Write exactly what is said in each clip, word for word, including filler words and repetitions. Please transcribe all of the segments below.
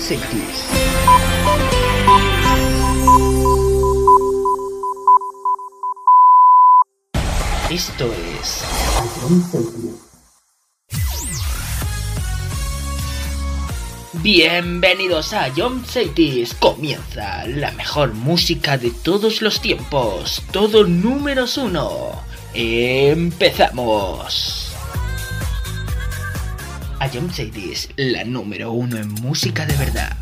Cities. Esto es Ion Cities. Bienvenidos a Ion Cities. Comienza la mejor música de todos los tiempos. Todo números uno. Empezamos. Ion Cities, la número uno en música de verdad.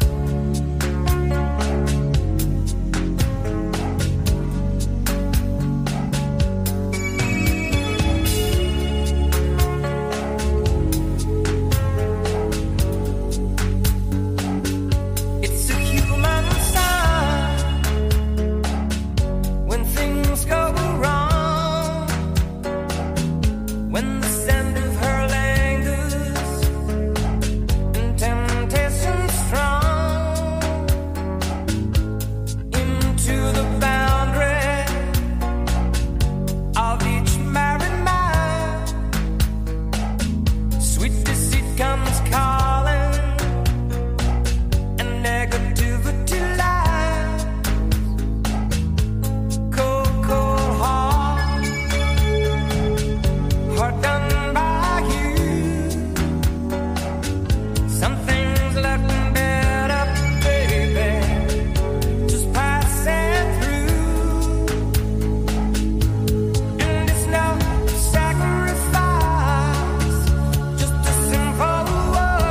Whoa.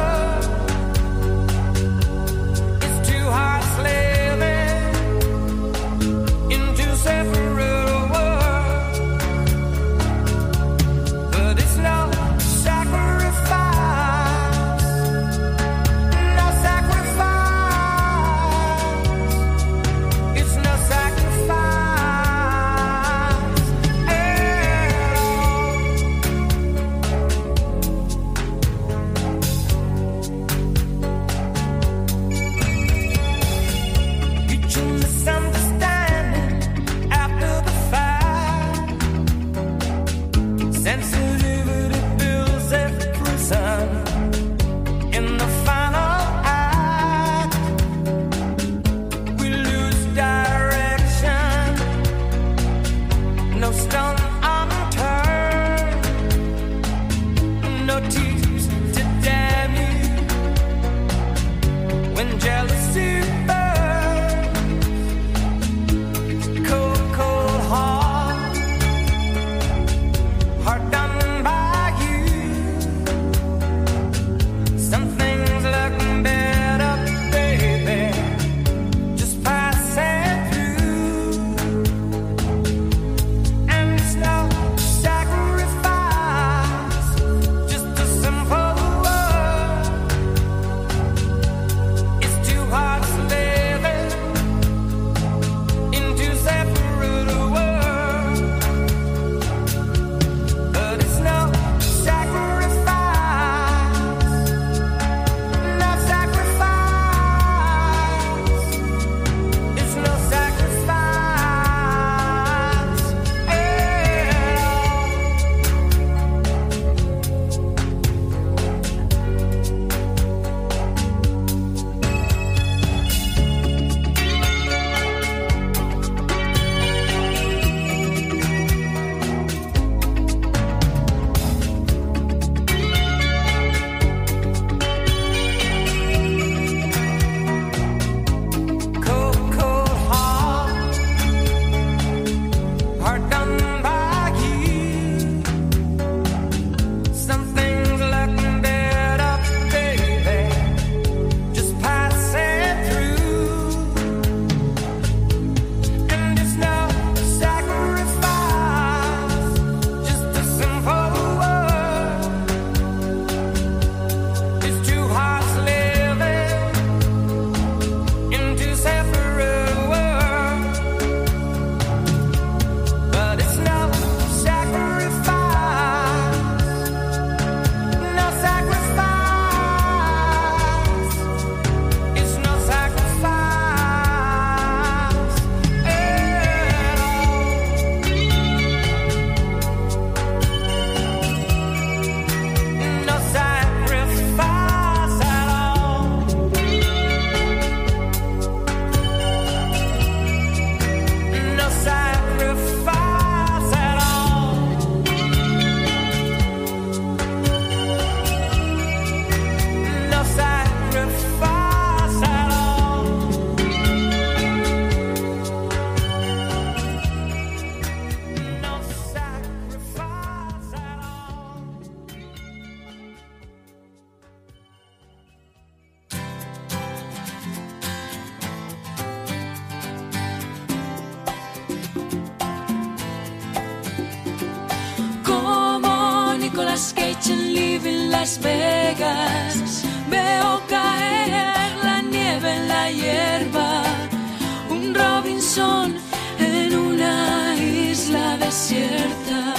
Las Vegas. Veo caer la nieve en la hierba, un Robinson en una isla desierta.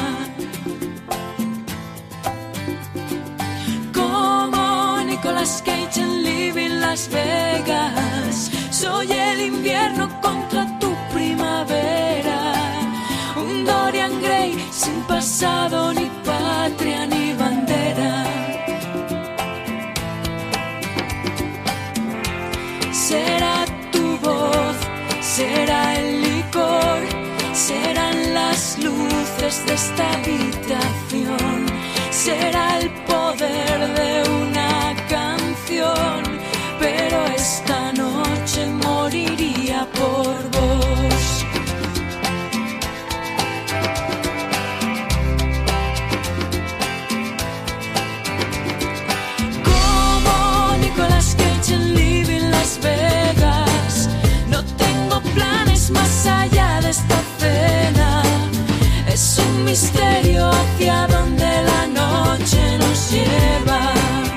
Como Nicolas Cage en Living Las Vegas, soy el invierno contra tu primavera, un Dorian Gray sin pasado, ni patria, ni bandera. Será tu voz, será el licor, serán las luces de esta habitación, será el poder de una canción, pero esta noche moriría por vos. Como Nicolas Cage en Living Las Vegas, no tengo planes más allá de esta cena. Es un misterio hacia donde la noche nos lleva.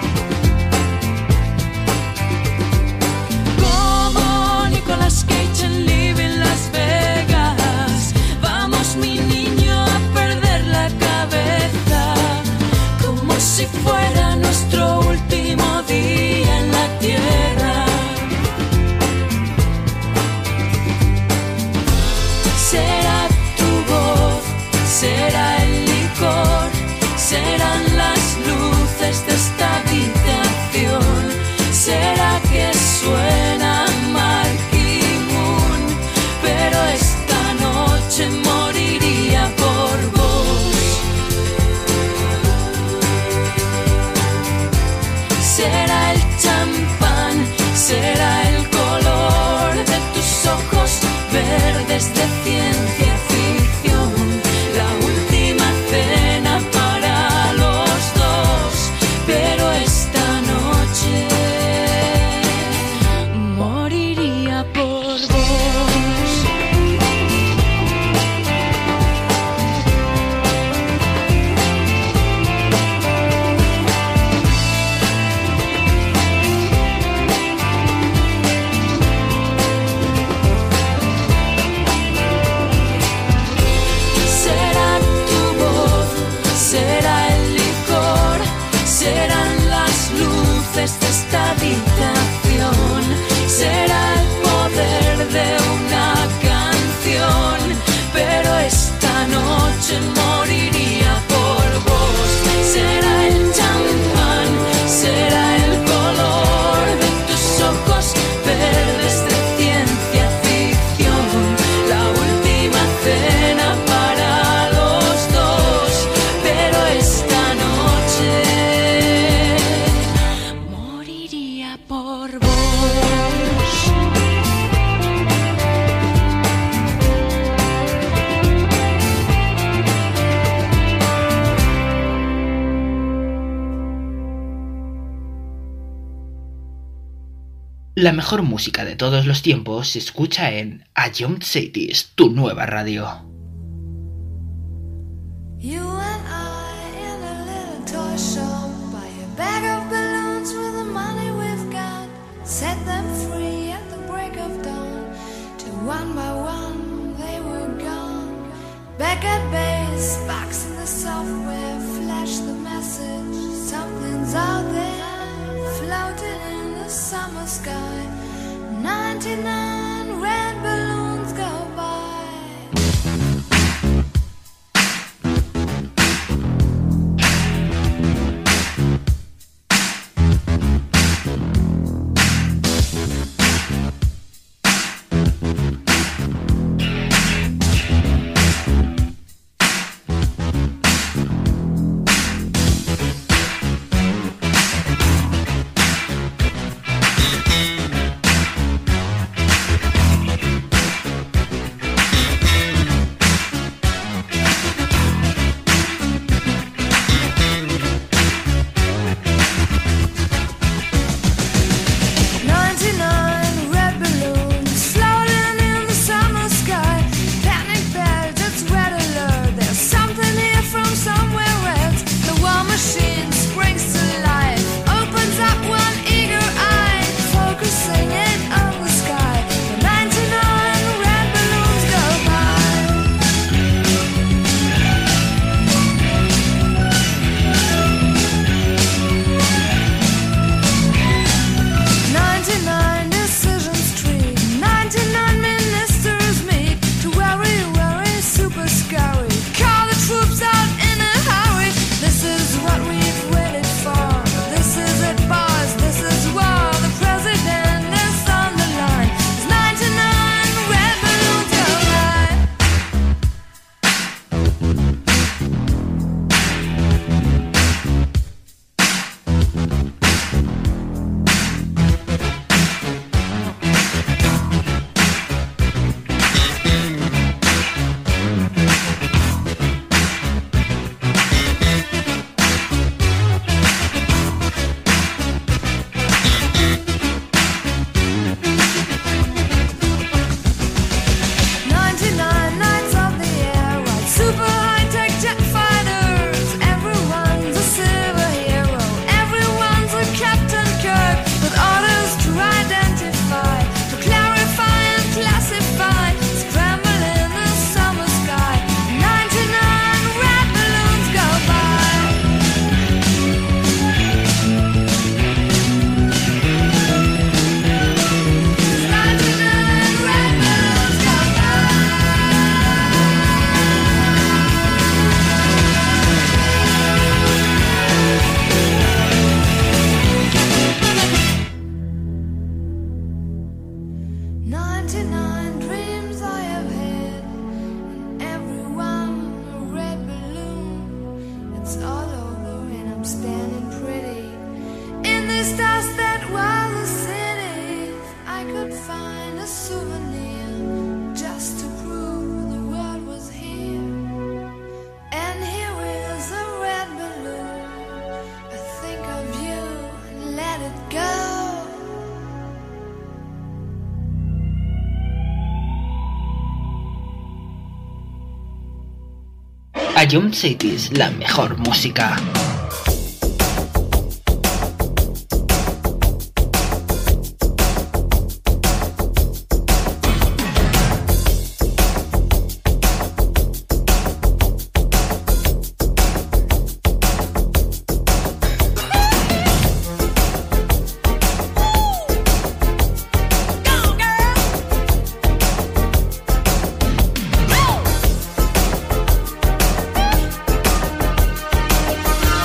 Como Nicolas Cage en Living Las Vegas, vamos mi niño a perder la cabeza, como si fuera nuestro último día en la tierra. Será tu voz, será el licor, serán las luces de esta habitación, será que suena Marquee Moon, pero esta noche moriría por vos. Será el champán, será el color de tus ojos verdes de ciencia ficción, la última cena para los dos, pero esta noche moriría por vos. Será tu voz, será el licor, serán las luces de esta habitación, será el poder de una canción, pero esta noche moriría por vos. Será el champán, será el color de tus ojos verdes de ciencia ficción, la última cena para los dos, pero esta noche moriría por vos. La mejor música de todos los tiempos se escucha en A Young Cities, tu nueva radio. You and I in a little toy shop, buy a bag of balloons with the money we've got, set them free at the break of dawn, till one by one they were gone. Back at base, box in the software, flash the message, something's out there, floating in the summer sky. ninety-nine red balloons go by. stars that were the city. I could find a souvenir just to prove the world was here. And here is a red balloon. I think of you and let it go. Ion Cities, la mejor música. Go, girl!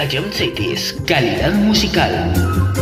Ion Cities, calidad musical.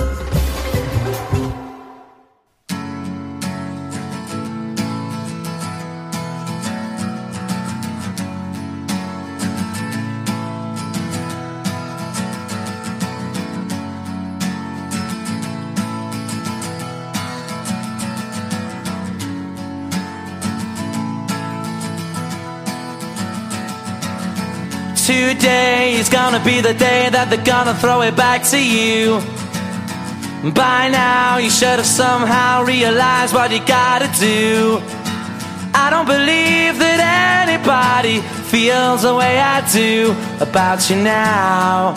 Today is gonna be the day that they're gonna throw it back to you. By now you should have somehow realized what you gotta do. I don't believe that anybody feels the way I do about you now.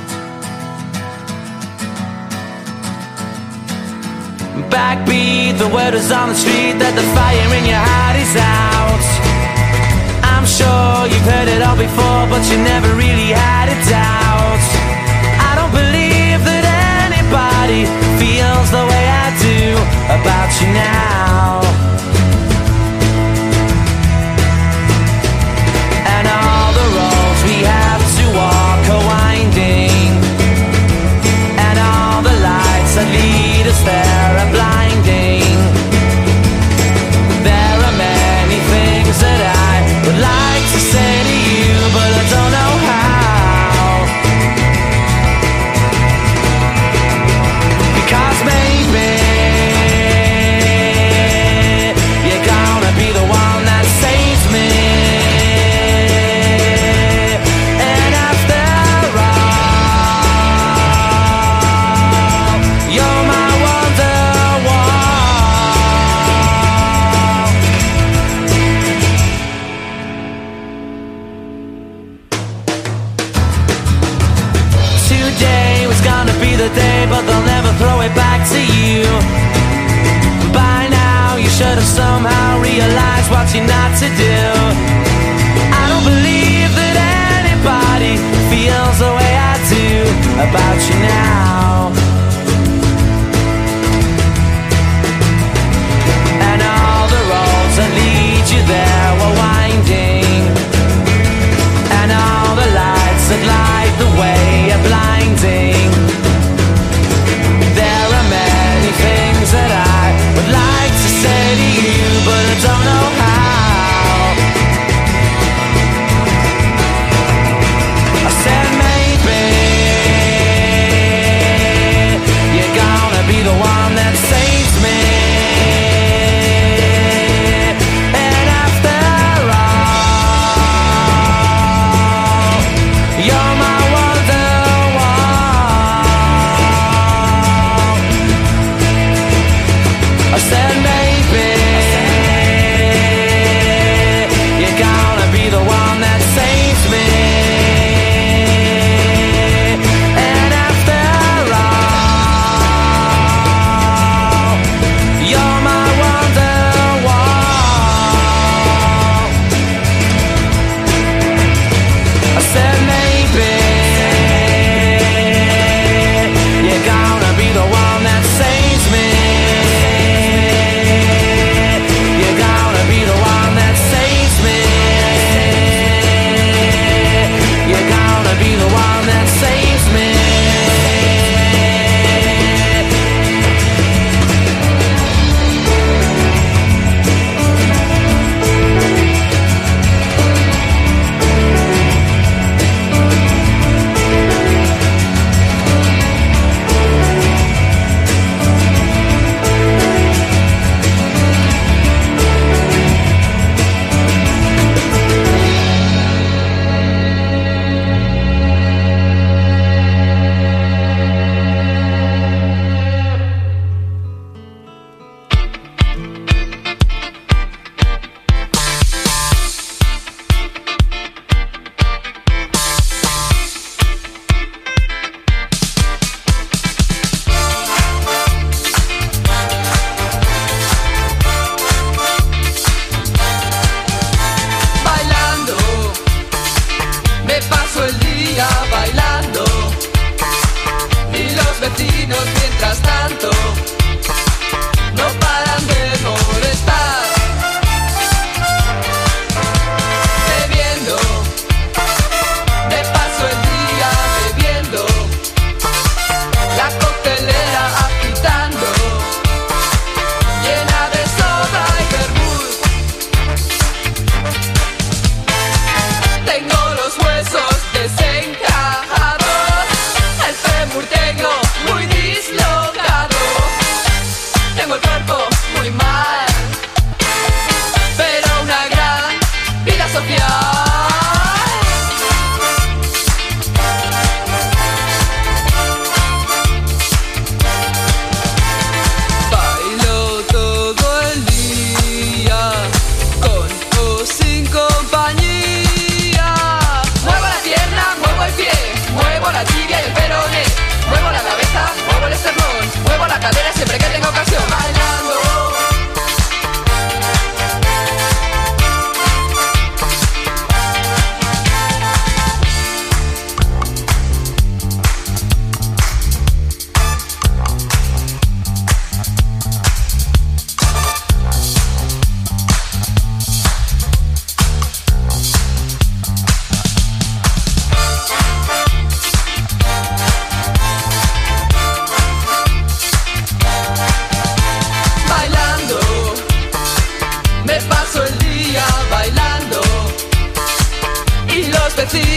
Backbeat, the word is on the street that the fire in your heart is out. I'm sure you've heard it all before, but you never really had a doubt. I don't believe that anybody feels the way I do about you now. And all the roads we have to walk are winding, and all the lights that lead us there are blinding. There are many things that I would like to say to you, but I don't know how. Because maybe you're gonna be the one that saves me. And after all, you're my Wonderwall. Today was gonna be the day, but they'll never throw it back to you. By now you should have somehow realized what you're not to do. I don't believe that anybody feels the way I do about you now. And all the roads that lead you there were winding, and all the lights that light the way are blinding. There are many things that I would like to say to you, but I don't know how.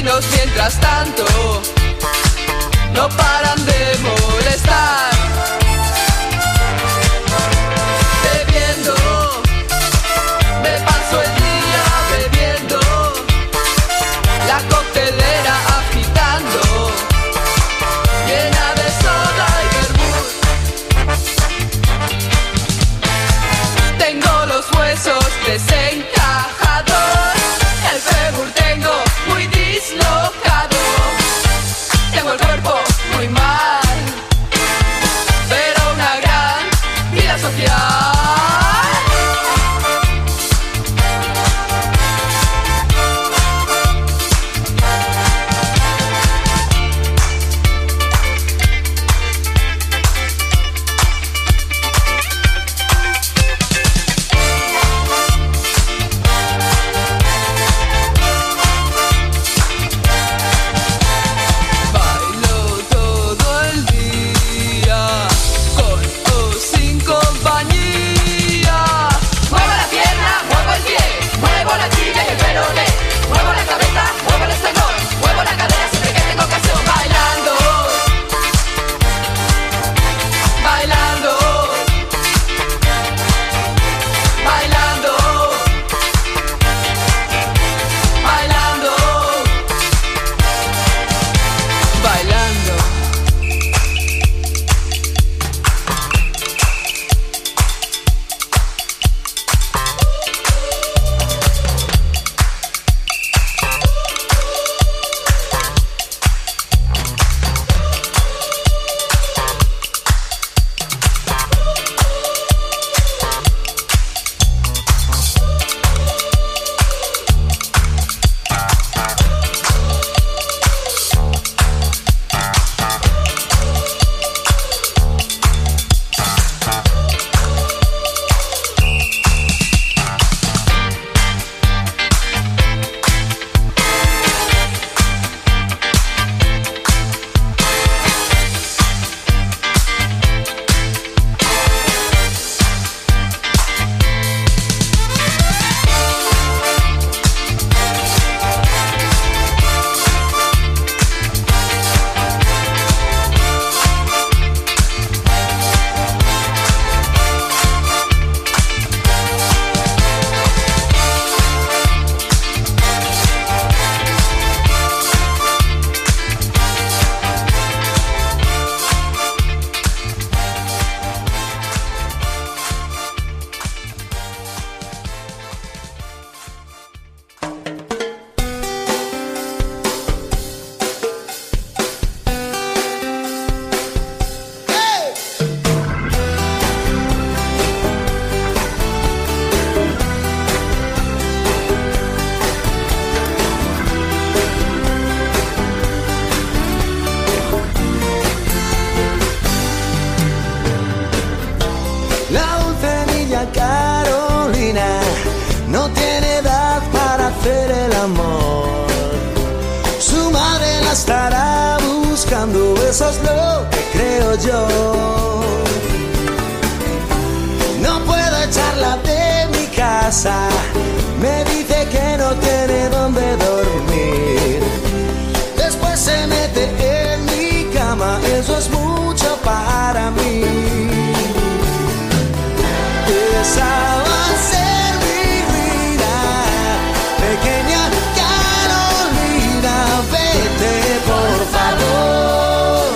vecinos mientras tanto no paran de molestar. Bebiendo, me paso el día bebiendo, la coctelera agitando, llena de soda y vermut. Tengo los huesos desencajados, el fémur tengo muy dislocado, tengo el cuerpo muy mal, pero una gran vida social. Estará buscando, eso es lo que creo yo. No puedo echarla de mi casa, me dice que no tiene dónde dormir. Después se mete en mi cama, eso es mucho para mí. Esa va a ser mi vida, pequeña Carolina, vete por favor.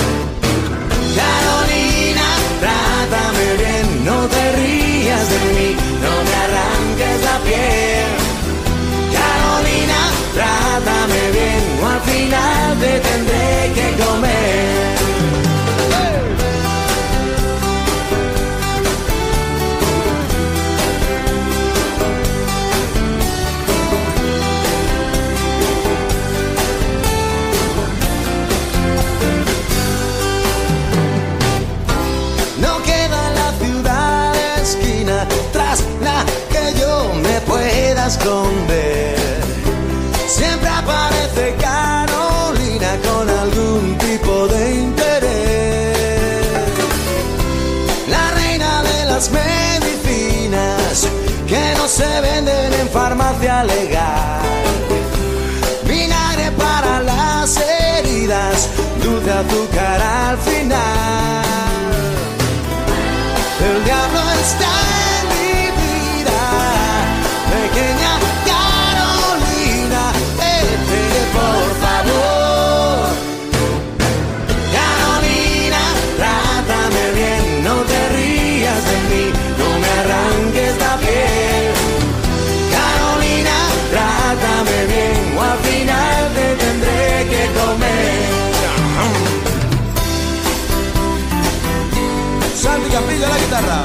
Carolina, trátame bien, no te rías de mí, no me arranques la piel. Carolina, trátame bien, o al final te tendré que comer. Esconder. Siempre aparece Carolina con algún tipo de interés. La reina de las medicinas que no se venden en farmacia legal. Vinagre para está en mi vida. Pequeña Carolina, vete por favor. Carolina, trátame bien, no te rías de mí, no me arranques la piel. Carolina, trátame bien, o al final te tendré que comer. Santi Campillo a la guitarra.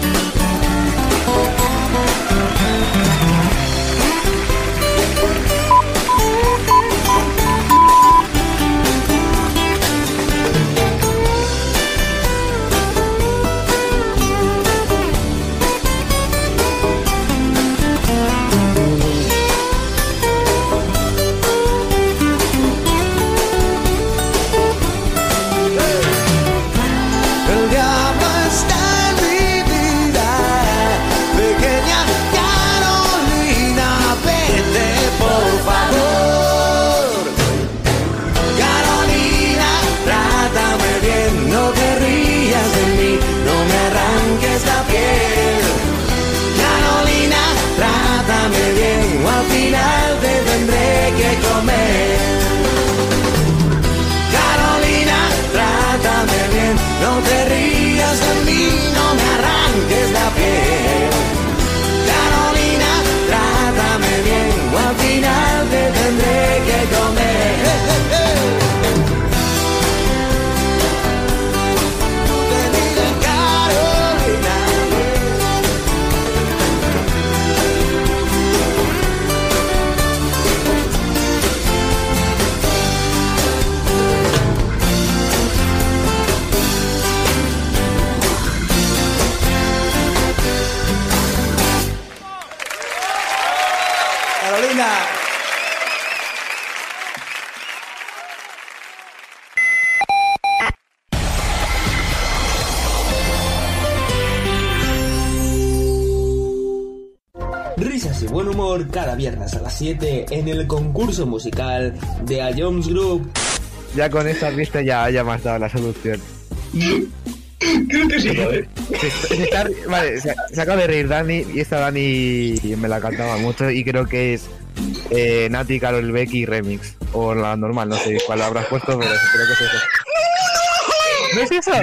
El diablo está en mi vida. Pequeña Carolina, vete por favor. Carolina, trátame bien, no te rías de mí, no me arranques la piel. Carolina, trátame bien, o al final te tendré que comer. Carolina, trátame bien, no te rías de mí, no me arranques la piel. Carolina, trátame bien, o al final te tendré que comer. Tú te digas, Carolina. Carolina. Risas y buen humor cada viernes a las siete en el concurso musical de A Jones Group. Ya con esta pista ya, ya me has dado la solución. Creo que sí, joder. Se, se está, vale, se, se acaba de reír Dani y esta Dani me la cantaba mucho y creo que es eh, Nati, Karol Becky remix o la normal, no sé cuál habrás puesto, pero creo que es eso. ¿No es eso?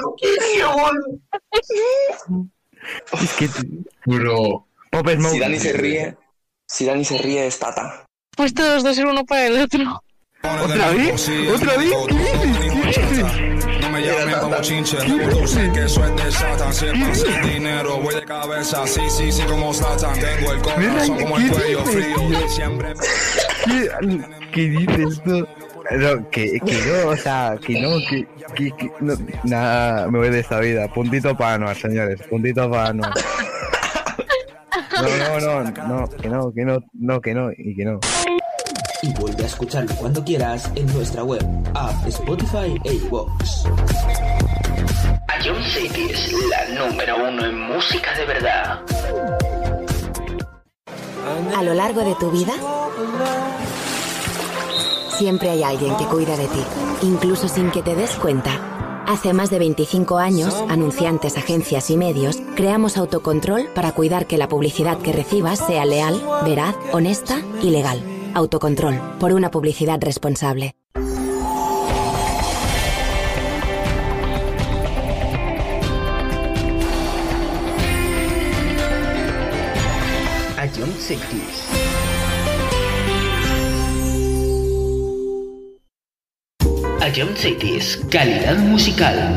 Es que Bro. Pop Smoke. Si Dani se ríe, si Dani se ríe es Tata. Pues todos dos ser uno para el otro. ¿Otra vez? ¿Otra vez? ¿Qué dices? ¿Qué dices? No me llamen como chinche, tú sé que eso es de Satan. Si es el dinero, voy de cabeza, sí, sí, sí, como Satan. Tengo el corazón como el cuello frío, siempre. ¿Qué, ¿Qué dices tú? No, que, que no, o sea, que no, que, que, que no, nada, me voy de esta vida. Puntito para Anuar, señores, puntito para Anuar. No, no, no, no, que no, que no, no, que no, y que no. Y vuelve a escucharlo cuando quieras en nuestra web, app, Spotify e iVoox. A John City es la número uno en música de verdad. A lo largo de tu vida, siempre hay alguien que cuida de ti, incluso sin que te des cuenta. Hace más de veinticinco años, anunciantes, agencias y medios, creamos Autocontrol para cuidar que la publicidad que recibas sea leal, veraz, honesta y legal. Autocontrol, por una publicidad responsable. A John City. A John Cities, calidad musical.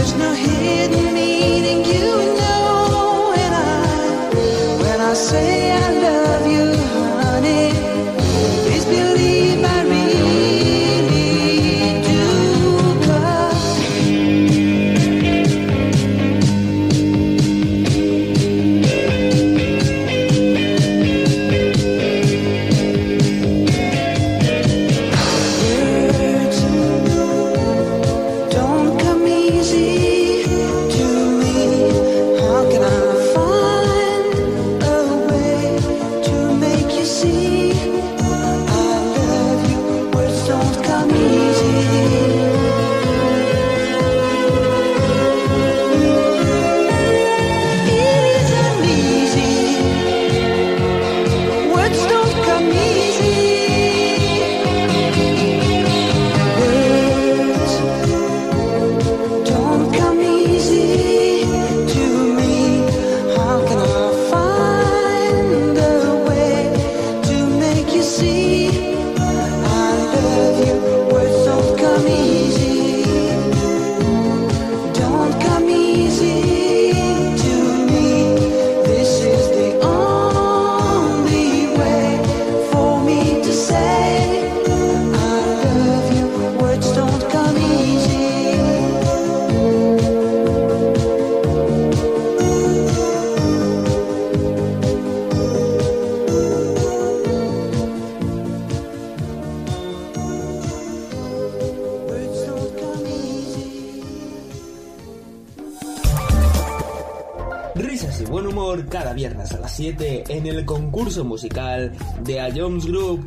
Risas y buen humor cada viernes a las siete en el concurso musical de A Jones Group.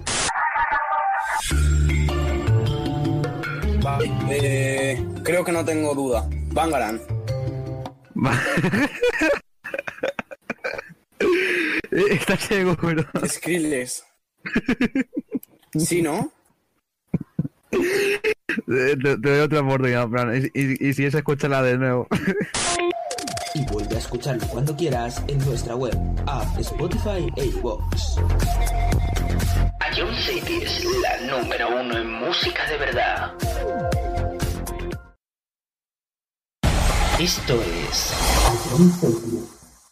Vale, eh, creo que no tengo duda. Bangarang. ¿Estás seguro? Skrillex. ¿Sí, no? Te, te doy otra oportunidad, Fran. Y, y, y si es, escúchala de nuevo. Y vuelve a escucharlo cuando quieras en nuestra web, app, Spotify e iVoox. A Jones City es la número uno en música de verdad. Esto es A Jones City.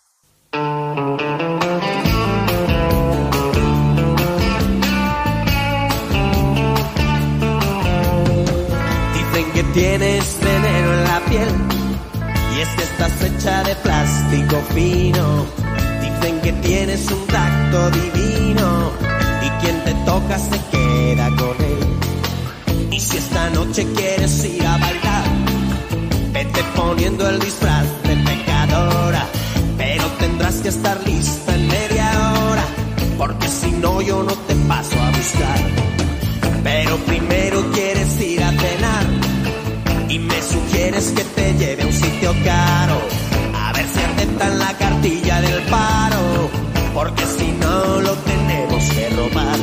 Dicen que tienes veneno en la piel y es que estás hecha de plástico fino. Dicen que tienes un tacto divino y quien te toca se queda con él. Y si esta noche quieres ir a bailar, vete poniendo el disfraz de pecadora, pero tendrás que estar lista en media hora, porque si no yo no te paso a buscar. Pero primero quieres ir a cenar y me sugieres que te lleve a un sitio caro, a ver si aceptan la cartilla del paro, porque si no lo tenemos que robar.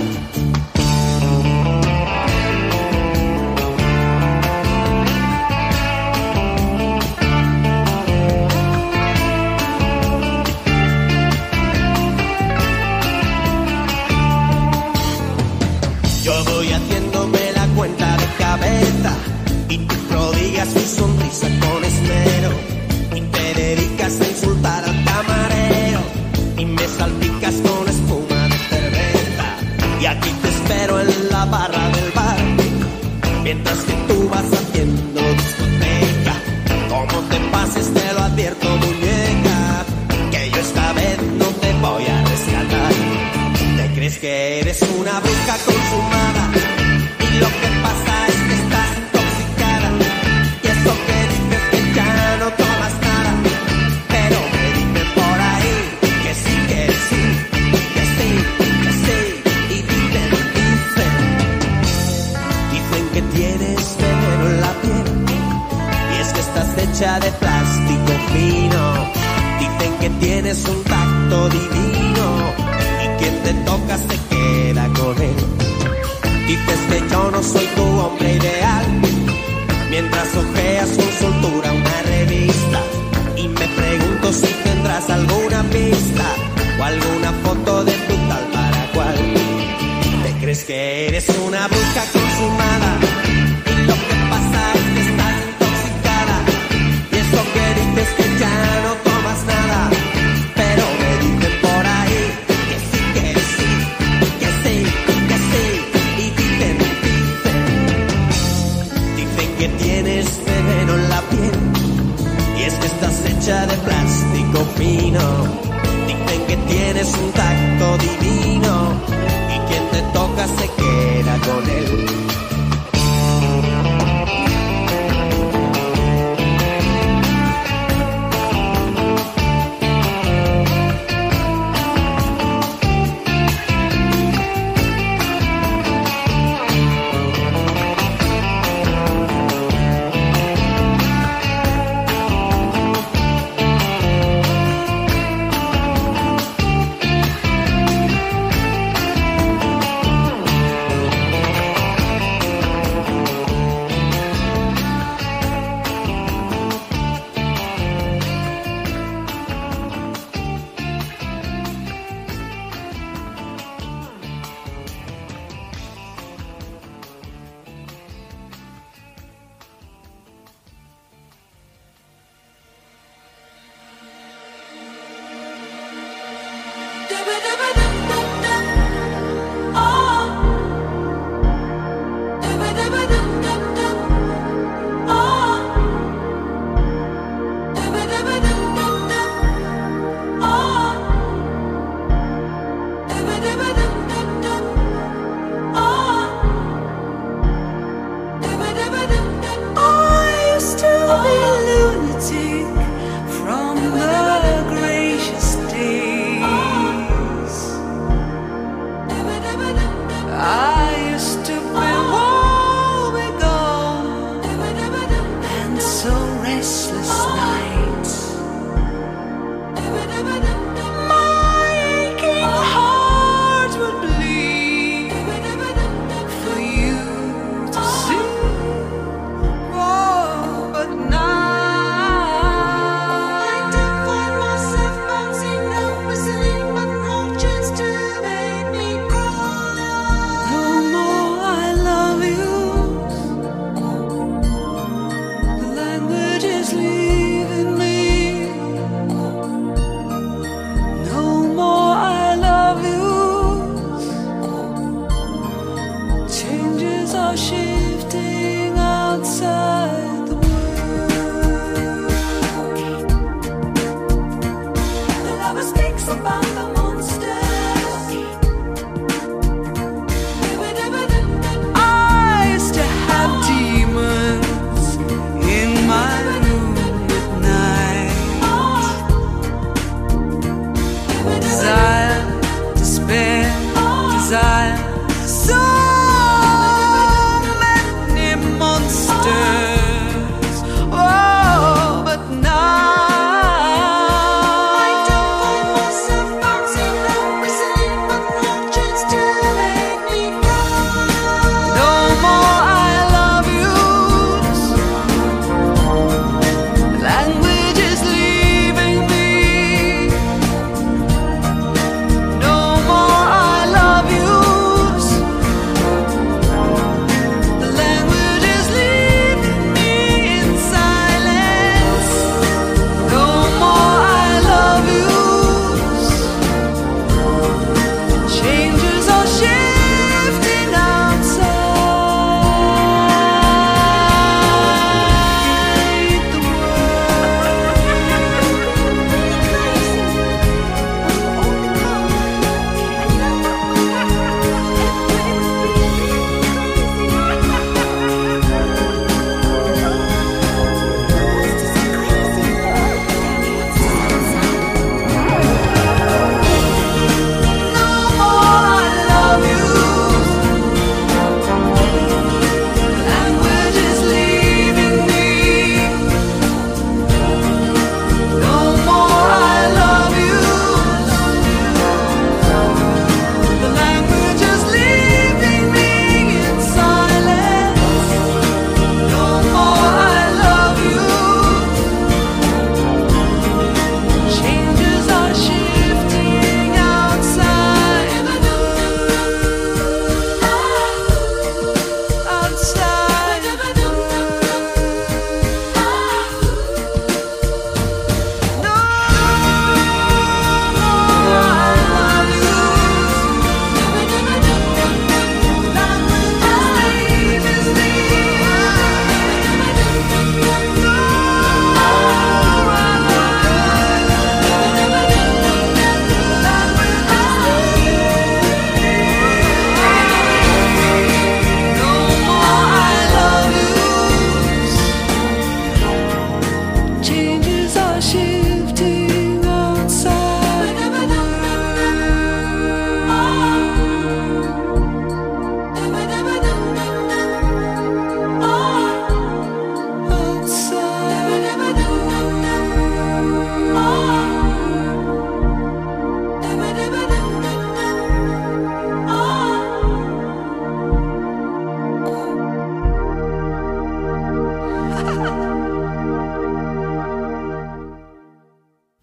Yo voy haciéndome la cuenta de cabeza y tú prodigas tu sonrisa con esmero y te dedicas a insultar al camarero y me salpicas con espuma de cerveza. Y aquí te espero en la barra del bar mientras que tú vas haciendo discoteca. Como te pases te lo advierto, muñeca, que yo esta vez no te voy a rescatar. ¿Te crees que eres una bruja consumada? Y lo que pasa es que estás intoxicada. Y eso que dices que ya no tomas nada, pero me dicen por ahí que sí, que sí, que sí, que sí. Y dicen, dicen, dicen que tienes veneno en la piel y es que estás hecha de plástico fino. Dicen que tienes un tacto divino y quien te toca se queda con él. Dices que yo no soy tu hombre ideal mientras ojeas con soltura una revista y me pregunto si tendrás alguna pista o alguna foto de tu tal para cual. ¿Te crees que eres una bruja consumada? Y lo que pasa es que estás intoxicada y es hecha de plástico fino. Dicen que tienes un tacto divino y quien te toca se queda con él.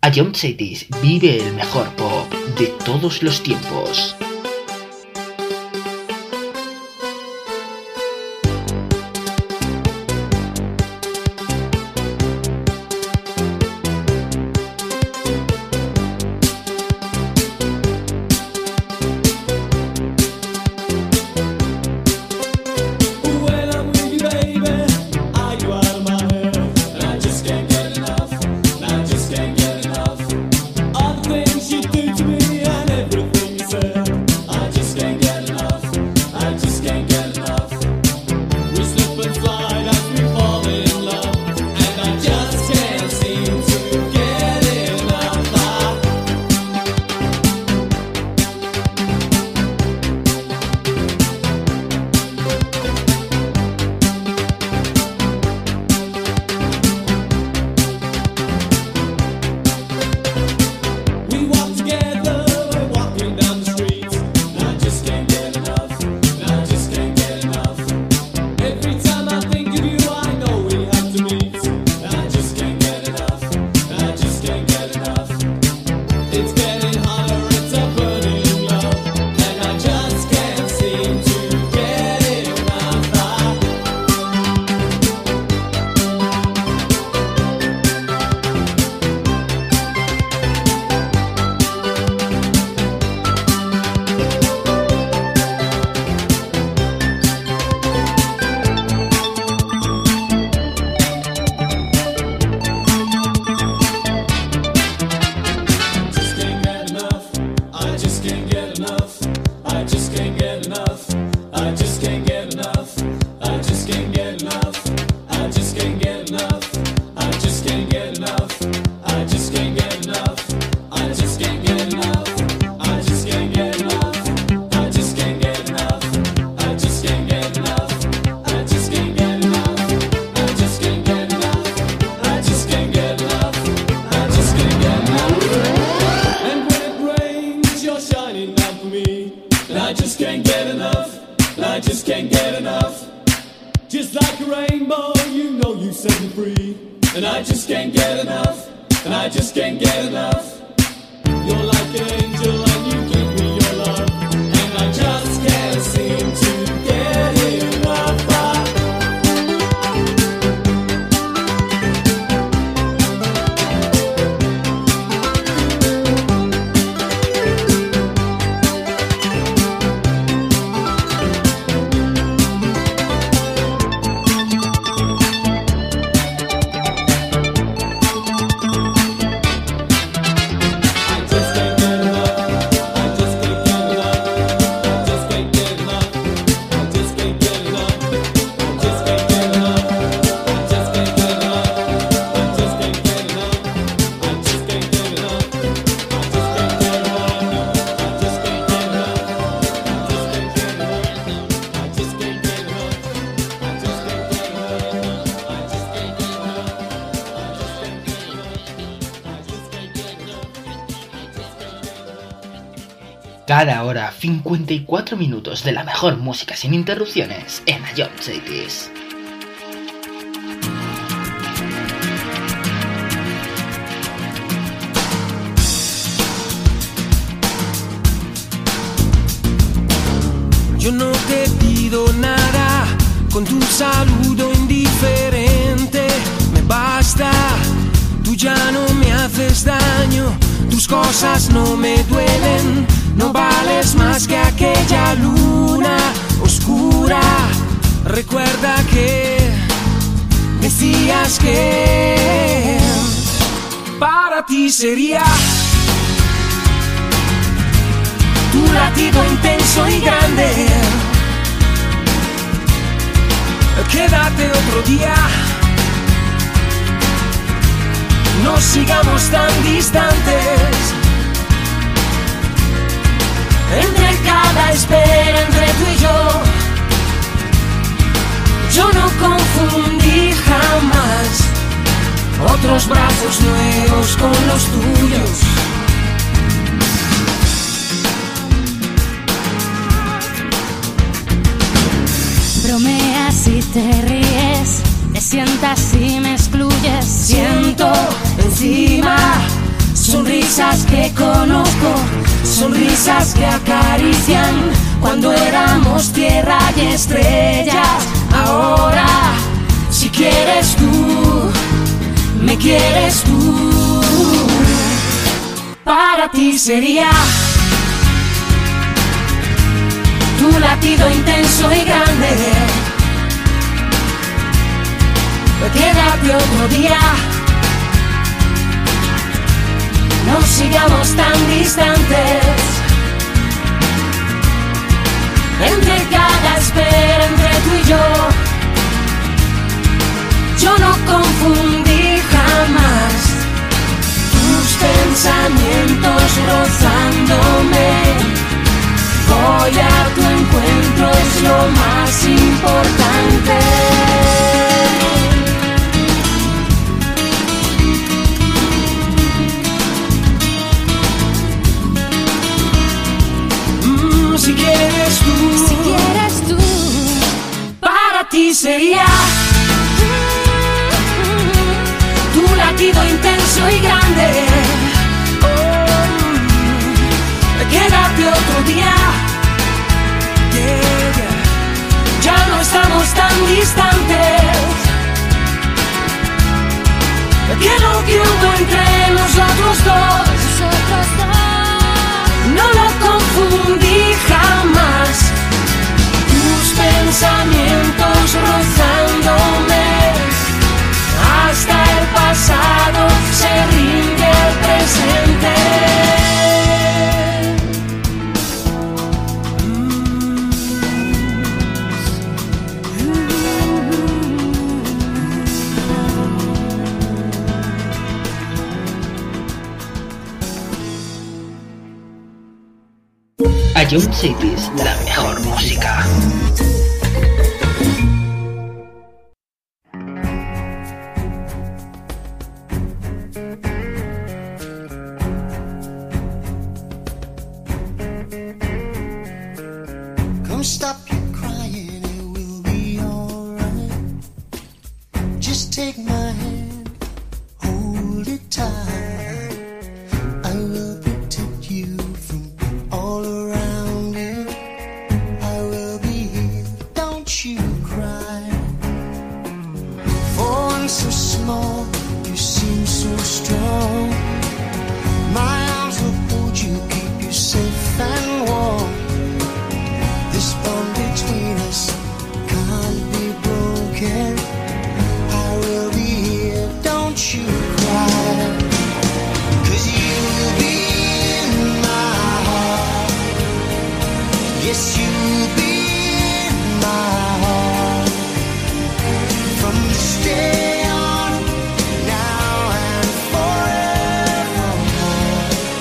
Ion Cities vive el mejor pop de todos los tiempos. Cada hora, cincuenta y cuatro minutos de la mejor música sin interrupciones en Ion Cities. Yo no te pido nada, con tu saludo indiferente me basta. Tú ya no me haces daño, tus cosas no me duelen. No vales más que aquella luna oscura. Recuerda que decías que para ti sería tu latido intenso y grande. Quédate otro día, no sigamos tan distantes. Entre cada espera, entre tú y yo, yo no confundí jamás otros brazos nuevos con los tuyos. Bromeas y te ríes, te sientas y me excluyes. Siento encima sonrisas que acarician cuando éramos tierra y estrellas. Ahora, si quieres tú, me quieres tú. Para ti sería tu latido intenso y grande. Quédate otro día, no sigamos tan distantes. Entre cada espera, entre tú y yo, yo no confundí jamás tus pensamientos rozándome. Voy a tu encuentro, es lo más importante. Si quieres tú, si quieres tú, para ti sería tu latido intenso y grande. Oh, quédate otro día, yeah, yeah. Ya no estamos tan distantes. Que lo que hubo entre nosotros dos, nosotros dos, no lo confundí jamás. Tus pensamientos rozándome, hasta el pasado se rinde al presente. Ion Cities, la mejor música. Come stop your crying, it will be alright. Just take my hand, hold it tight. I will protect you from all around you. I will be here, don't you cry. For one so small, you seem so strong. My arms will hold you, keep you safe and warm. This bond between us can't be broken. I will be here, don't you cry. 'Cause you'll be in my heart. Yes, you'll be in my heart. From this day on, now and forevermore.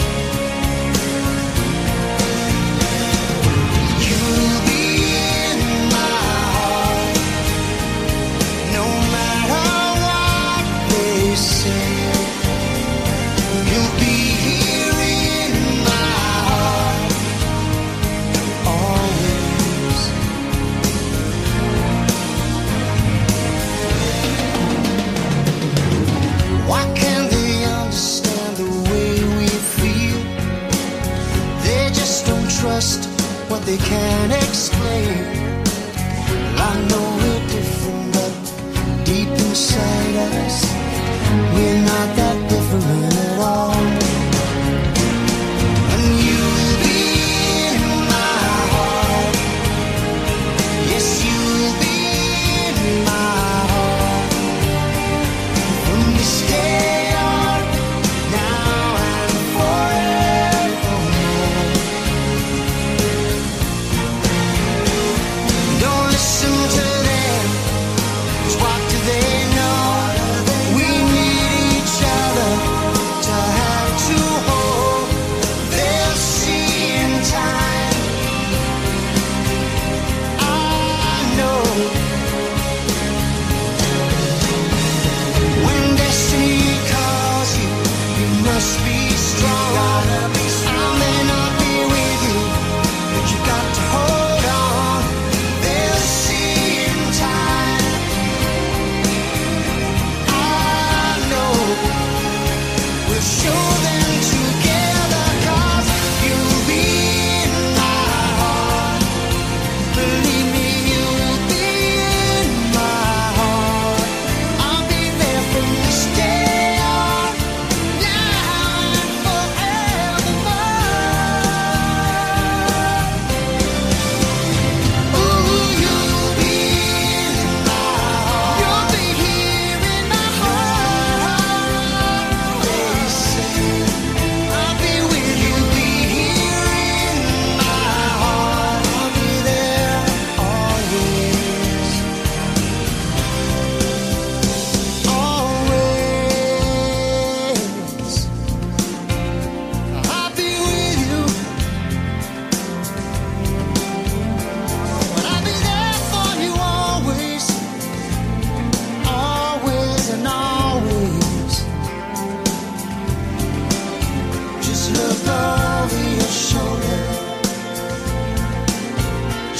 You'll be in my heart. No matter what they say. You'll be here in my heart. Always. Why can't they understand the way we feel? They just don't trust what they can't explain. I know we're different, but deep inside us, we're not that different at all. And you'll be in my heart. Yes, you'll be in my heart. From this day on, now and forevermore. Don't listen to them, 'cause what do they know?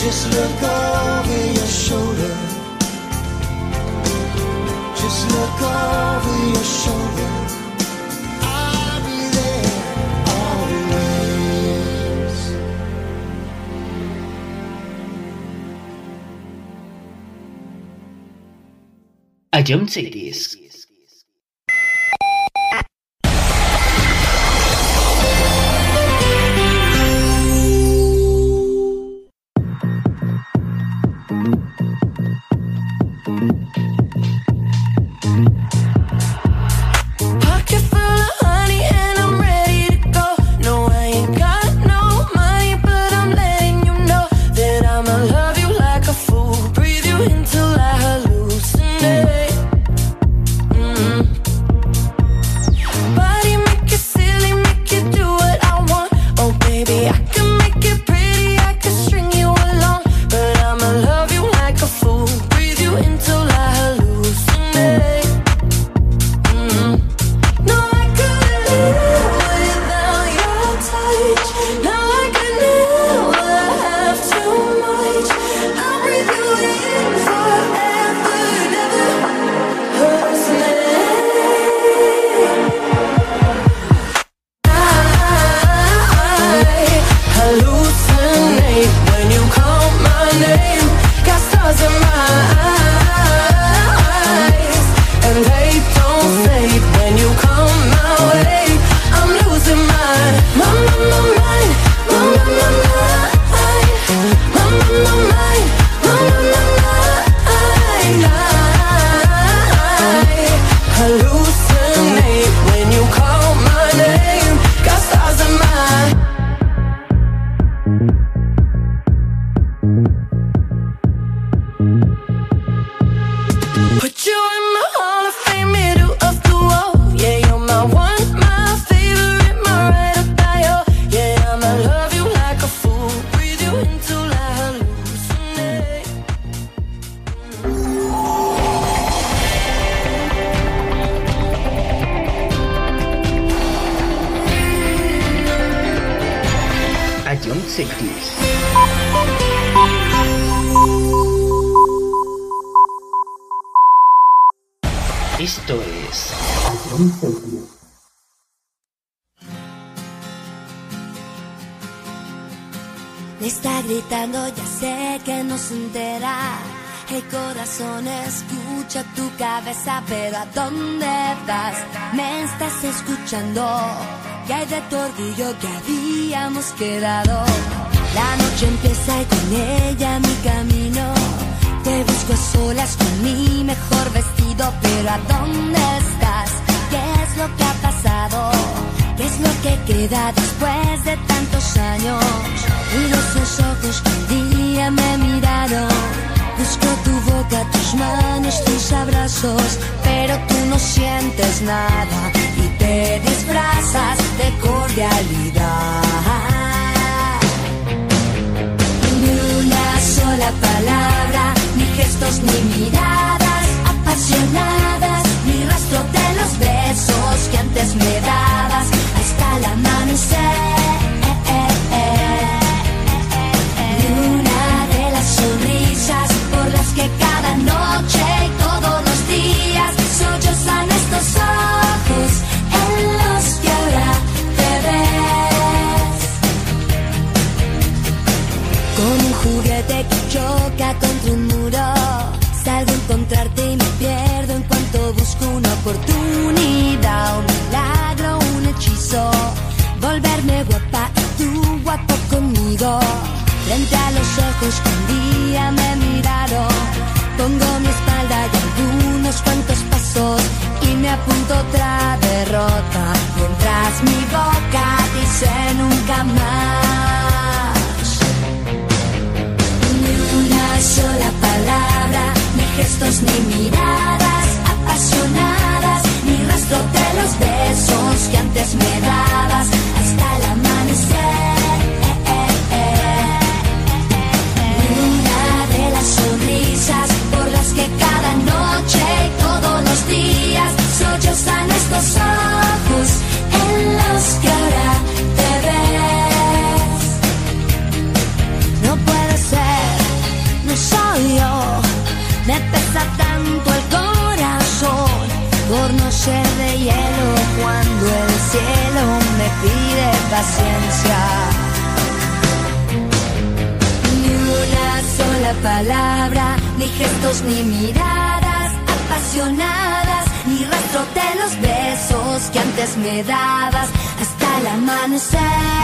Just look over your shoulder. Just look over your shoulder. I'll be there always. A John Cities. Esto es Me está gritando, ya sé que no se entera. El corazón escucha tu cabeza, pero ¿a dónde vas? Me estás escuchando. ¿Qué hay de tu orgullo que habíamos quedado? La noche empieza y con ella mi camino. Te busco a solas con mi mejor vestido, pero ¿a dónde estás? ¿Qué es lo que ha pasado? ¿Qué es lo que queda después de tantos años? Miro esos ojos que un día me miraron. Busco tu boca, tus manos, tus abrazos, pero tú no sientes nada y te disfrazas de cordialidad. Ni una sola palabra, ni gestos ni miradas apasionadas, ni rastro de los besos que antes me dabas hasta el amanecer. Ni una de las sonrisas por las que cada noche y todos los días sollozan estos ojos en los que ahora te ves. Con un juguete que choca contra un muro, salgo a encontrarte y me pierdo en cuanto busco una oportunidad, un milagro, un hechizo, volverme guapa y tú guapo conmigo. Frente a los ojos que un día me miraron, pongo mi espalda y algunos cuantos pasos y me apunto otra derrota, mientras mi boca dice nunca más. Ni una sola palabra, ni gestos ni miradas apasionadas, ni rastro de los besos que antes me dabas hasta el amanecer. Sonrisas por las que cada noche y todos los días sollozan estos ojos en los que ahora te ves. No puede ser paciencia. Ni una sola palabra, ni gestos ni miradas apasionadas, ni rastro de los besos que antes me dabas hasta el amanecer.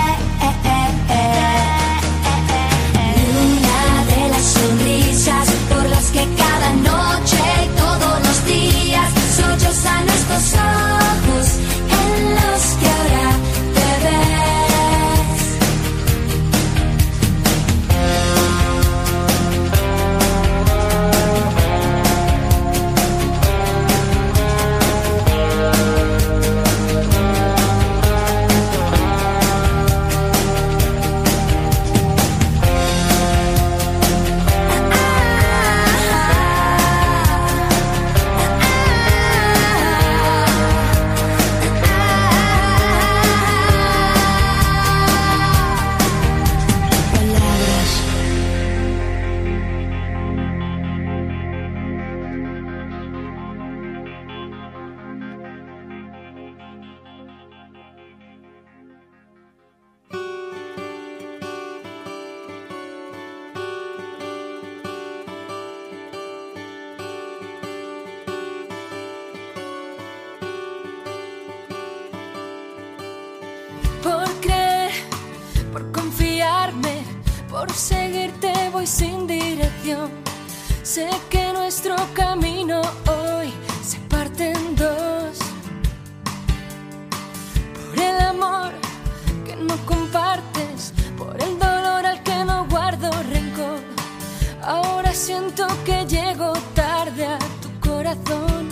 Ni una de las sonrisas por las que cada noche y todos los días sollozan estos ojos en los que ahora te ves. Por seguirte voy sin dirección. Sé que nuestro camino hoy se parte en dos. Por el amor que no compartes, por el dolor al que no guardo rencor. Ahora siento que llego tarde a tu corazón.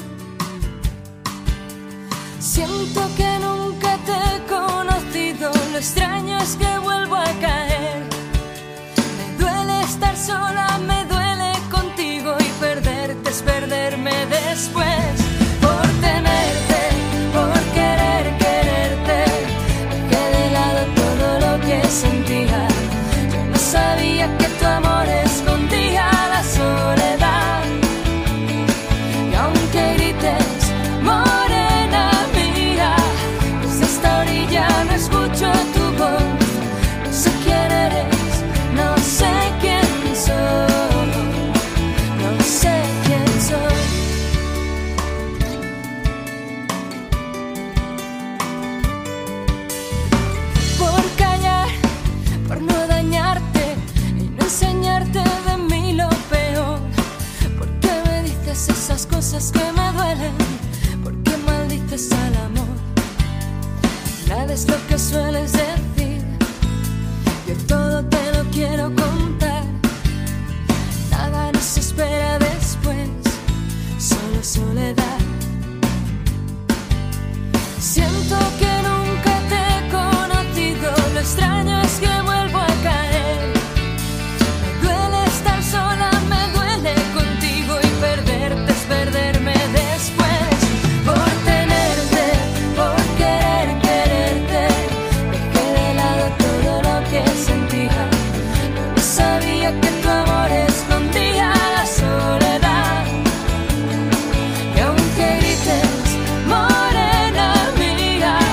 Siento que nunca te he conocido. Lo extraño es que vuelvo a caer. Estar sola me duele contigo y perderte es perderme después. Por tenerte, por querer quererte, dejé de lado todo lo que sentía. Yo no sabía que tu amor escondía la soledad. Y aunque grites, morena mía, desde esta orilla no escucho tu voz. No sé quién eres, no sé quién soy, no sé quién soy. Por callar, por no dañarte y no enseñarte de mí lo peor. ¿Por qué me dices esas cosas que me duelen? ¿Por qué maldices al amor? Nada es lo que sueles decir. Yo todo te lo quiero contar. Nada nos espera después, solo soledad. Siento que nunca te he conocido. Lo extraño es que vuelvo a caer. Me duele estar sola, me duele contigo y perderte es perderme después. Por tenerte, por querer quererte, dejé de lado todo lo que sentía. Yo no sabía que tu amor escondía la soledad. Y aunque grites, morena mía,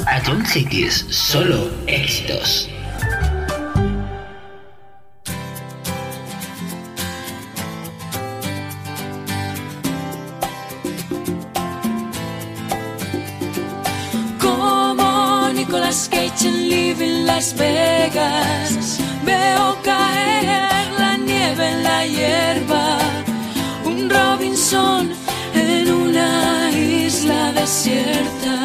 Ion Cities, solo éxitos. Como Nicolas Cage en Living Las Vegas, veo caer la nieve en la hierba, un Robinson en una isla desierta.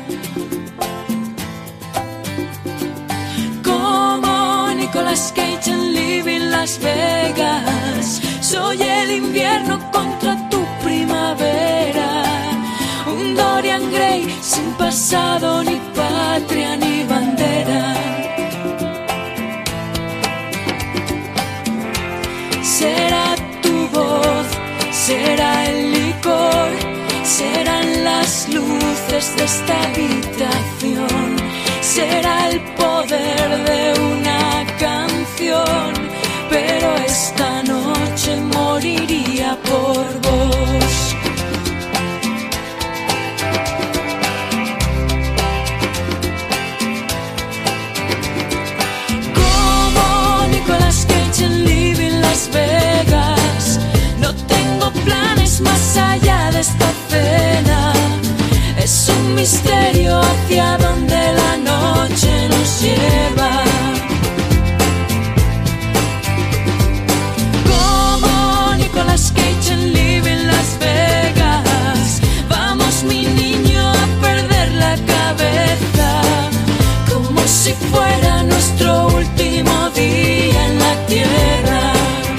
Como Nicolas Cage en Living Las Vegas, soy el invierno contra tu primavera, un Dorian Gray sin pasado, ni patria, ni bandera. Será tu voz, será el licor, serán las luces de esta habitación, será el poder de una canción, pero esta noche moriría por vos. Como Nicolas Cage en Living Las Vegas, no tengo planes más allá de esta cena. Es un misterio hacia donde la noche nos lleva. Como Nicolas Cage en Living Las Vegas, vamos mi niño a perder la cabeza, como si fuera nuestro último día en la tierra.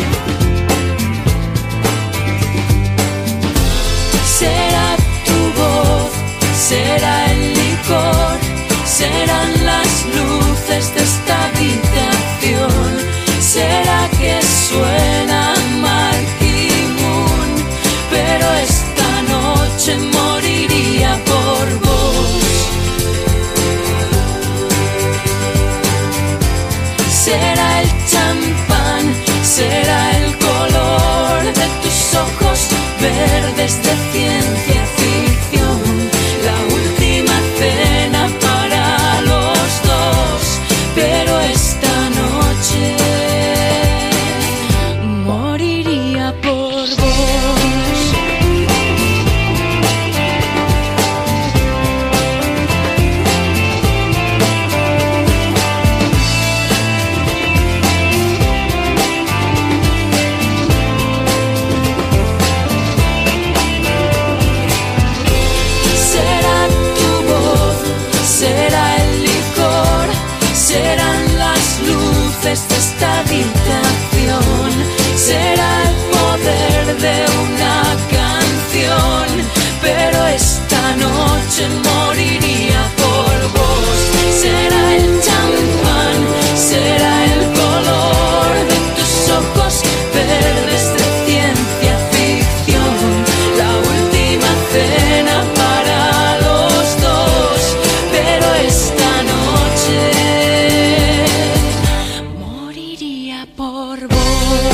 Será tu voz, será el licor, serán las luces de esta habitación, será que suena Marquee Moon, pero esta noche moriría por vos. Será el champán, será el color de tus ojos verdes de ciencia ficción, la última cena para los dos, pero esta noche moriría por vos. Será tu voz, será el licor, serán las luces de esta habitación, será el poder de una canción, pero esta noche moriría por vos. Será el champán, será el color de tus ojos verdes de ciencia ficción, la última cena para los dos, pero esta noche moriría por vos.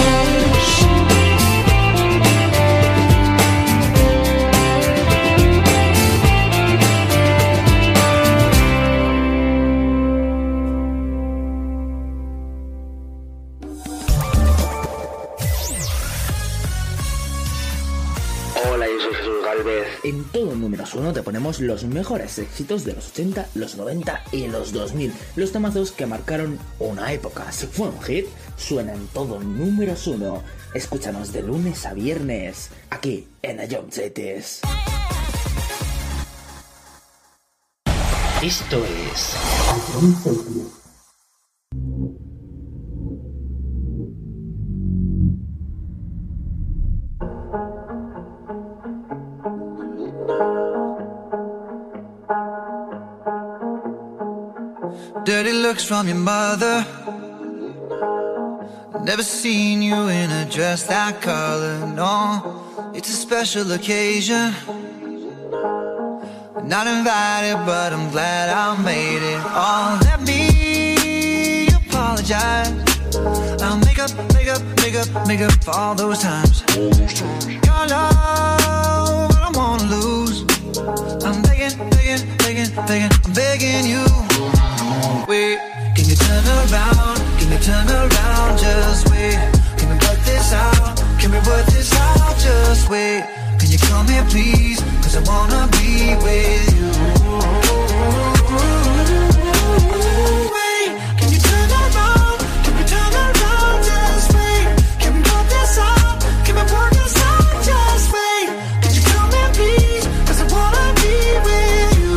Hola, yo soy Jesús Galvez. En todo números uno te ponemos los mejores éxitos de los ochenta, los noventa y los dos mil. Los temazos que marcaron una época. Si fue un hit, suena en todo números uno. Escúchanos de lunes a viernes, aquí en Ion Cities. Esto es Dirty looks from your mother. Never seen you in a dress that color, no. It's a special occasion. Not invited, but I'm glad I made it. Oh, let me apologize. I'll make up, make up, make up, make up for all those times. Your love, I don't wanna lose. I'm begging, begging, begging, begging, I'm begging you. Wait, can you turn around? Can you turn around? Just wait. Can we work this out? Can we work this out? Just wait. Can you come here, please? Cause I wanna be with you. Wait, can you turn around? Can we turn around? Just wait. Can we work this out? Can we work this out? Just wait. Can you come here, please? Cause I wanna be with you.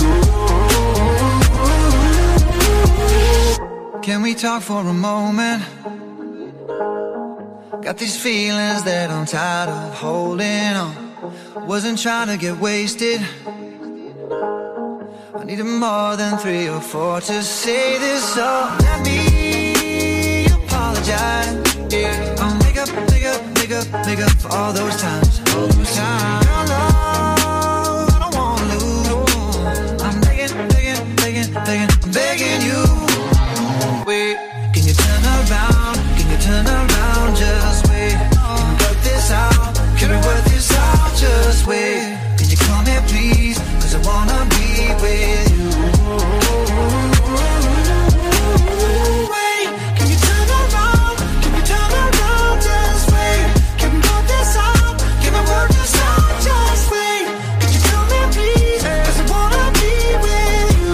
Can we talk for a moment? Got these feelings that I'm tired of holding on. Wasn't trying to get wasted. I needed more than three or four to say this, so let me apologize. Yeah, I'll make up, make up, make up, make up for all those times, all those times. Your love, I don't wanna lose. I'm begging, begging, begging, begging, I'm begging you. Wait, can you turn around? Can you turn around? Just wait. Can we work this out? Can we work this out? Just wait. Can you come here, please? Cause I wanna be with you. Wait, can you turn around? Can you turn around? Just wait. Can we work this out? Can we work this out? Just wait. Can you come here, please? Cause I wanna be with you.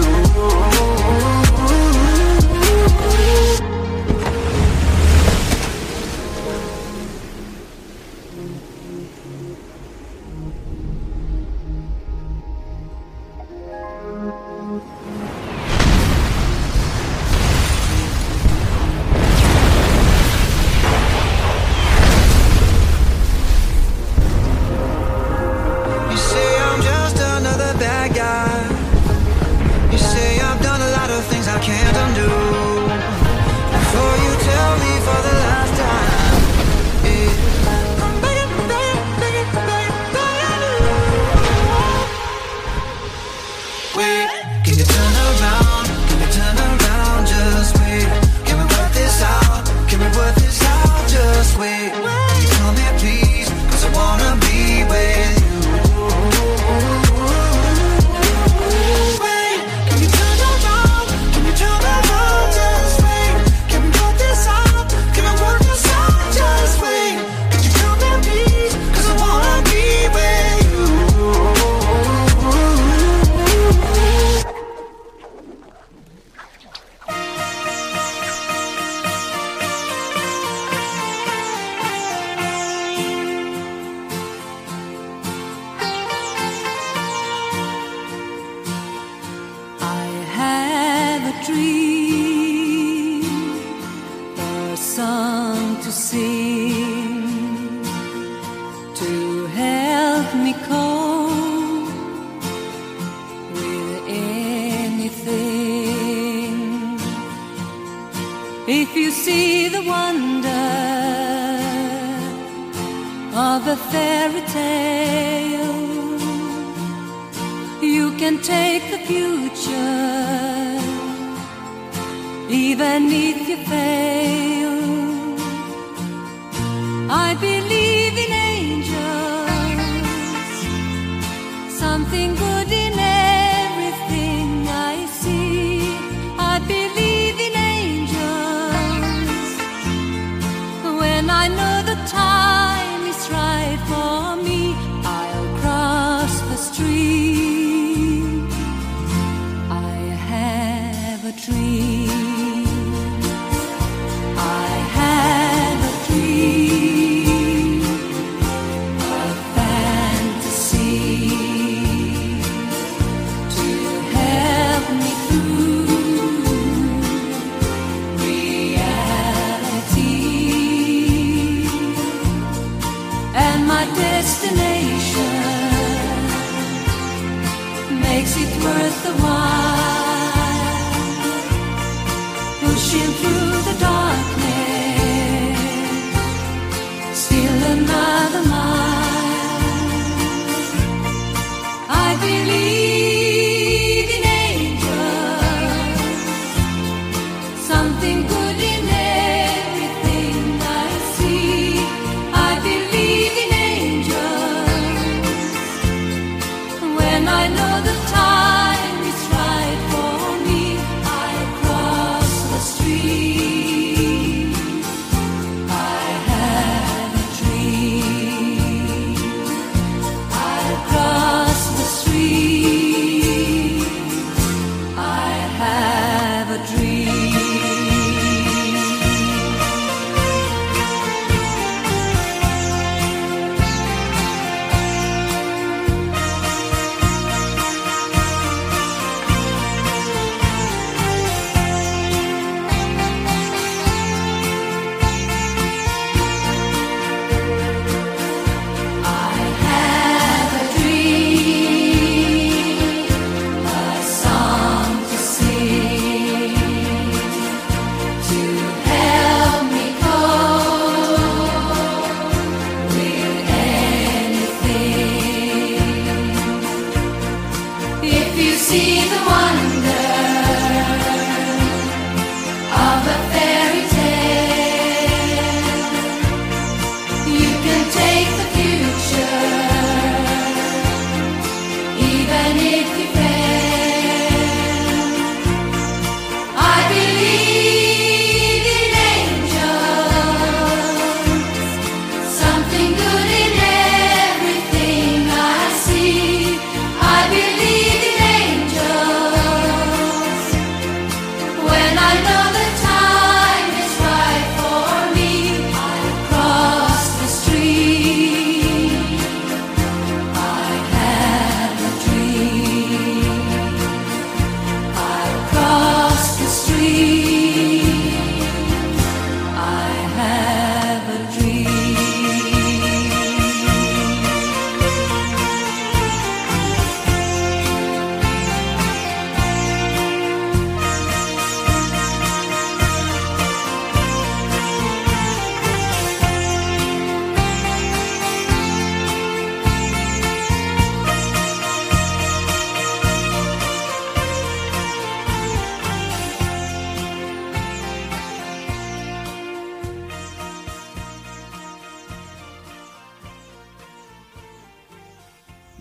You say I'm just another bad guy. You say I've done a lot of things I can't undo. Before you tell me for the last time, yeah, I'm begging, begging, begging, begging, begging you. Wait, can you turn around? Can you turn around? Just wait. Can we work this out? Can we work this out? Just wait. Can you come here, please? Cause I wanna be with you. Wait, can you turn around? Can you turn around? Just wait. Can we work this out? Can we work this out? Just wait. Can you come here, please? Cause I wanna be with you. I have a dream, a song to sing, to help me cope with anything. If you see the wonder of a fairy tale, you can take the future, even if you fail. I believe in angels, something good in everything I see. I believe in angels, when I know the time is right for me, I'll cross the street. I have a dream. I have a dream, a fantasy to help me through reality. And my destination makes it worth the while, pushing through the darkness, still another mile. I believe in angels, something good in everything I see. I believe in angels, when I know the time is right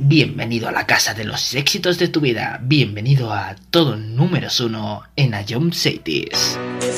Bienvenido a la casa de los éxitos de tu vida. Bienvenido a todo números uno en Ion Cities.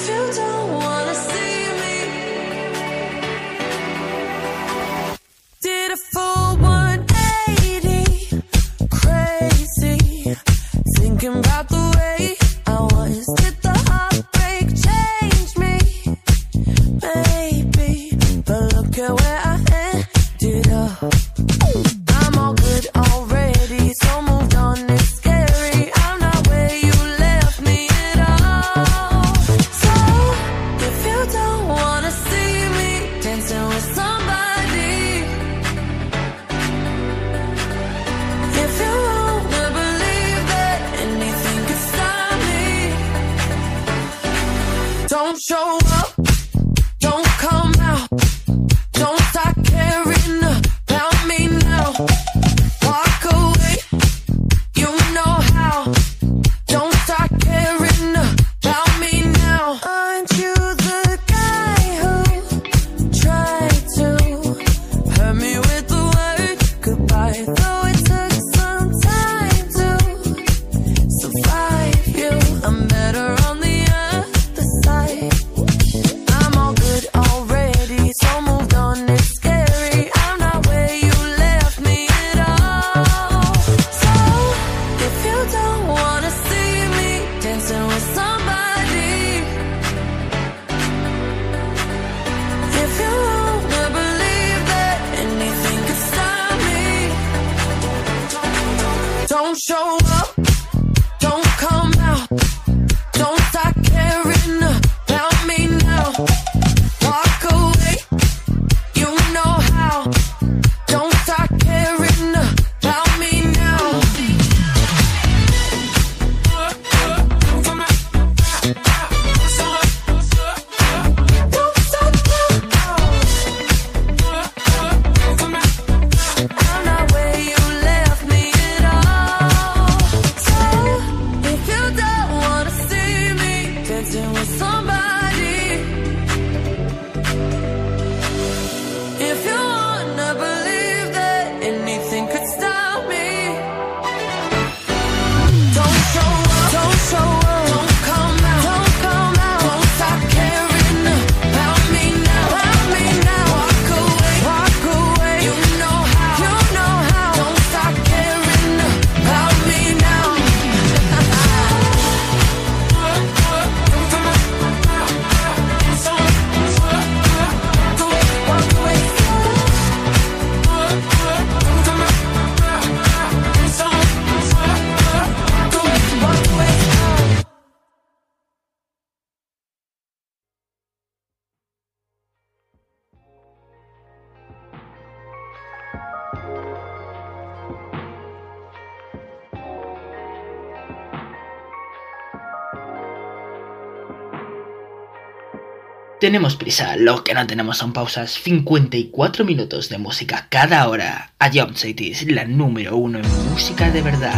Tenemos prisa, lo que no tenemos son pausas. cincuenta y cuatro minutos de música cada hora. Ion Cities, la número uno en música de verdad.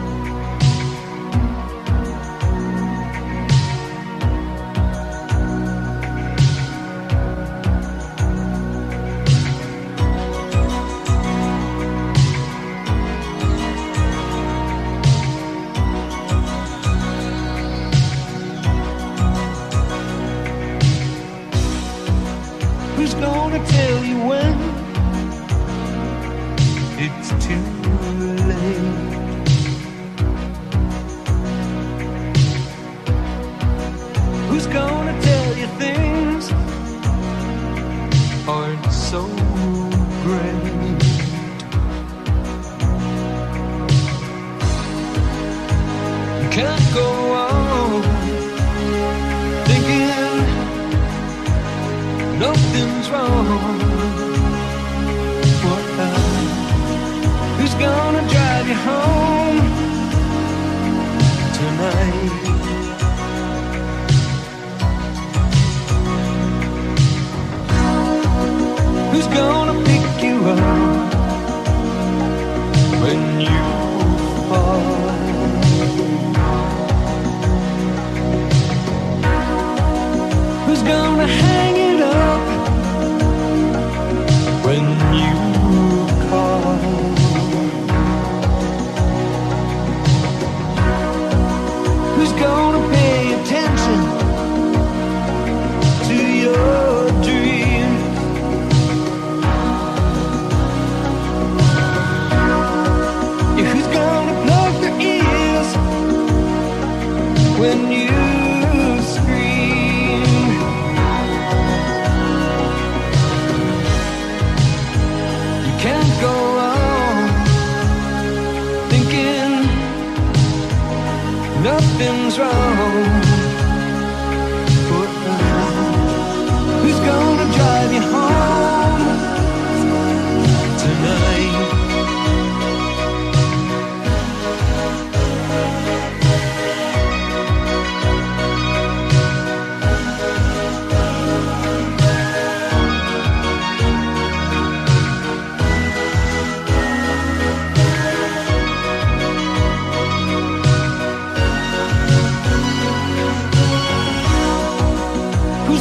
Gonna hang it up when you call.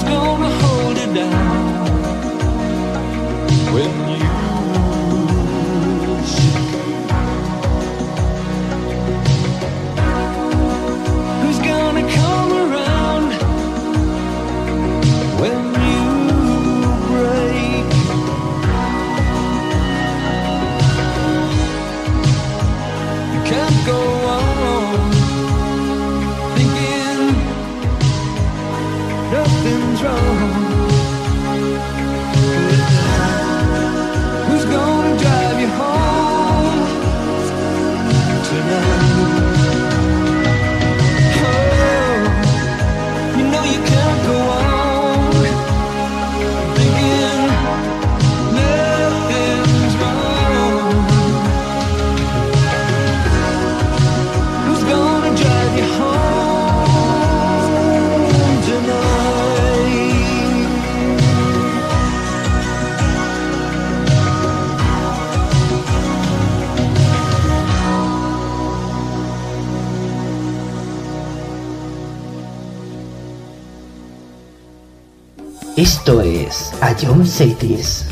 Esto es A John Cities.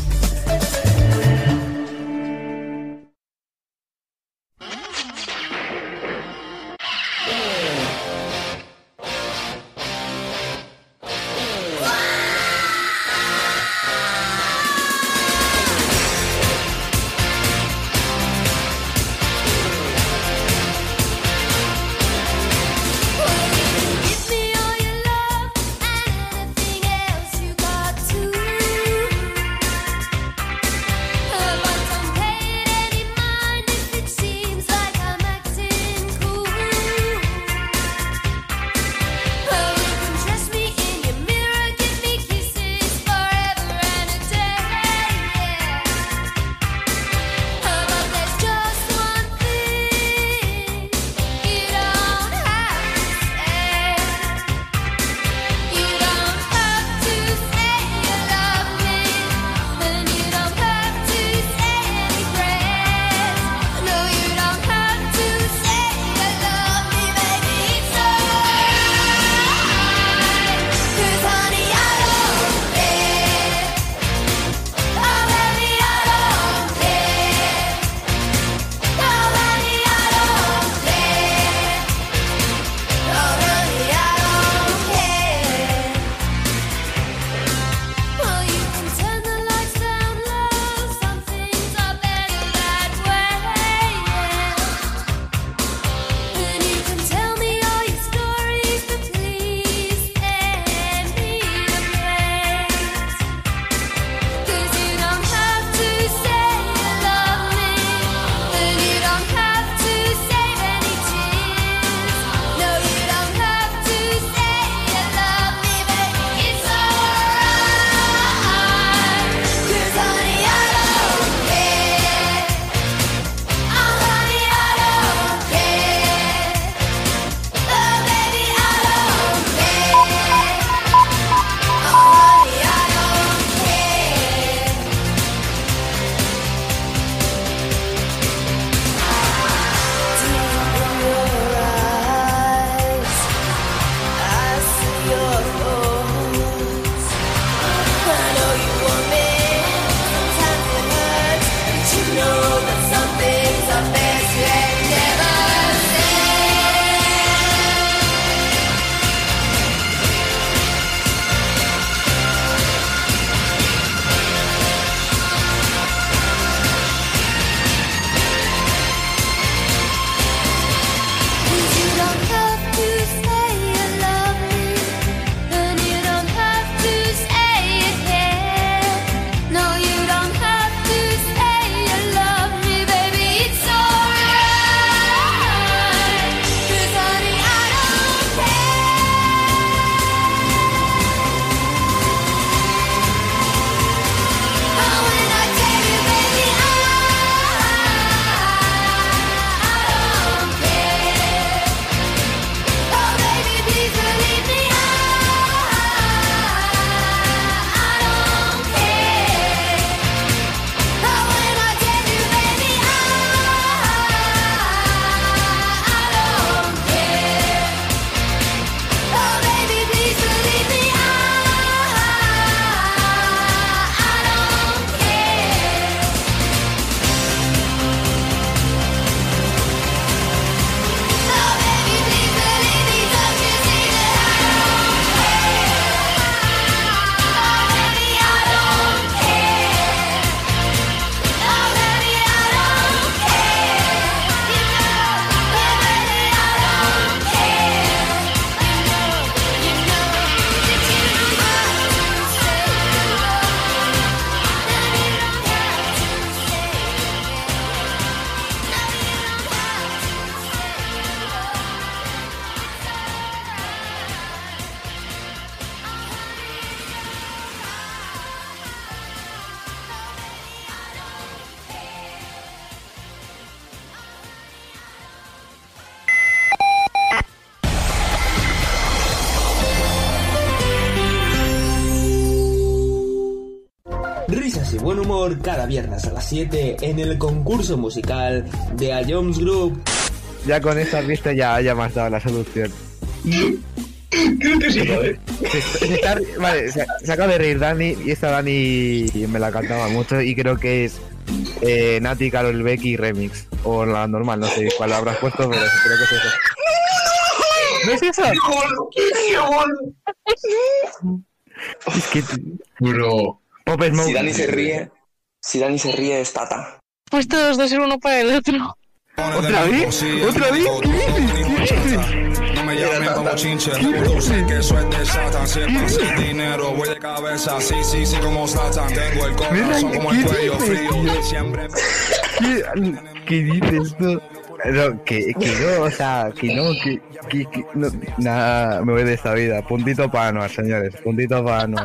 Risas y buen humor cada viernes a las siete en el concurso musical de A Jones Group. Ya con esta pista ya, ya me has dado la solución. Creo que sí, ¿no? ¿Eh? Se, se está, vale, se, se acaba de reír Dani y esta Dani me la cantaba mucho y creo que es eh, Nati, Karol Becky remix. O la normal, no sé cuál habrás puesto, pero creo que es eso. ¿No es eso? ¡Qué gol! Es que... Bro. Pop Smoke. Si Dani se ríe, si Dani se ríe es Tata. Pues todos dos ser uno para el otro. ¿Otra vez? ¿Otra vez? ¿Qué dices? ¿Qué dices? No me llamen como chinche, tú sé que eso es de Satan. Si es para el dinero, voy de cabeza, sí, sí, sí, como Satan. Tengo el corazón como el cuello frío, siempre... ¿Qué, ¿Qué dices tú? No, que, que no, o sea, que no, que, que, que no, nada, me voy de esta vida. Puntito para Anuar, señores, puntito para Anuar.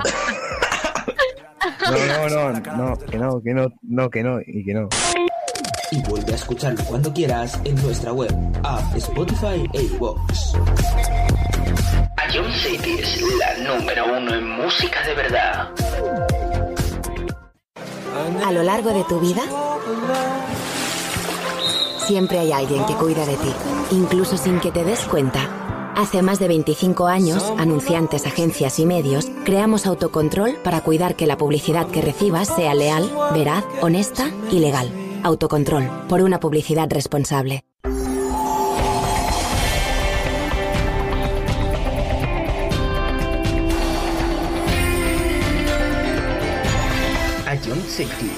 No, no, no, no, que no, que no, no, que no, y que no. Y vuelve a escucharlo cuando quieras en nuestra web, app, Spotify e iVoox. A Jones City es la número uno en música de verdad. A lo largo de tu vida, siempre hay alguien que cuida de ti, incluso sin que te des cuenta. Hace más de veinticinco años, anunciantes, agencias y medios, creamos Autocontrol para cuidar que la publicidad que recibas sea leal, veraz, honesta y legal. Autocontrol, por una publicidad responsable. A Jones City.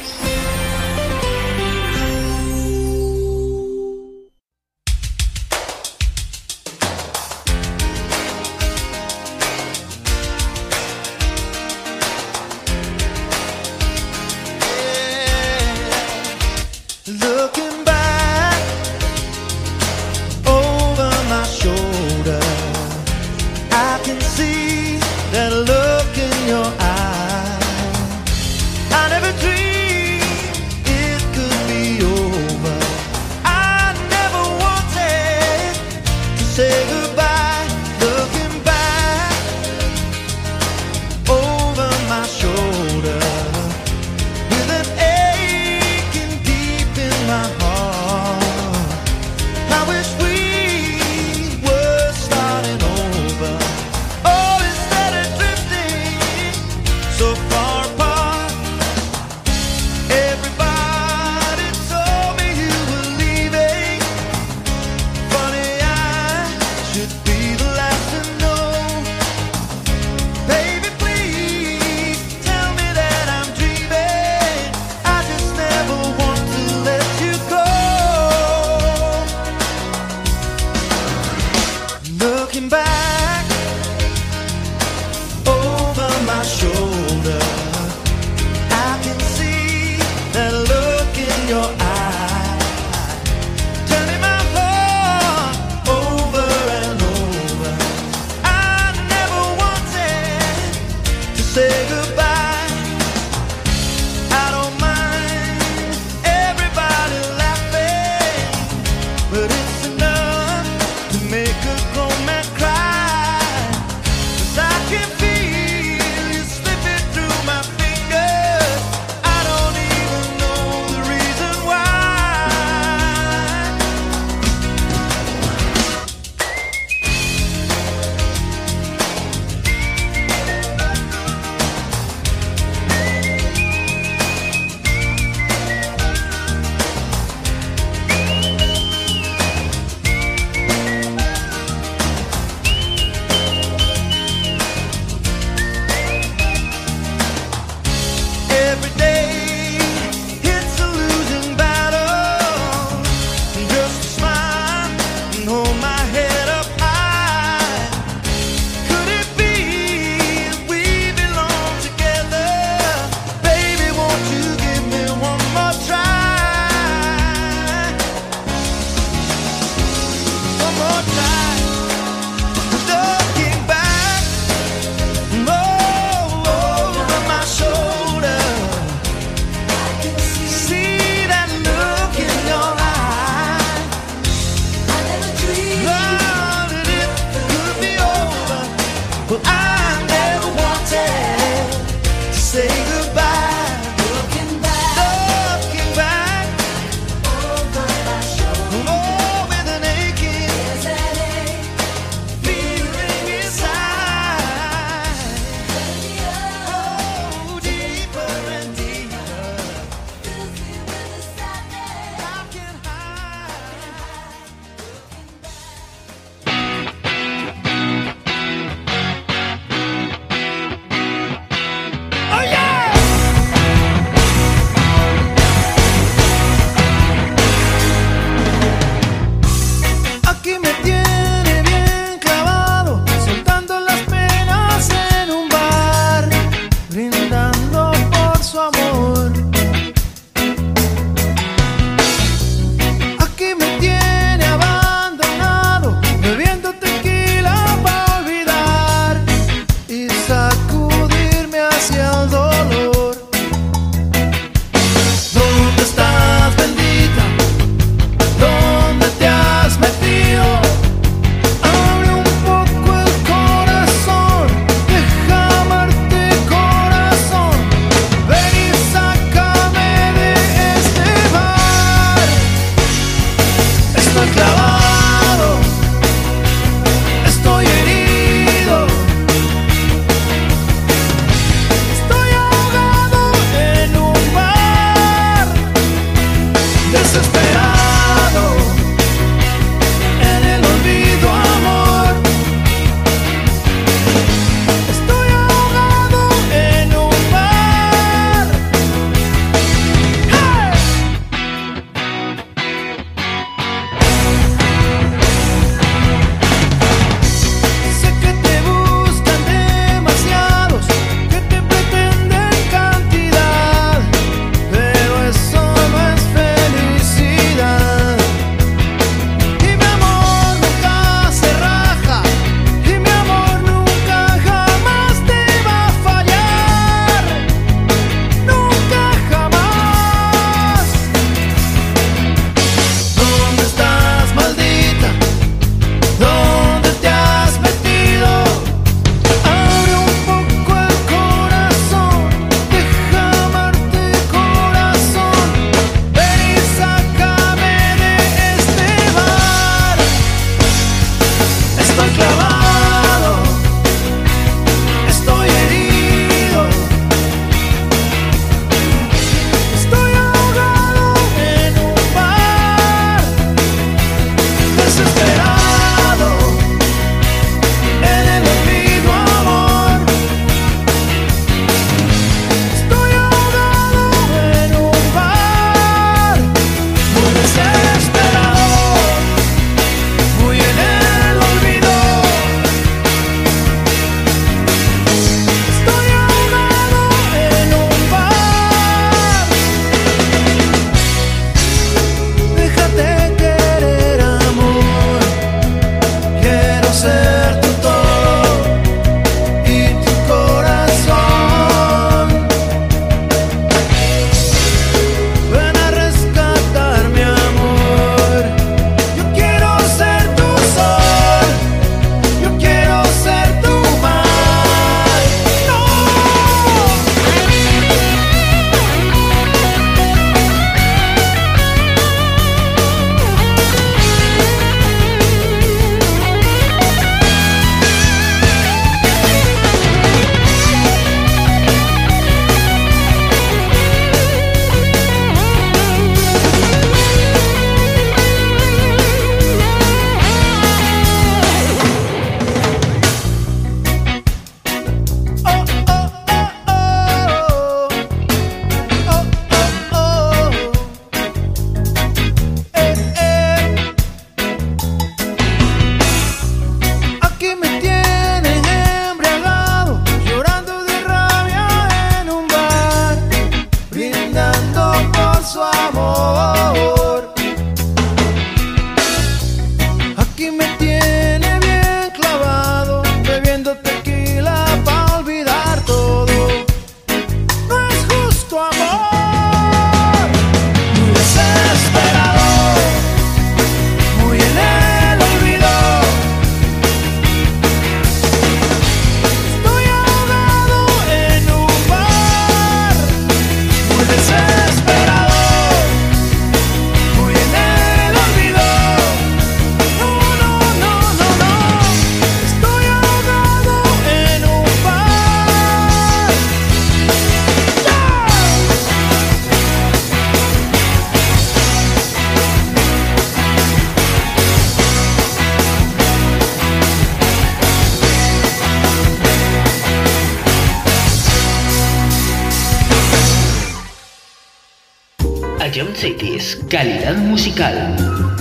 John Cities, calidad musical.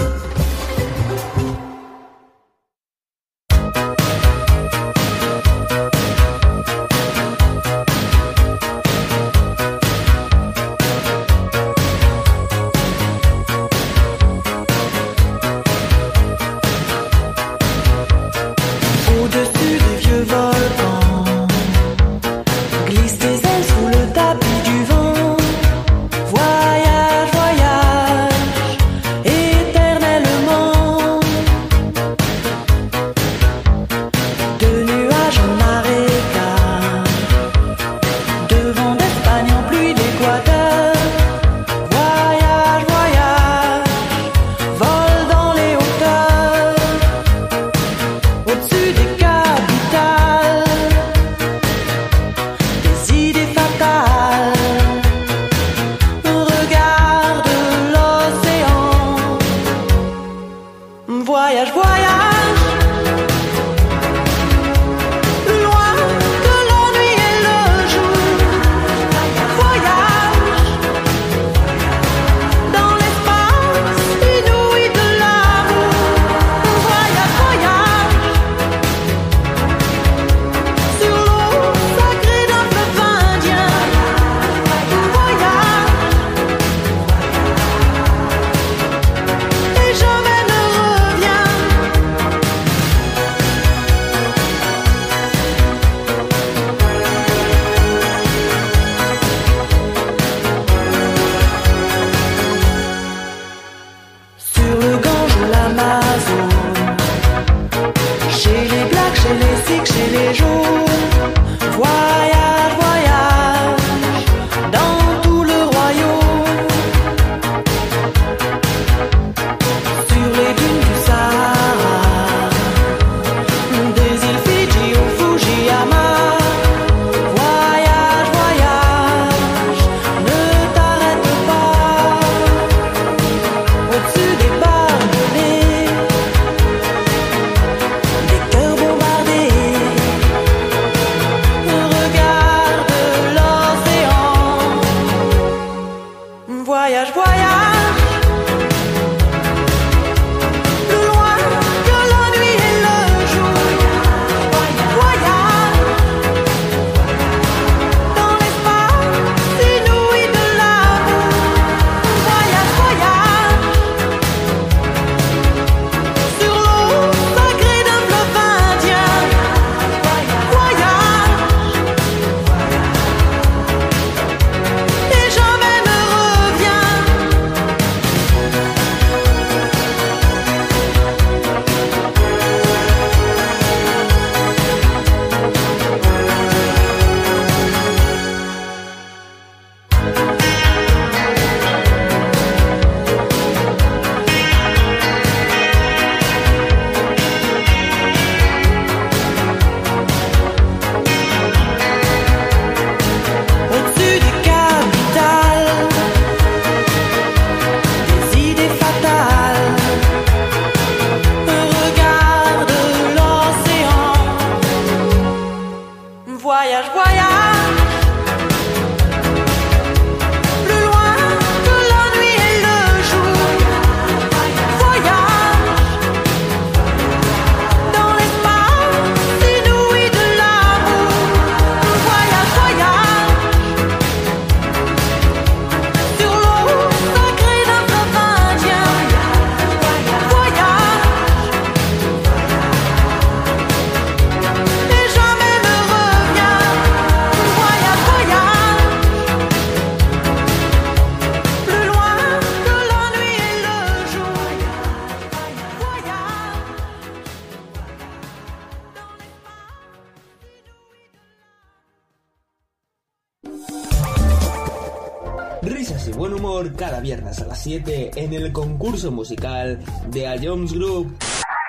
Risas y buen humor cada viernes a las siete en el concurso musical de A Jones Group.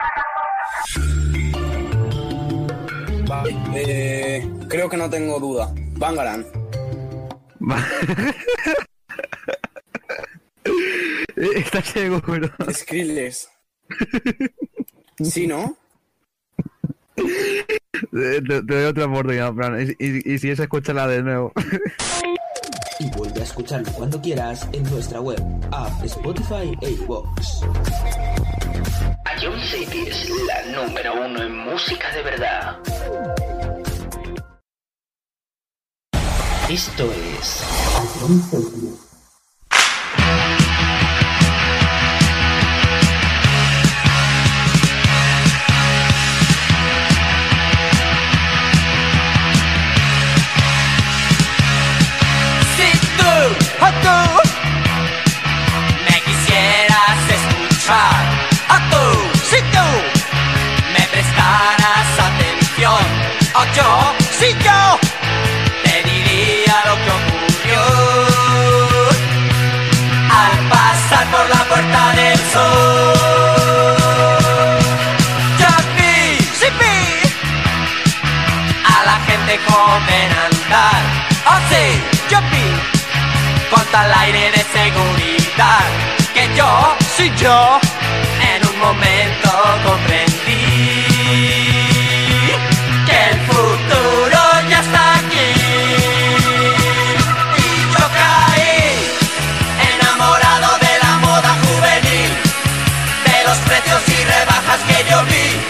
Vale, eh, creo que no tengo duda. Bangaran. Está seguro. Skrillex. ¿Sí, no? Te, te doy otra oportunidad, Fran. Y, y, y si es, escúchala de nuevo. y vuelve a escucharlo cuando quieras en nuestra web, app, Spotify e iVoox. Ion City es la número uno en música de verdad. Esto es Ion City. A tú me quisieras escuchar, a tú, si tú me prestaras atención, o yo, si yo te diría lo que ocurrió al pasar por la puerta del sol. Yo vi, sí vi a la gente joven andar, oh sí, yo vi con tal aire de seguridad que yo, sí yo, en un momento comprendí que el futuro ya está aquí. Y yo caí enamorado de la moda juvenil, de los precios y rebajas que yo vi,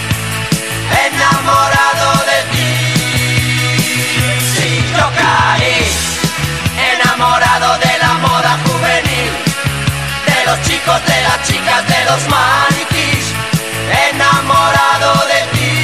enamorado de ti. Sí, yo caí enamorado de la moda juvenil, de los chicos, de las chicas, de los maniquís, enamorado de ti.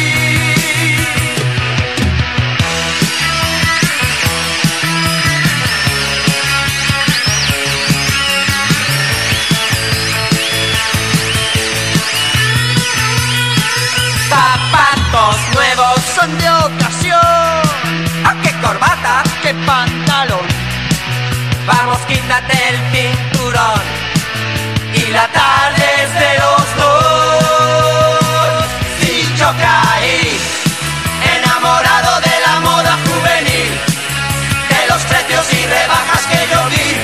Zapatos nuevos son de ocasión, ¿a qué corbata, qué pantalón? Vamos, quítate el cinturón y la tarde es de los dos. Si yo caí enamorado de la moda juvenil, de los precios y rebajas que yo vi,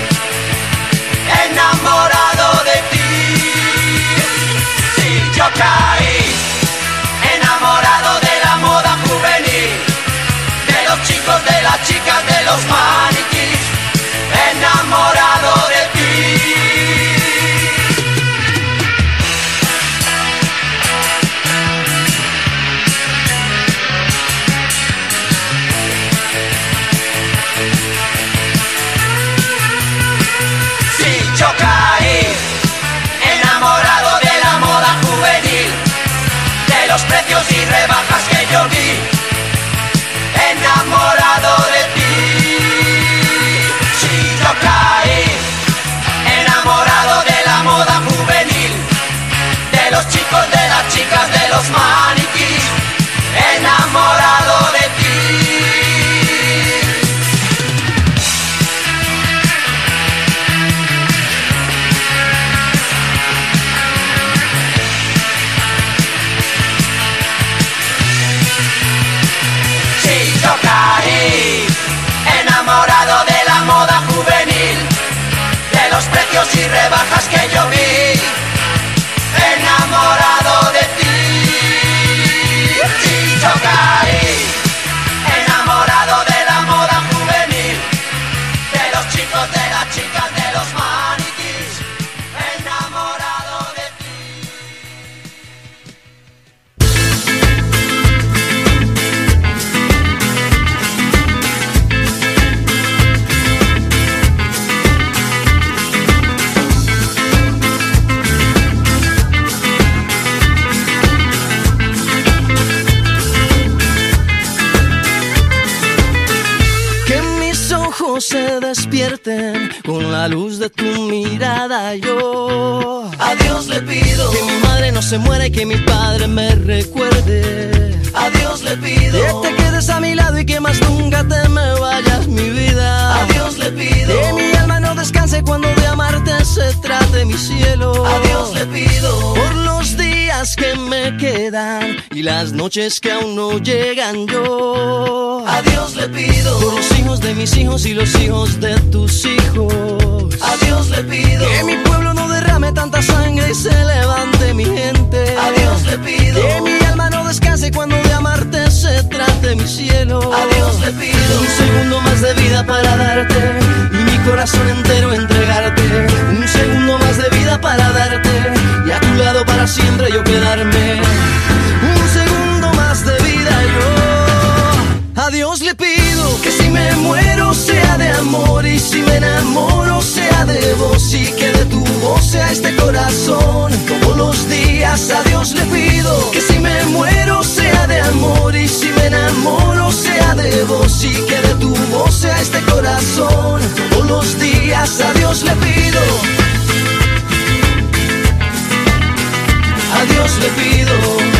enamorado de ti. Si yo caí enamorado de la moda juvenil, de los chicos, de las chicas, de los maniquís, enamorado de ti. Si yo caí enamorado de la moda juvenil, de los precios y rebajas que yo vi, enamorado de ti. Si yo caí enamorado de la moda juvenil, de los chicos, de las chicas, de los maniquís, enamorado de ti. Si yo caí enamorado de la moda juvenil, de los precios y rebajas que yo vi, enamorado de ti. Si yo caí enamorado de la moda juvenil, de los chicos, de las chicas, de los maniquís, enamorado de ti. Se despierten con la luz de tu mirada. Yo a Dios le pido que mi madre no se muera y que mi padre me recuerde. A Dios le pido que te quedes a mi lado y que más nunca te me vayas, mi vida. A Dios le pido que mi alma no descanse cuando de amarte se trate, mi cielo. A Dios le pido por los días que me quedan y las noches que aún no llegan. Yo a Dios le pido por los hijos de mis hijos y los hijos de tus hijos. A Dios le pido que mi pueblo no derrame tanta sangre y se levante mi gente. A Dios le pido que mi alma no descanse cuando de amarte se detrás de mi cielo. A Dios le pido un segundo más de vida para darte y mi corazón entero entregarte. Un segundo más de vida para darte y a tu lado para siempre yo quedarme. Un segundo más de vida yo. A Dios le pido que si me muero sea de amor y si me enamoro sea de vos y que de tu voz sea este corazón todos los días. A Dios le pido que si me muero sea de amor y si me enamoro sea de vos y que de tu voz sea este corazón todos los días. A Dios le pido, a Dios le pido.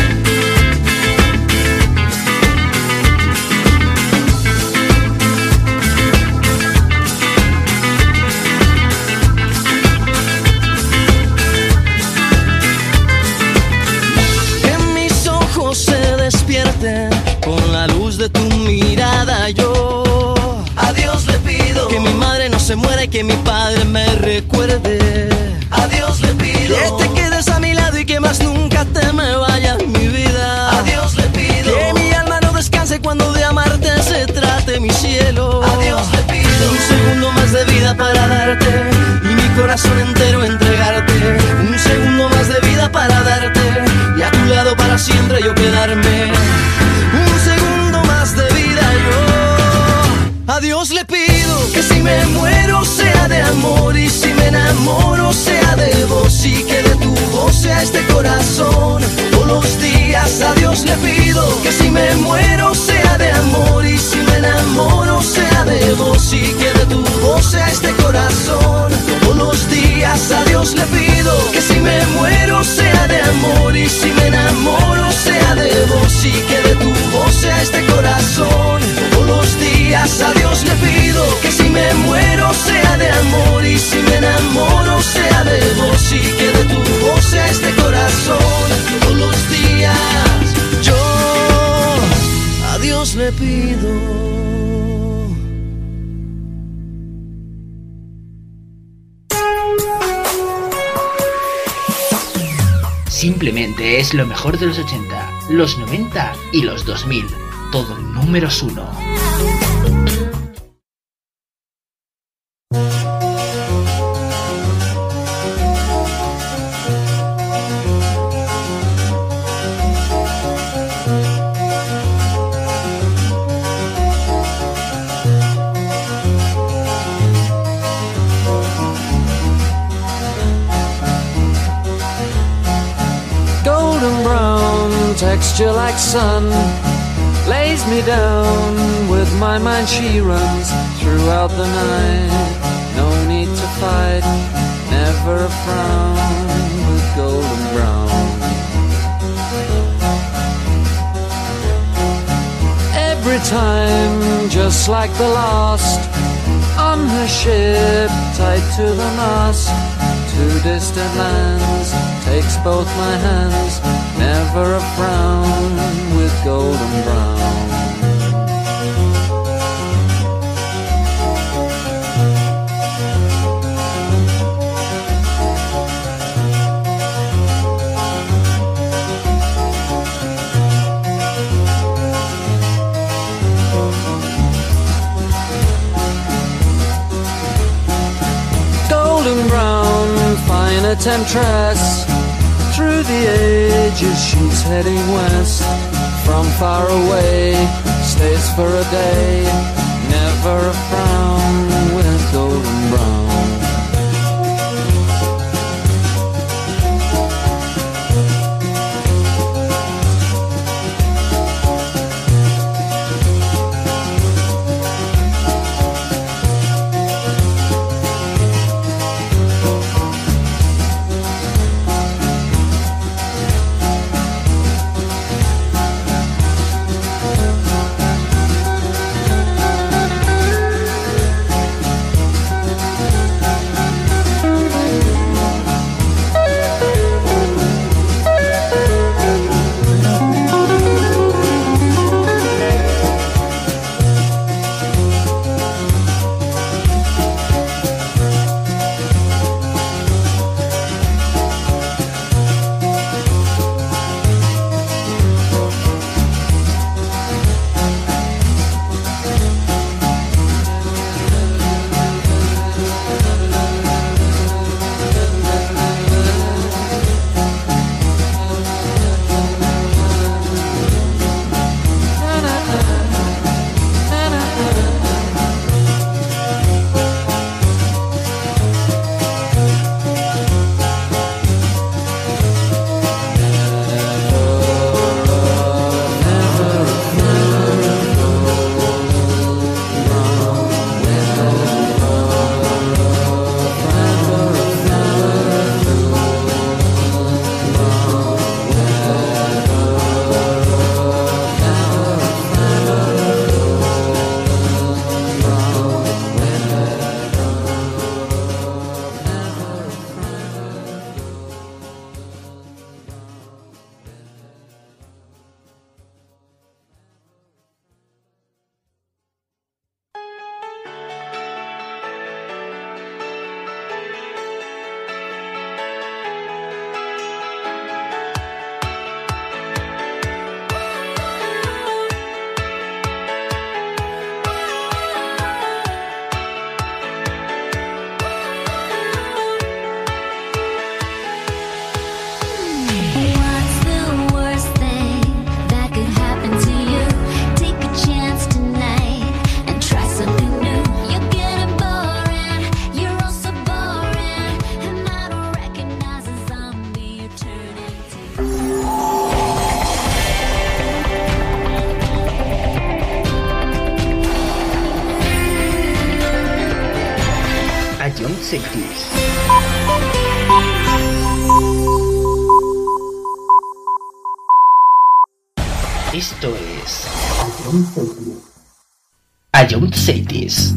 Con la luz de tu mirada yo a Dios le pido que mi madre no se muera y que mi padre me recuerde. A Dios le pido que te quedes a mi lado y que más nunca te me vayas mi vida. A Dios le pido que mi alma no descanse cuando de amarte se trate mi cielo. A Dios le pido un segundo más de vida para darte y mi corazón entero entregarte. Un segundo más de vida para darte y a tu lado para siempre yo quedarme. Un segundo más de vida yo. A Dios le pido que si me muero sea de amor y si me enamoro sea de vos y que de tu voz sea este corazón todos los días. A Dios le pido que si me muero sea de amor y si me enamoro sea de vos y que de tu voz sea este corazón todos los días. A Dios le pido que si me muero sea de amor y si me enamoro sea de vos y que de tu voz sea este corazón todos los días. A Dios le pido que si me muero sea de amor y si me enamoro sea de vos y que de tu voz sea este corazón todos los días. Yo a Dios le pido. Simplemente es lo mejor de los ochenta, los noventa y los dos mil. Todo números uno. Texture like sun lays me down. With my mind she runs throughout the night. No need to fight, never a frown. With golden brown, every time just like the last. On her ship tied to the mast, to distant lands takes both my hands. Never a frown with golden brown. Golden brown, fine a temptress. Through the ages she's heading west. From far away, stays for a day. Never a frown with golden brown. Cities. Esto es Ion Cities.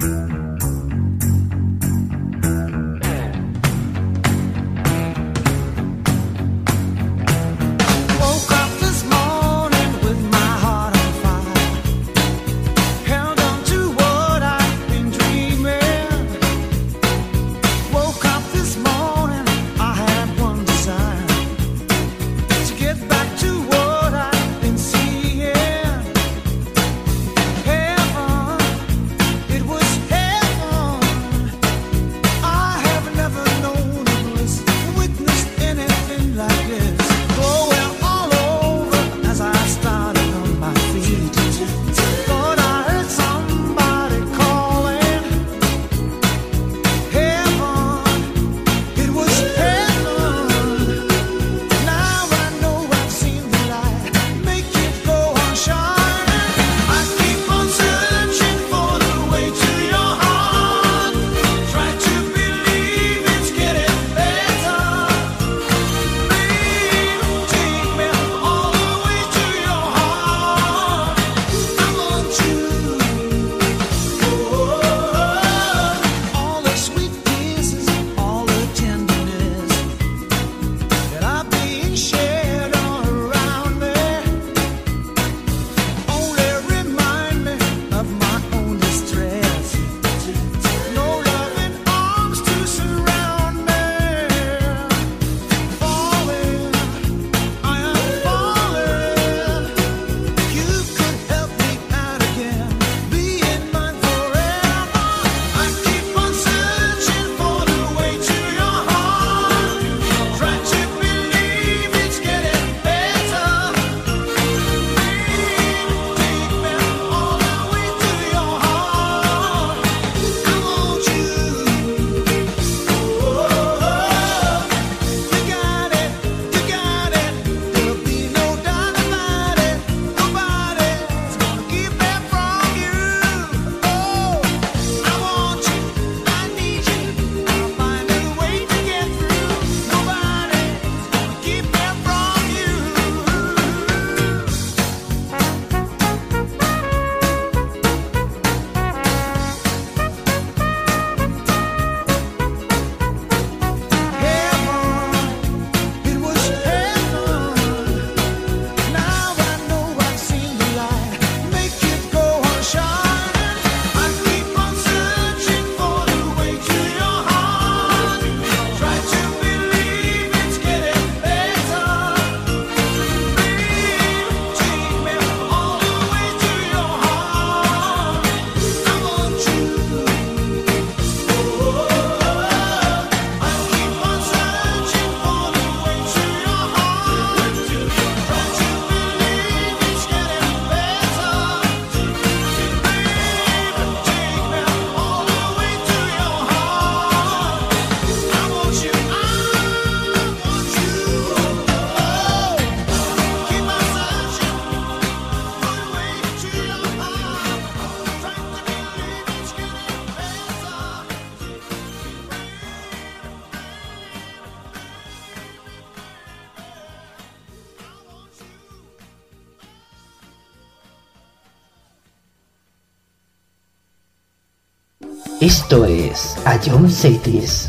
Esto es Ion Cities.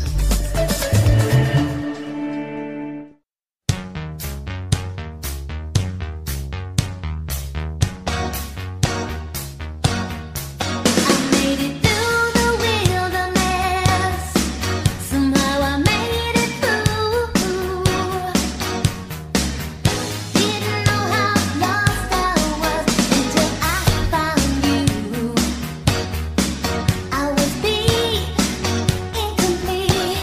I was beat incomplete.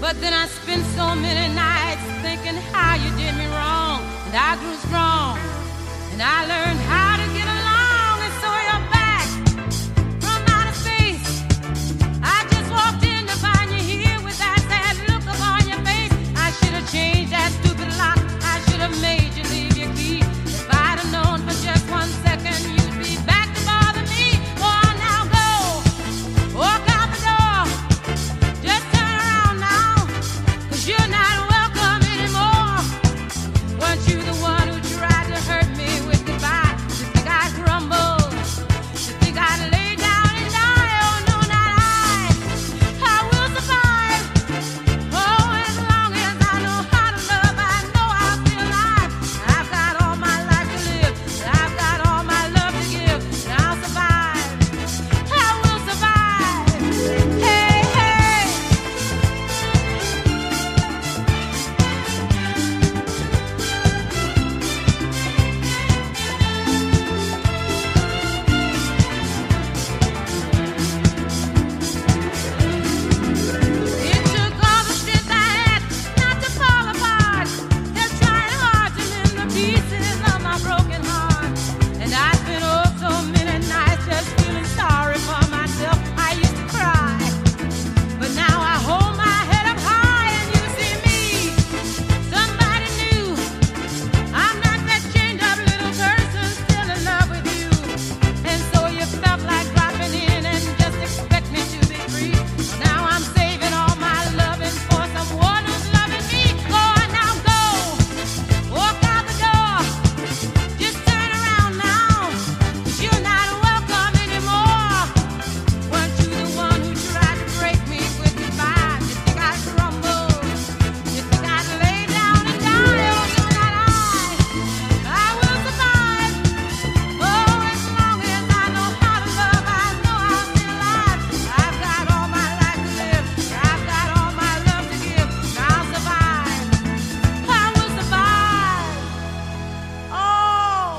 But then I spent so many nights thinking how you did me wrong, and I grew strong, and I learned how to get along, and so you're back from outer space. I just walked in to find you here with that sad look upon your face. I should have changed that stupid lock. I should have made you leave your key. If I'd have known for just one second you'd be back to bother me. Go on now, go. Walk out the door. Just turn around now, 'cause you're not welcome anymore. Weren't you the one who tried to hurt me with goodbye? You think I'd crumble? You think I'd lay down and die? Oh no, not I. I will survive. Oh, as long as I know how to love, I know I'll be alive. I've got all my life to live. I've got all my love to give. And I'll survive. I will survive. Hey, hey. It took all the strength I had not to fall apart. Kept trying hard to mend the pieces of my broken heart. And I spent oh so many nights just feeling sorry for myself. I used to cry, but now I hold my head up high and you see me, somebody new. I'm not that chained up little person still in love with you. And so you felt like dropping in and just expect me to be free. Well, now I'm saving all my loving for someone who's loving me. Go on now, go. Walk out the door. Just turn around now, 'cause you're not welcome anymore. Weren't you the one who tried to break me with goodbye? You think I'd crumble? You think I'd lay down and die? Oh no, not I. I will survive. Oh, as long as I know how to love, I know I'll be alive. I've got all my life to live. I've got all my love to give. And I'll survive. I will survive. Oh.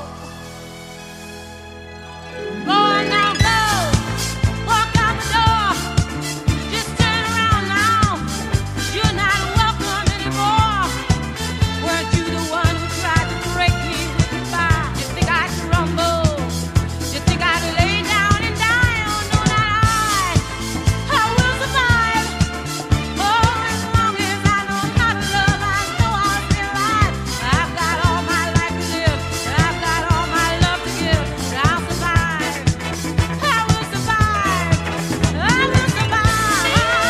Go on now, go. Walk out the door. Just turn around now, 'cause you're not welcome anymore. Weren't you the one who tried to break me with goodbye? You think I'd crumble? You think I'd lay down and die? Oh no, not I. I will survive. Oh, as long as I know how to love, I know I'll be alive. I've got all my life to live, and I've got all my love to give, and I'll survive. I will survive. I will survive.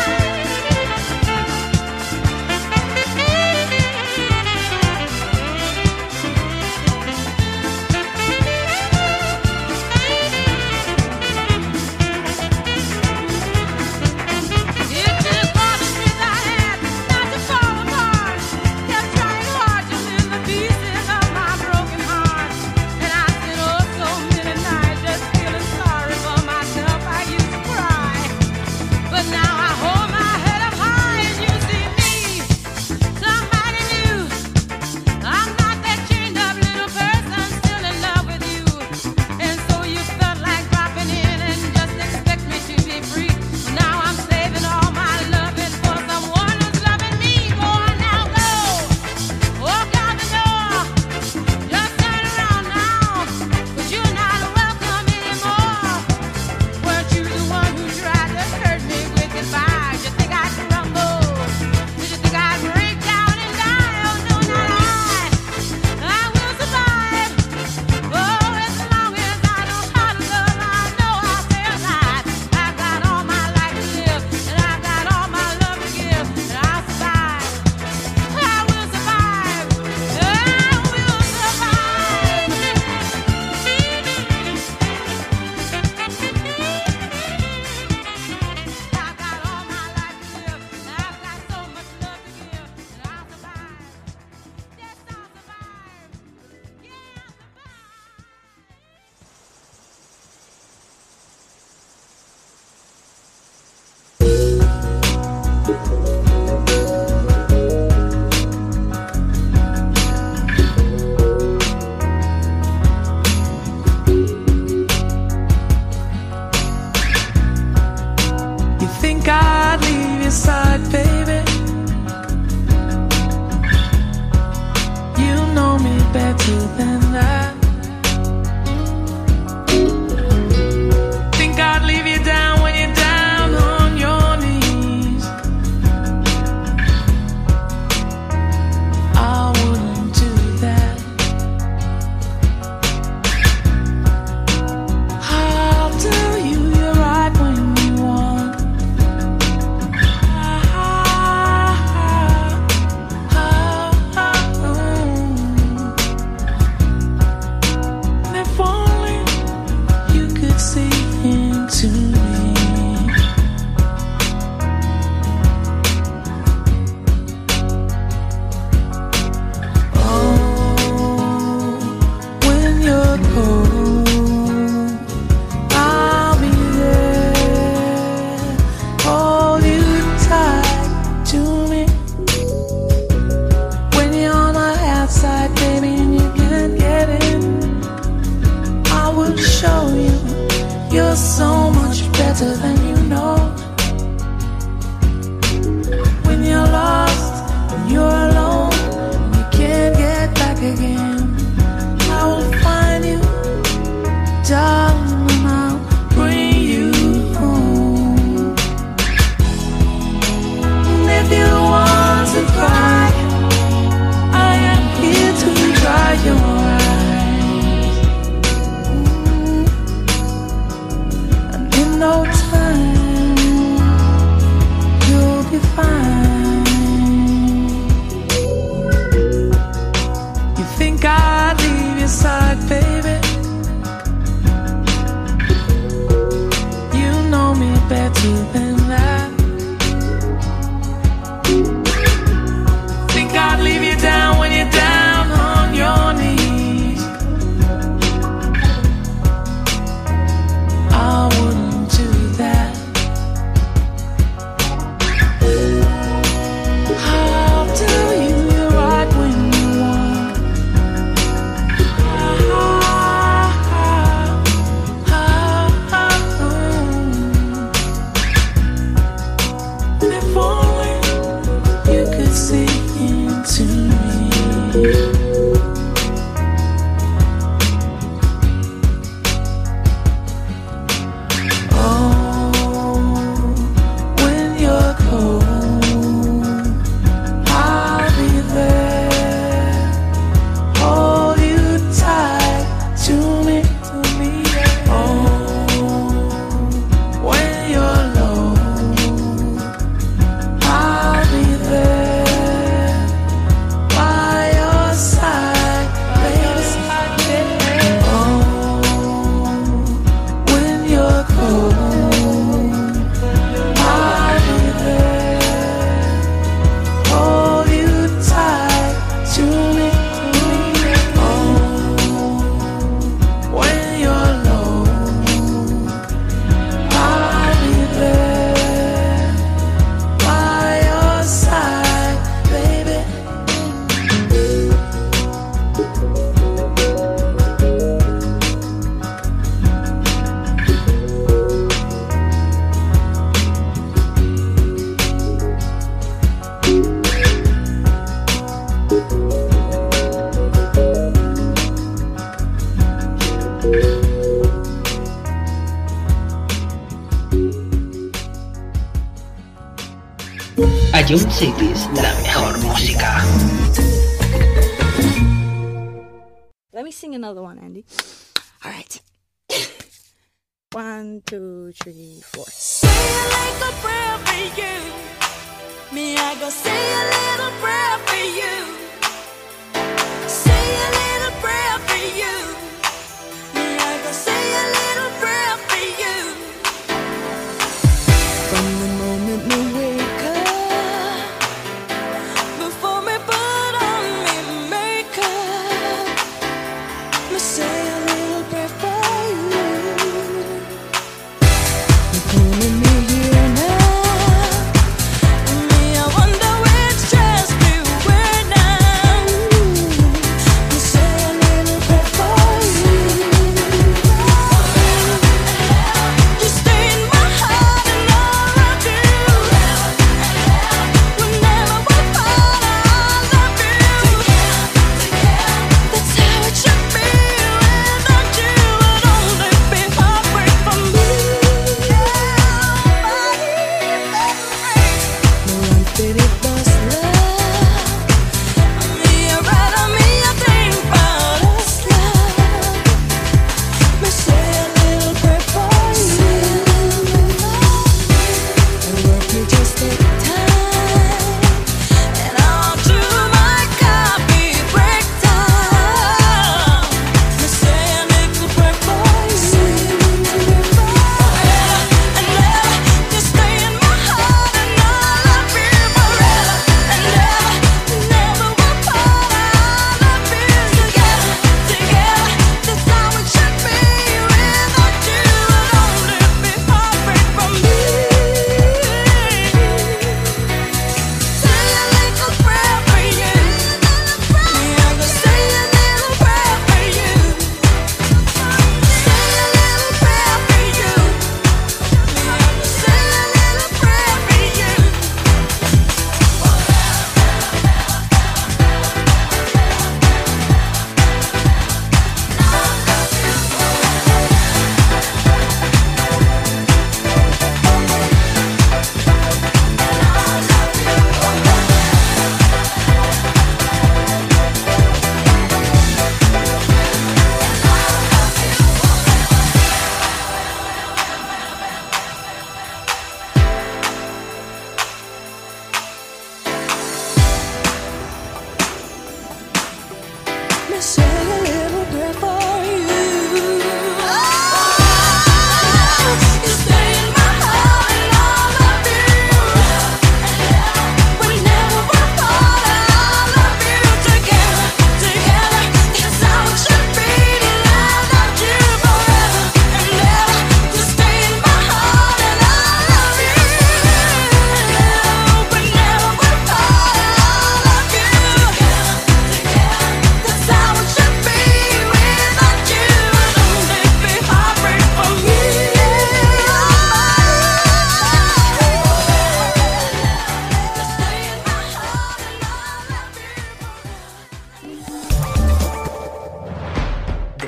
It took all the strength I had not to fall apart. Kept trying hard to mend the pieces of my broken heart. And I spent oh so many nights just feeling sorry for myself. I used to cry, but now I hold my head up high and you see me, somebody new. I'm not that chained up little person still in love with you. And so you felt like dropping in and just expect me to be free. Well, now I'm saving all my loving for someone who's loving me. Go on now, go. Walk out the door. Just turn around now, 'cause you're not welcome anymore. Weren't you the one who tried to hurt me with goodbye? You think I'd crumble? Did you think I'd break down and die? Oh no, not I. I will survive. Oh, as long as I know how to love, I know I'll stay alive. I've got all my life to live, and I've got all my love to give, and I'll survive. I will survive. I will survive. I've got all my life to live, and I've got so much love to give, and I'll survive. Yes, I'll survive. Yeah, I'll survive. You think I'd leave your side, baby? I'd leave your side, baby. You know me better than that. Think I'd leave you down when you're down on your knees. I wouldn't do that. I'll tell you you're right when you want. Ah, ah, ah, ah, ah. If only you could see into me. Ion Cities, la mejor música. Let me sing another one, Andy. All right. One, two, three, four. Say it like a prayer for you. Me, I go say a little prayer for you. Say a little prayer for you. Me, I go say a little prayer for you. From the moment we wake up, before me put on me makeup, me say a little prayer for you. You're calling me here now. Me, I wonder which dress we wear now.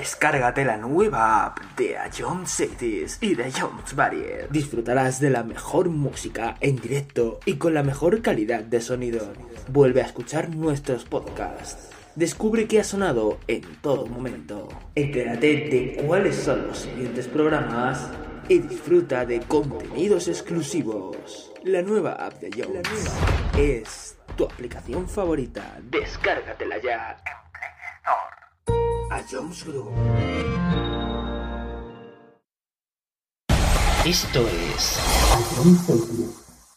Descárgate la nueva app de A Jones Cities y de Jones Barrier. Disfrutarás de la mejor música en directo y con la mejor calidad de sonido. Vuelve a escuchar nuestros podcasts. Descubre qué ha sonado en todo momento. Entérate de cuáles son los siguientes programas y disfruta de contenidos exclusivos. La nueva app de Jones es tu aplicación favorita. Descárgatela ya en Play Store. A Jones Group. Esto es A Jones Group.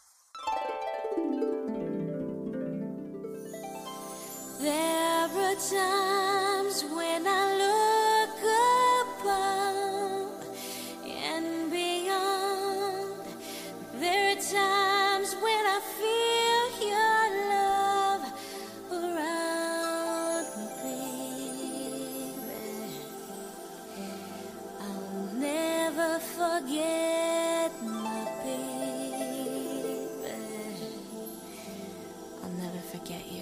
There are times when I look above and beyond. There are times when I feel your love around me, baby. I'll never forget my baby. I'll never forget you.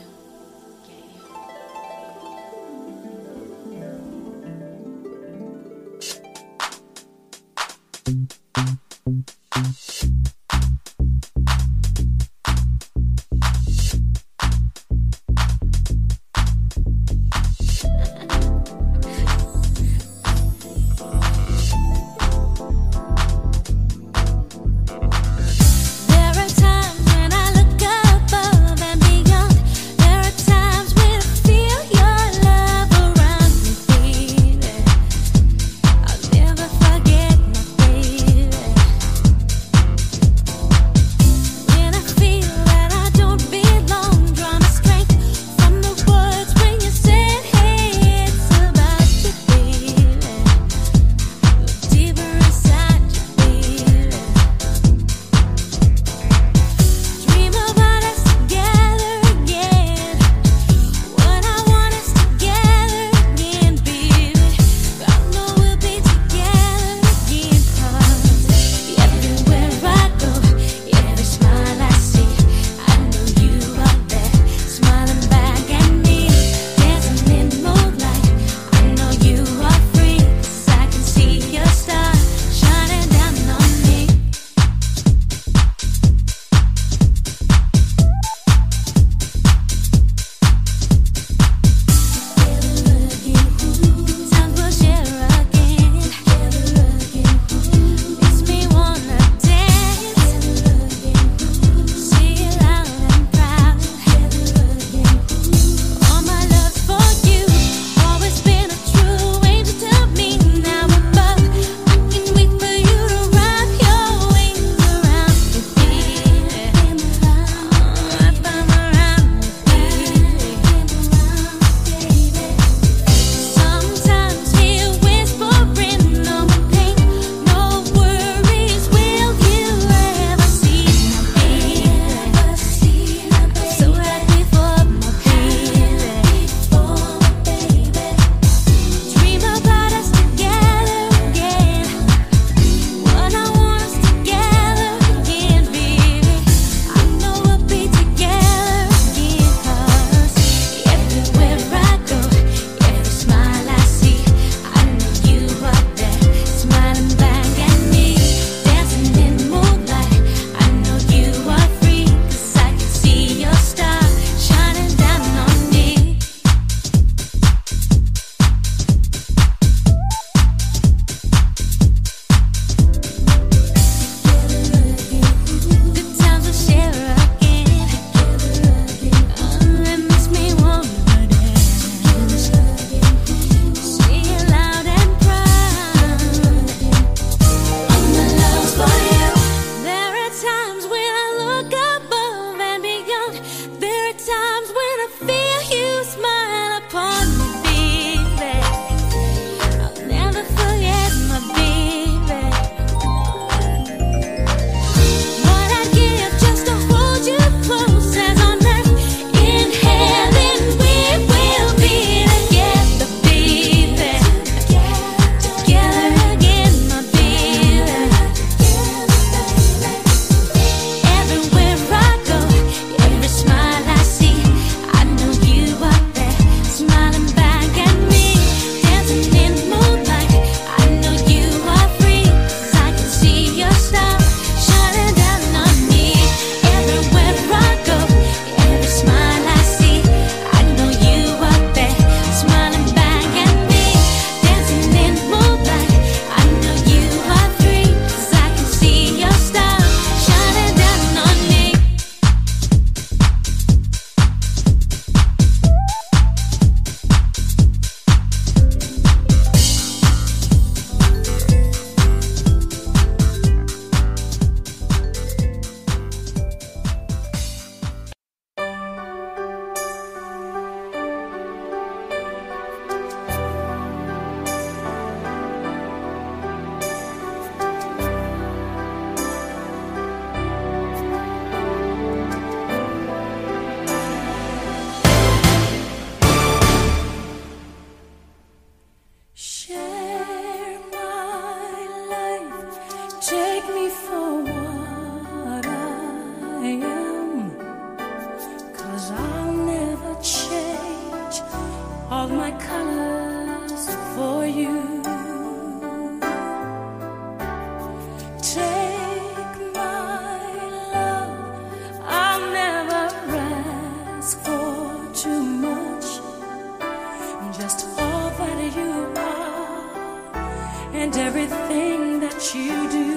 everything that you do.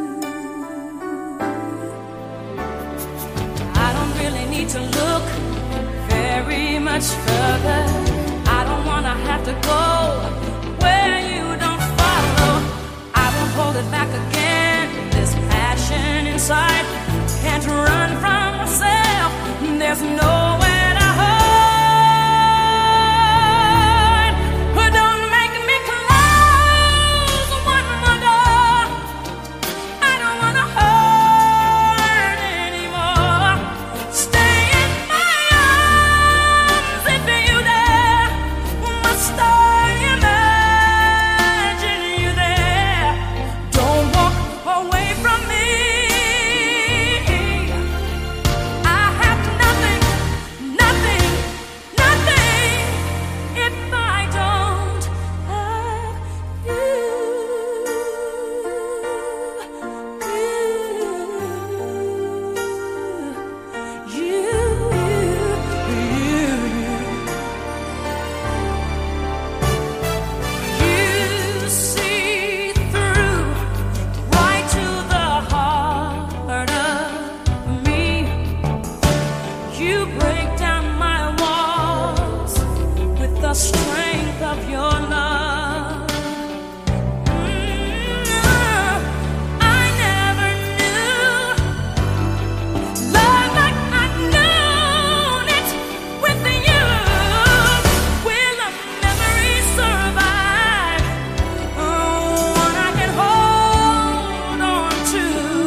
I don't really need to look very much further. I don't wanna have to go where you don't follow. I won't hold it back again. This passion inside can't run from myself. There's nowhere to hide. But don't make me close one more door. I don't wanna hurt anymore. Stay in my arms if you dare. Must I imagine you there? Don't walk away from me. I have nothing, nothing, nothing if I don't have you. You, you, you, you see through right to the heart of me. You break down my walls with the strength of your love. Mm, I never knew love like I've known it with you. Will a memory survive? Oh, one I can hold on to.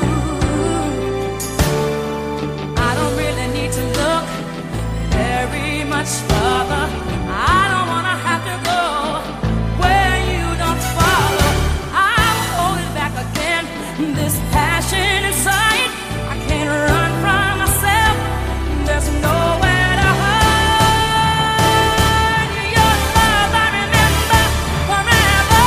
I don't really need to look very much further. I don't wanna have to go where you don't follow. I'll hold it back again. This passion inside, I can't run from myself. There's nowhere to hide. Your love I remember forever.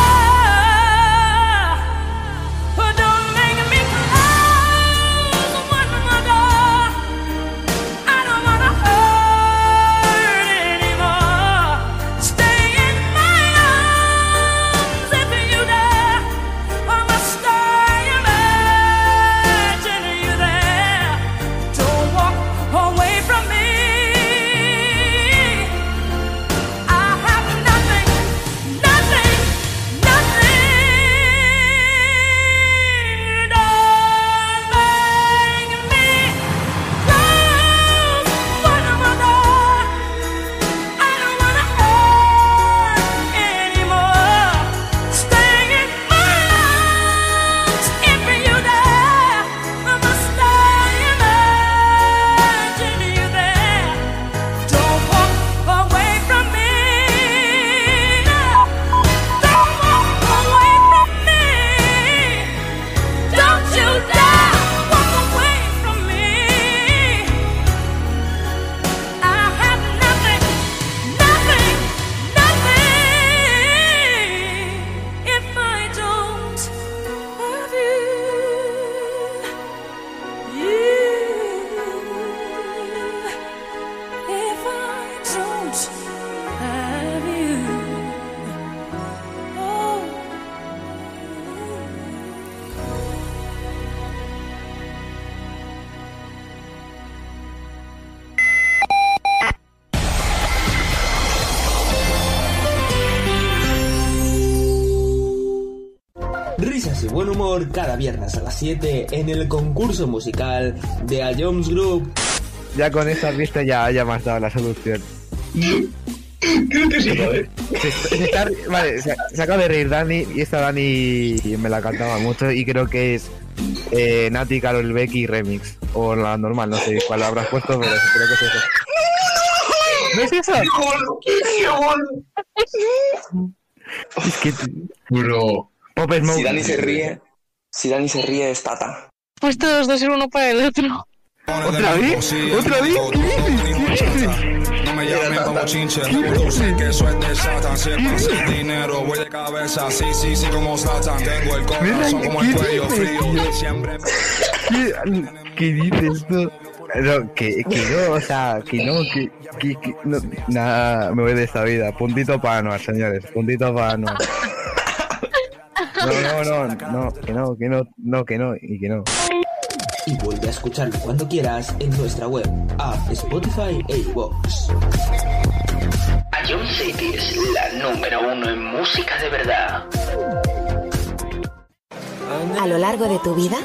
But don't make me close one more door. I don't wanna hurt anymore. Stay in my arms if you dare. Or must I imagine you there? Don't walk away from me. I have nothing, nothing, nothing. Don't make me close one more door. I don't wanna hurt anymore. Stay in my arms if you dare. Must I imagine you there? Don't walk away from me. Don't walk away from me. Don't you dare walk away from me. I have nothing, nothing, nothing if I don't have you. You, if I don't have you. Oh. Risas y buen humor cada viernes a las siete en el concurso musical de A Jones Group. Ya con esta vista ya, ya me has dado la solución. Creo que sí, joder. Se, se está, vale, se, se acaba de reír Dani y esta Dani me la cantaba mucho y creo que es eh, Nati, Karol Becky remix o la normal, no sé cuál habrás puesto, pero creo que es eso. ¿No es eso? ¡Qué bueno! ¡Qué bueno! Es que Bro. Pop Smoke. Si Dani se ríe, si Dani se ríe es Tata. Pues todos dos ser uno para el otro. ¿Otra vez? ¿Otra vez? ¿Qué dices? ¿Qué dices? No me llamen como chinche, tú sé que soy de Satan. Si es fácil dinero, voy de cabeza. Sí, sí, sí, como Satan. Tengo el corazón como el cuello frío. Siempre. ¿Qué, ¿Qué dices tú? No, que, que no, o sea, que no, que, que, que no, nada, me voy de esta vida. Puntito para Anuar, señores, puntito para Anuar. No, no, no, no, que no, que no, no, que no, y que no. Y vuelve a escucharlo cuando quieras en nuestra web, app, Spotify e iVoox. Ion City es la número uno en música de verdad. A lo largo de tu vida,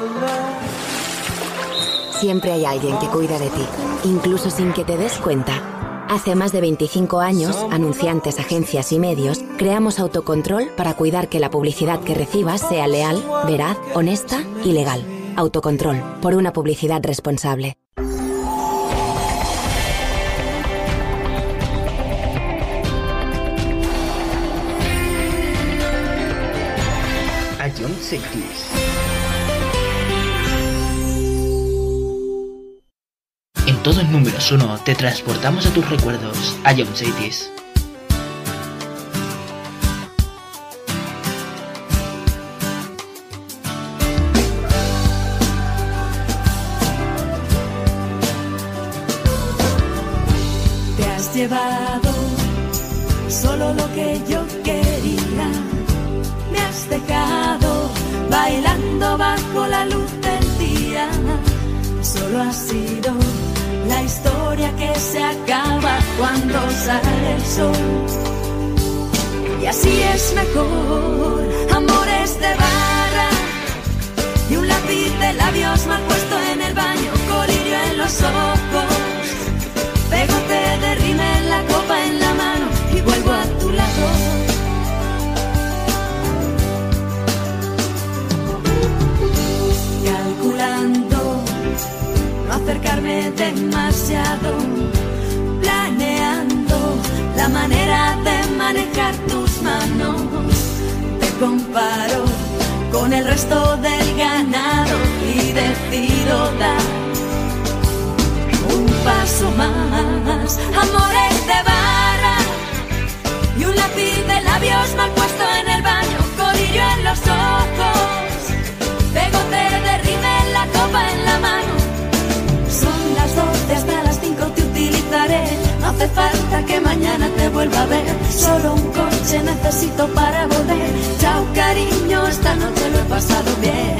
siempre hay alguien que cuida de ti, incluso sin que te des cuenta. Hace más de veinticinco años, anunciantes, agencias y medios, creamos Autocontrol para cuidar que la publicidad que recibas sea leal, veraz, honesta y legal. Autocontrol, por una publicidad responsable. Ion City. En todo el número uno te transportamos a tus recuerdos, Ion Cities. Te has llevado solo lo que yo quería. Me has dejado bailando bajo la luz del día. Solo ha sido la historia que se acaba cuando sale el sol. Y así es mejor, amores de barra y un lápiz de labios mal puesto en el baño, colirio en los ojos, pegote de rímel, la copa en la mano y vuelvo a tu lado. Calculando no acercarme demasiado, planeando la manera de manejar tus manos. Te comparo con el resto del ganado y decido dar un paso más. Amores de barra y un lápiz de labios mal puesto en el baño, colirio en los ojos, pegote de rímel, la copa en la mano. Son las doce, hasta las cinco te utilizaré. No hace falta que mañana te vuelva a ver. Solo un coche necesito para volver. Chao cariño, esta noche lo he pasado bien.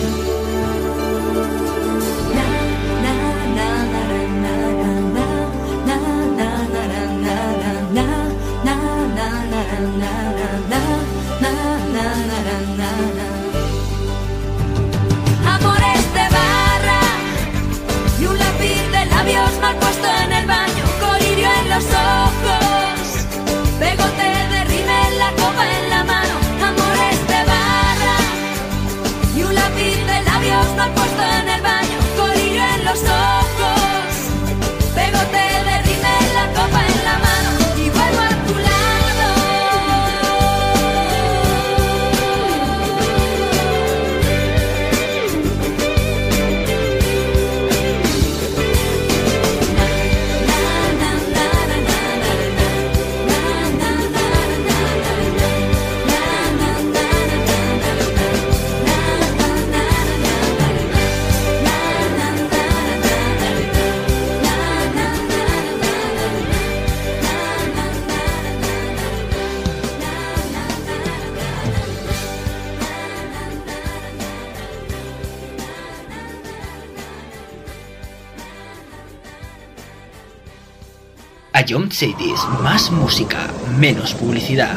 Amores de barra y un lápiz de labios mal puesto en el baño, colirio en los ojos, pegote de rímel, la copa en la mano. Amores de barra y un lápiz de labios mal puesto en el baño, colirio en los ojos, pegote de rímel, la copa en la mano y vuelvo a tu lado. Ion Cities, más música, menos publicidad.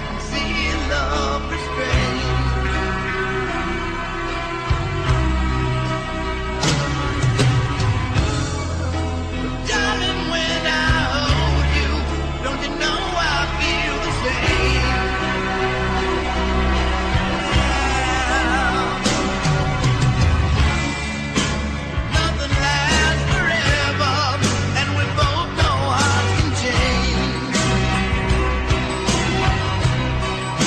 and see love restrained. Darling, when I hold you, don't you know I feel the same? Nothing lasts forever, and we both know hearts can change.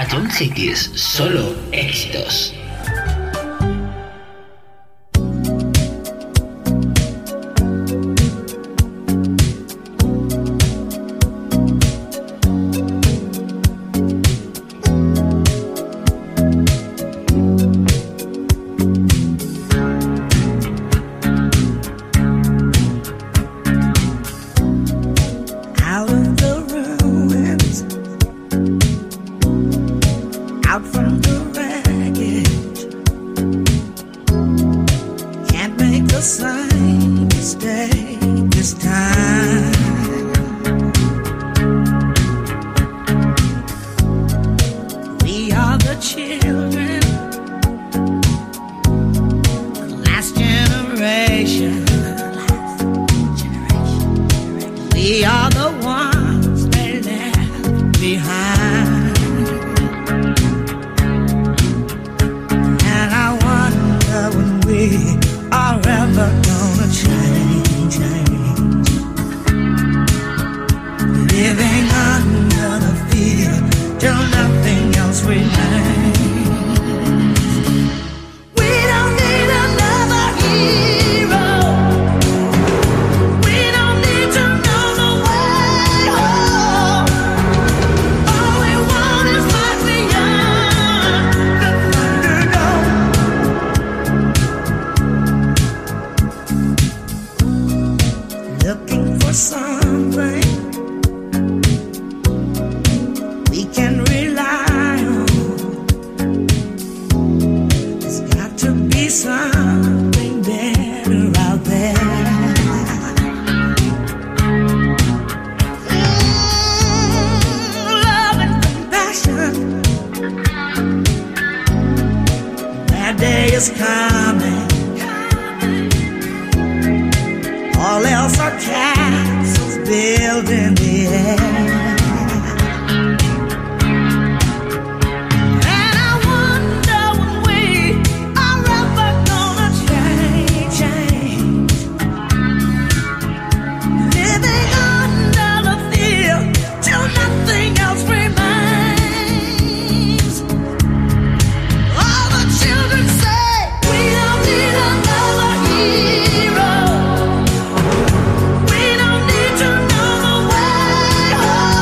Atom Cities, solo éxitos. We don't need to know the way home.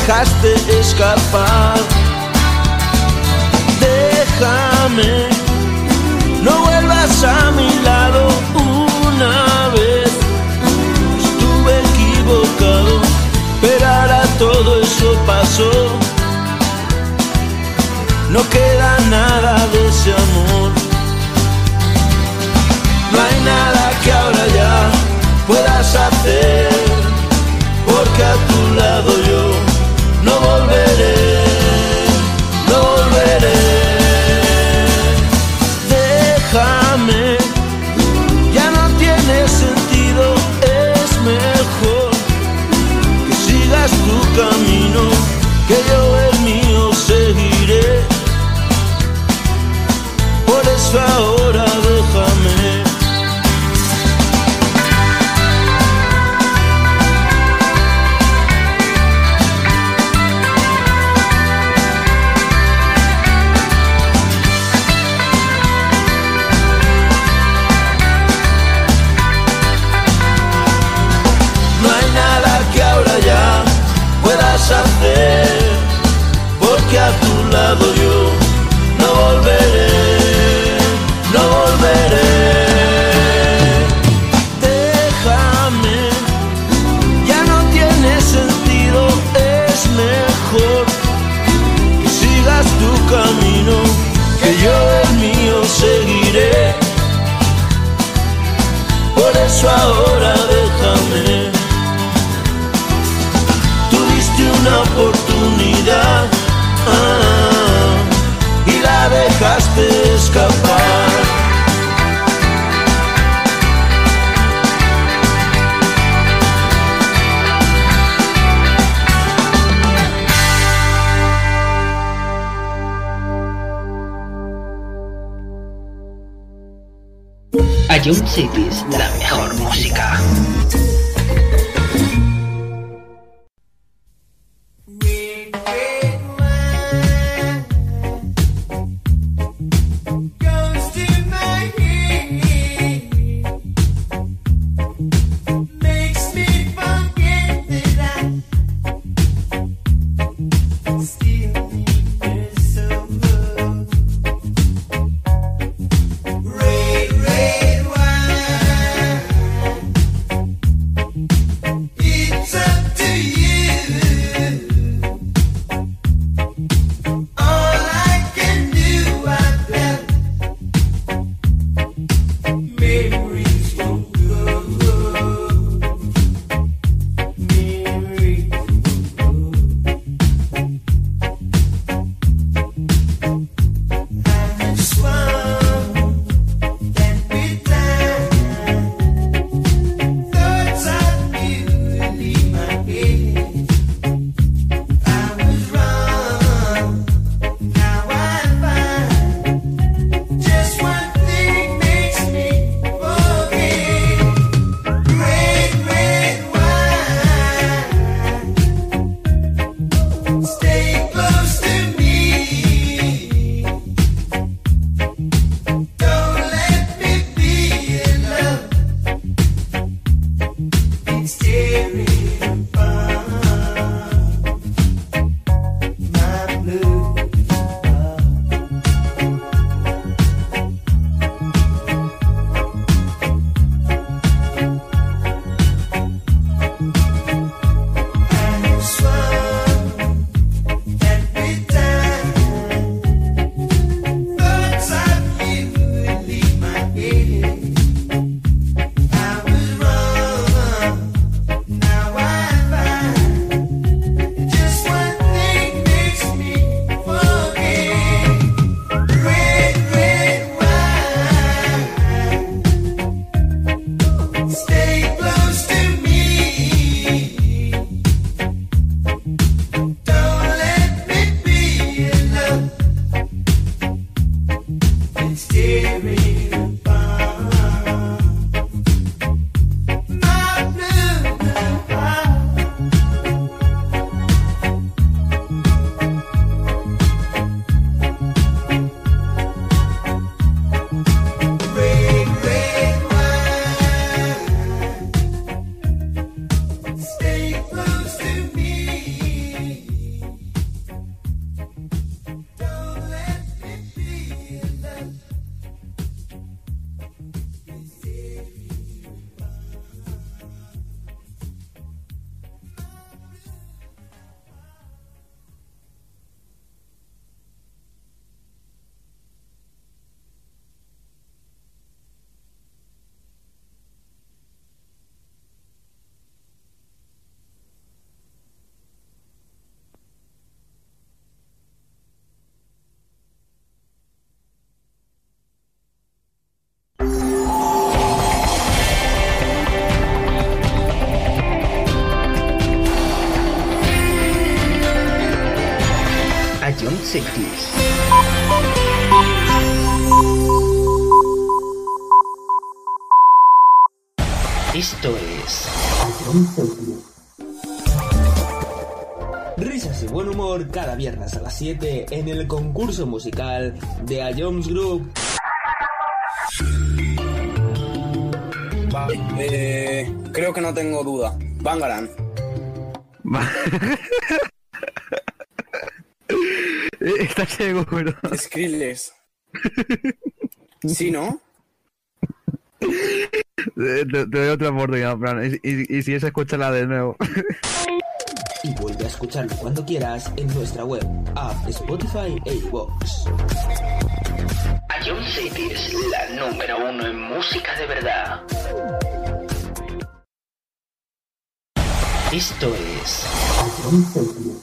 dejaste escapar. Déjame, no vuelvas a mi lado. Una vez estuve equivocado, pero ahora todo eso pasó. No queda nada de ese amor. No hay nada que ahora ya puedas hacer, porque a tu lado yo no volveré, no volveré. Déjame, ya no tiene sentido, es mejor que sigas tu camino, que yo el mío seguiré. Por eso ahora déjame. Hacer, porque a tu lado yo no volveré, no volveré. Déjame, ya no tiene sentido, es mejor que sigas tu camino, que yo el mío seguiré. Por eso ahora déjame. Una oportunidad, ah, y la dejaste escapar. Ayun Cities, la mejor música. Yeah. Cities. Esto es risas y buen humor cada viernes a las siete en el concurso musical de A Jones Group. Va, eh, creo que no tengo duda. Bangarang. ¿Estás seguro? Skrillex. ¿Sí, no? Te, te doy otra oportunidad, Fran. Y, y, y si es, escúchala de nuevo. Y vuelve a escucharlo cuando quieras en nuestra web, app, Spotify e iVoox. A Jones Cities, la número uno en música de verdad. Esto es A Jones Cities.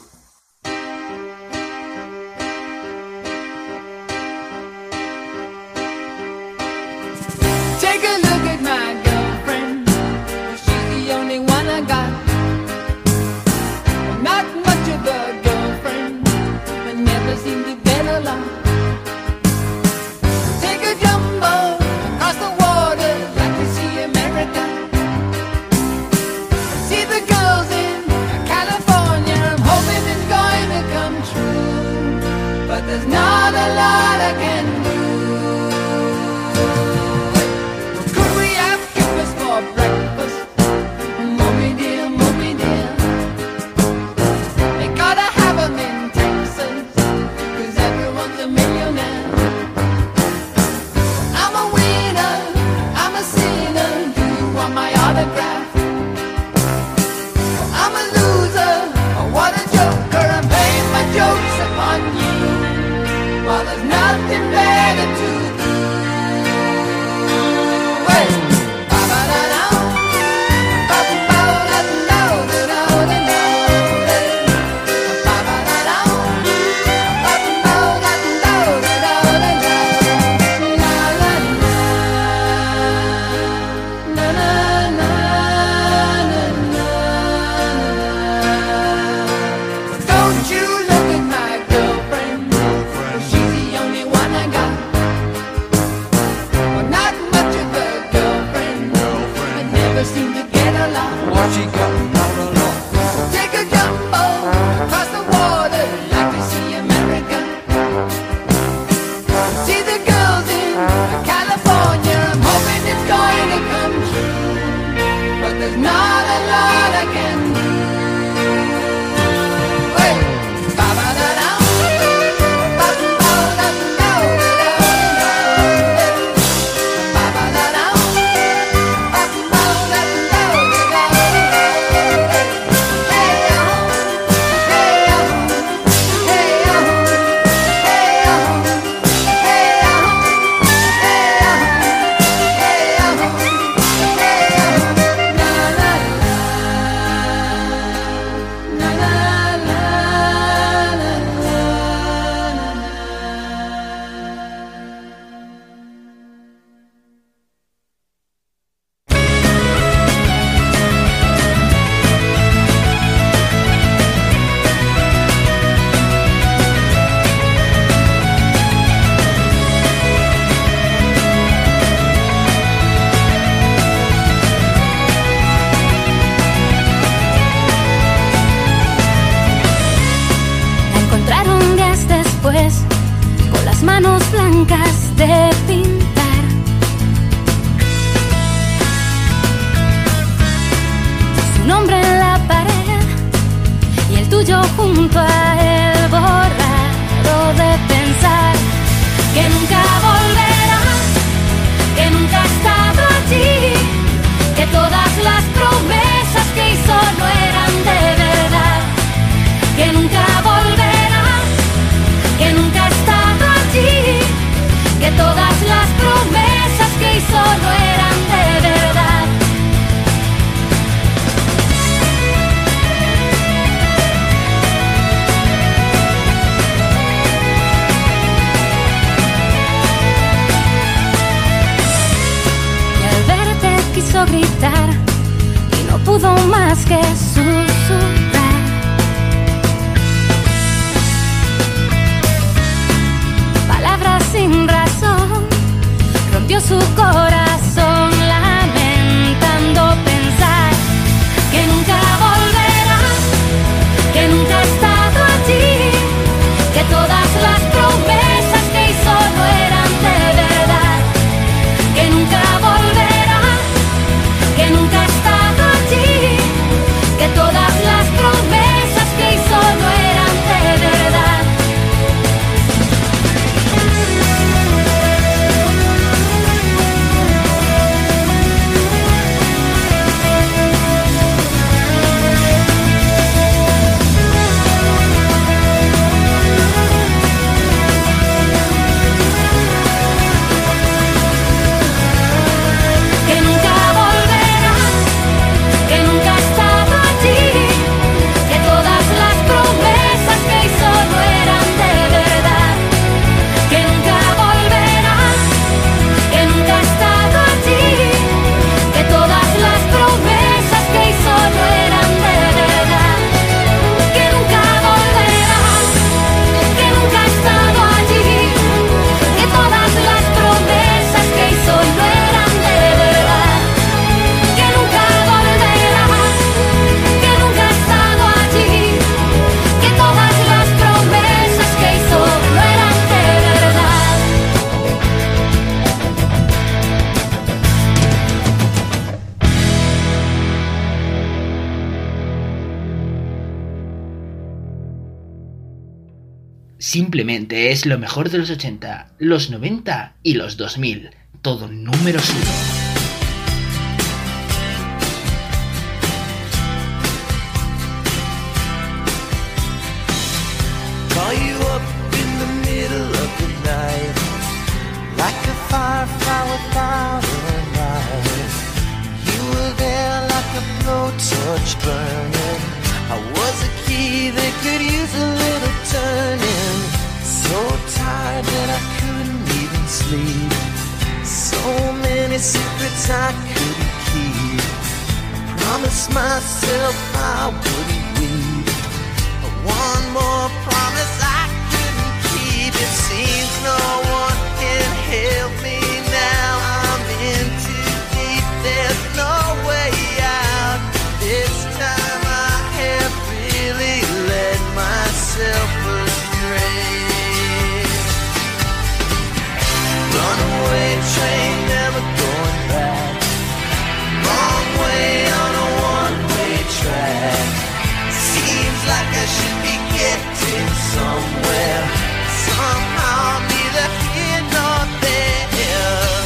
Simplemente es lo mejor de los ochenta, los noventa y los dos mil. Todo número uno. Firefly without a light. You were there like a blowtorch burning. I was a key that could use a little turning. So tired that I couldn't even sleep. So many secrets I couldn't keep. I promised myself I wouldn't weep. One more promise I couldn't keep. It seems no one can help me. Runaway train, never going back. Wrong way on a one-way track. Seems like I should be getting somewhere. Somehow I'm neither here nor there.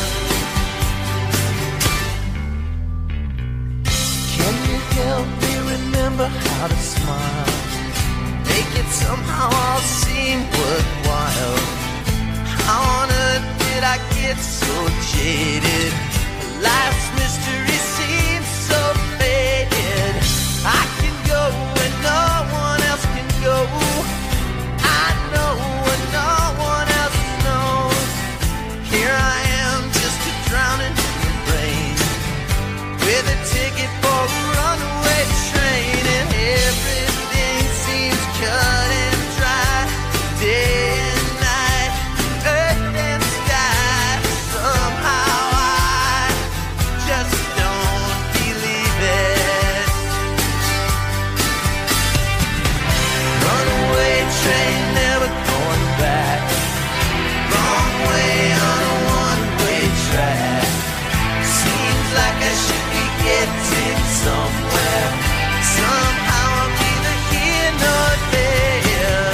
Can you help me remember how to smile? Make it somehow all seem worthwhile. How on earth did I get so jaded? Life's mystery seems so faded. I can go where no one else can go. I know what no one else knows. Here I am, just a drowning in the rain, with a ticket for a runaway train, and everything seems cut and dry. Day and night, earth and sky. Somehow I just don't believe it. Runaway train, never going back. Wrong way on a one-way track. Seems like I should be getting somewhere. Somehow I'm neither here nor there.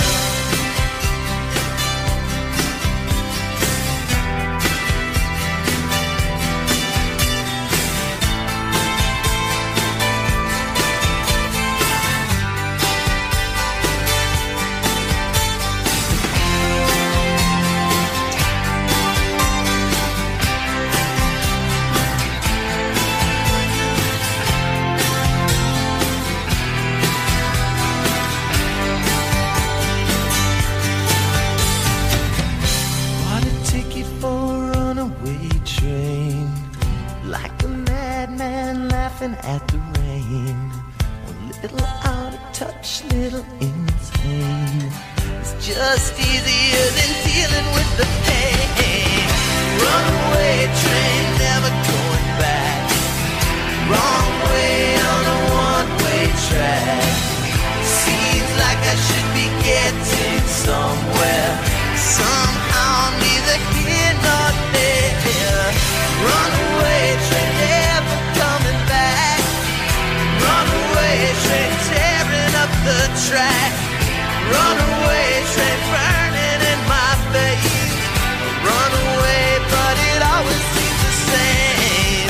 Bought a ticket for a runaway train, like a madman laughing at the rain. A little out of touch, little insane. It's just easier than dealing with the pain. Runaway train, never going back. Wrong way on a one-way track. Seems like I should be getting somewhere. Somehow I'm neither here nor there. Runaway train, never coming back. Runaway train, tearing up the track. Runaway train, burning in my face. Runaway, but it always seems the same.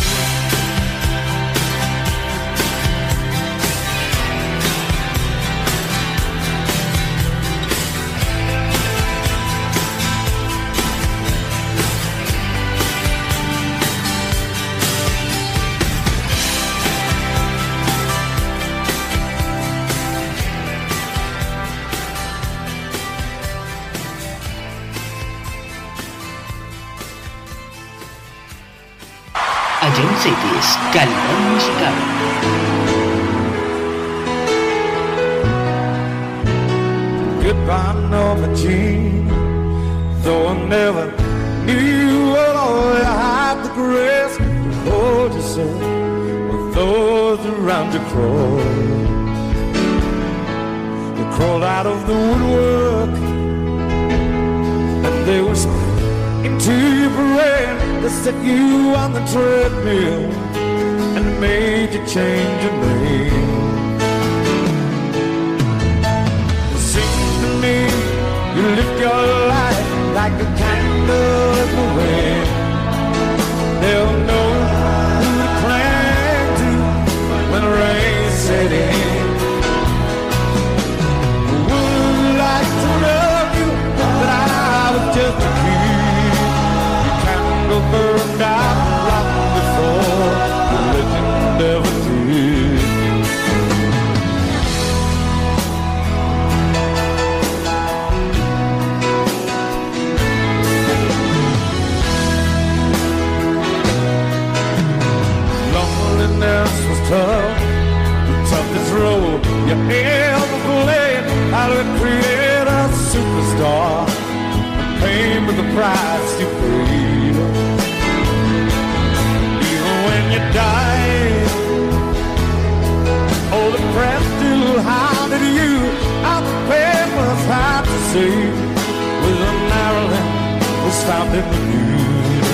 Agent Cities, calidad musical. Goodbye, Norma Jean. Though I never knew what all you had the grace to hold yourself with those around you crawl. They crawled out of the woodwork and they whispered into your brain. They set you on the treadmill and made you change your name. It seems to me you you ever played? How to create a superstar? Paying with the price you paid. Even when you died, oh, the press still hounded you. Out the papers hard to see. With a Maryland was found in the news.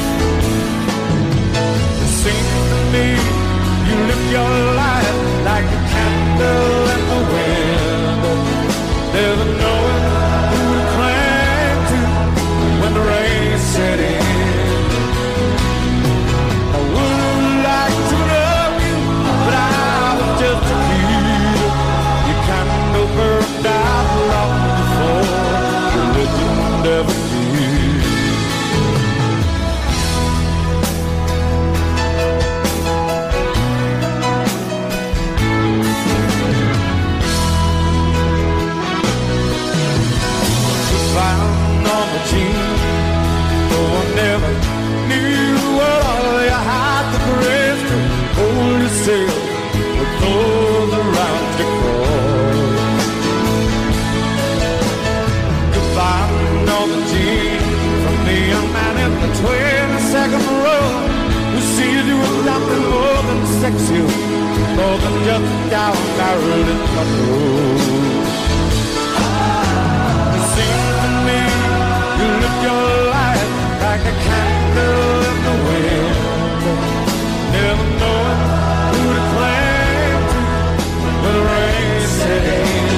It seems to me you live your life like a candle in the wind. There's a knowing who to cling to when the rain set in. I would like to love you, but I was just a kid. You kind of burned out long before religion ever did. Found on the team, though I never knew what all you had the grace to hold yourself with those around you cross. Goodbye on the team from the young man in the twenty-second row who sees you with nothing more than sexy, more than just a down married in the road. You live your life like a candle in the wind, never knowing who to cling to when the rain set in.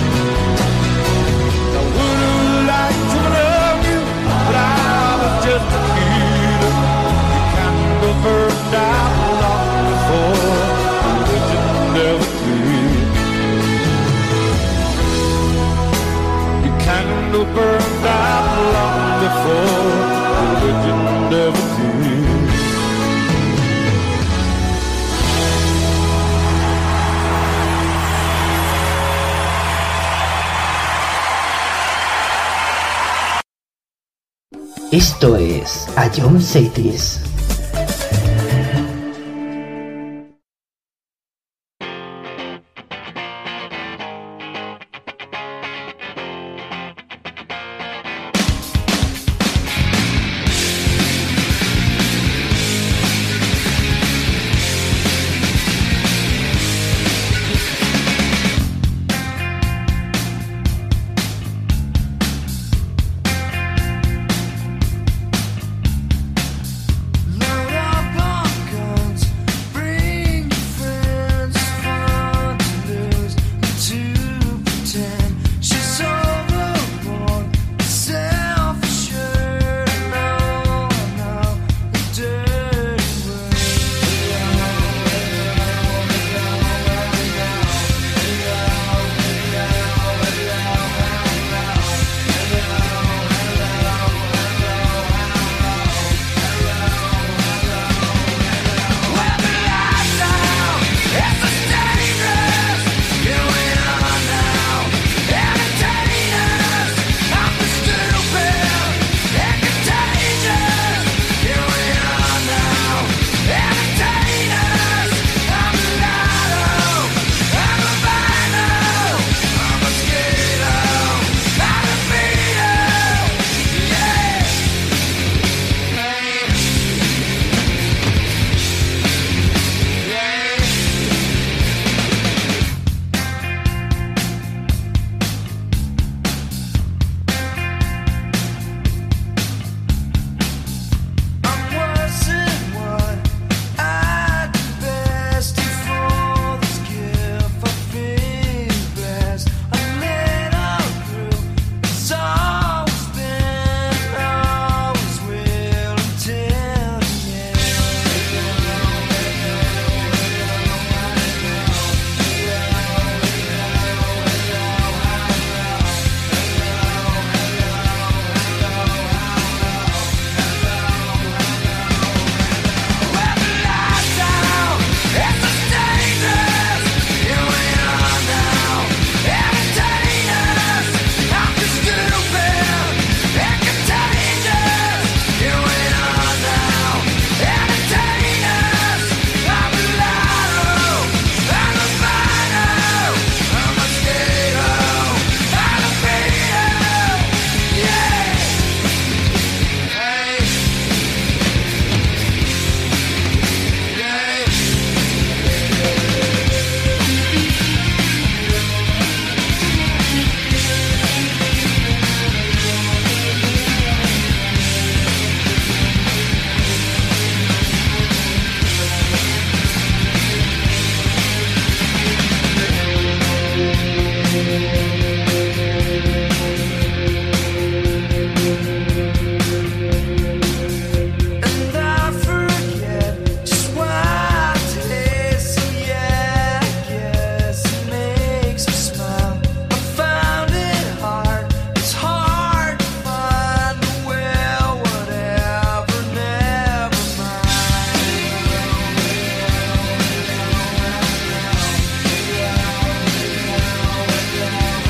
I would like to love you, but I was just a kid. The candle burned out long before religion never did. The candle burned out long before religion never did. Esto es A John Cities. Yeah.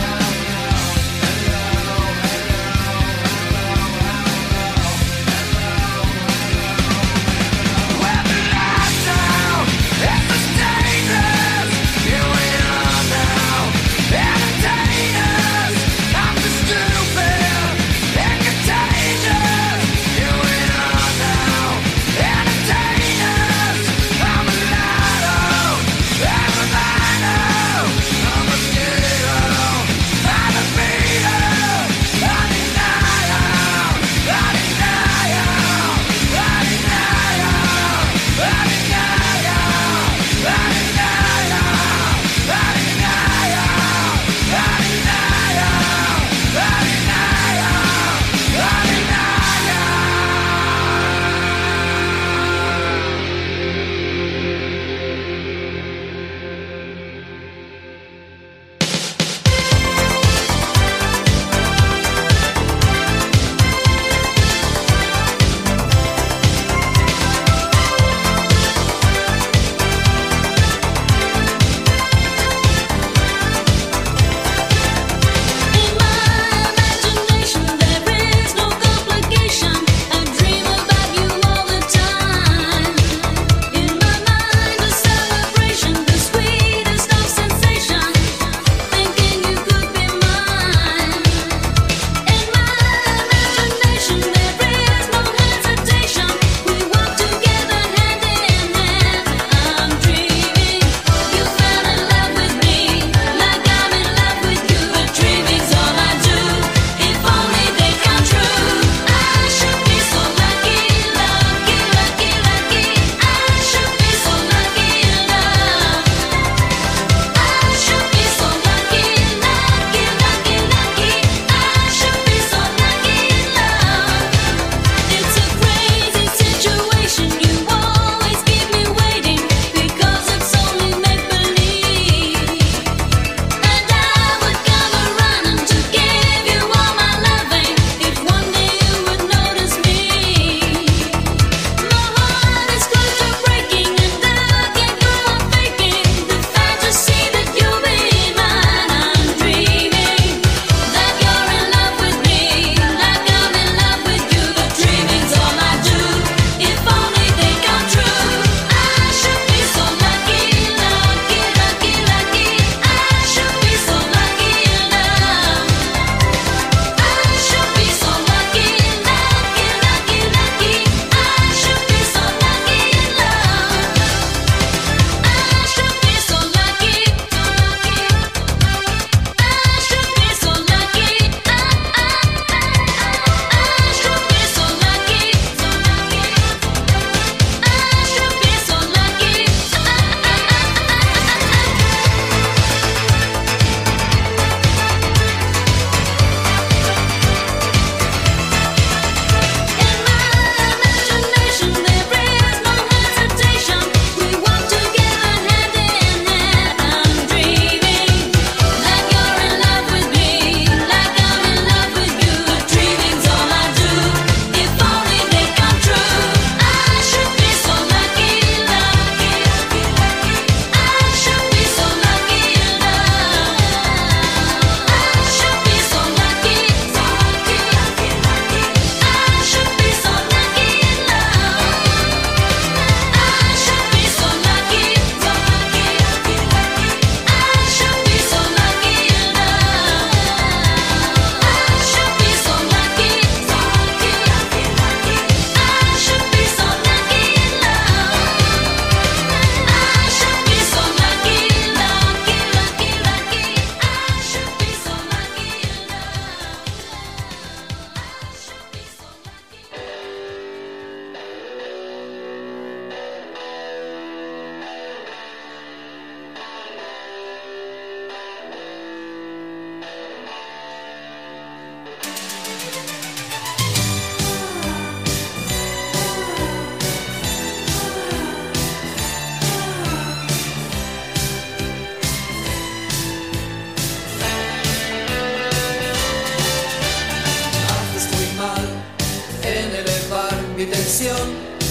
intención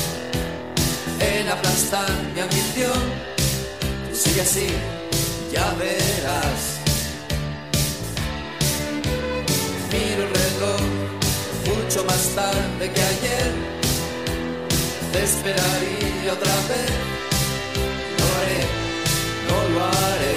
en aplastar mi ambición. Sigue así, ya verás. Miro el reloj, mucho más tarde que ayer. Te esperaría otra vez. No lo haré, no lo haré.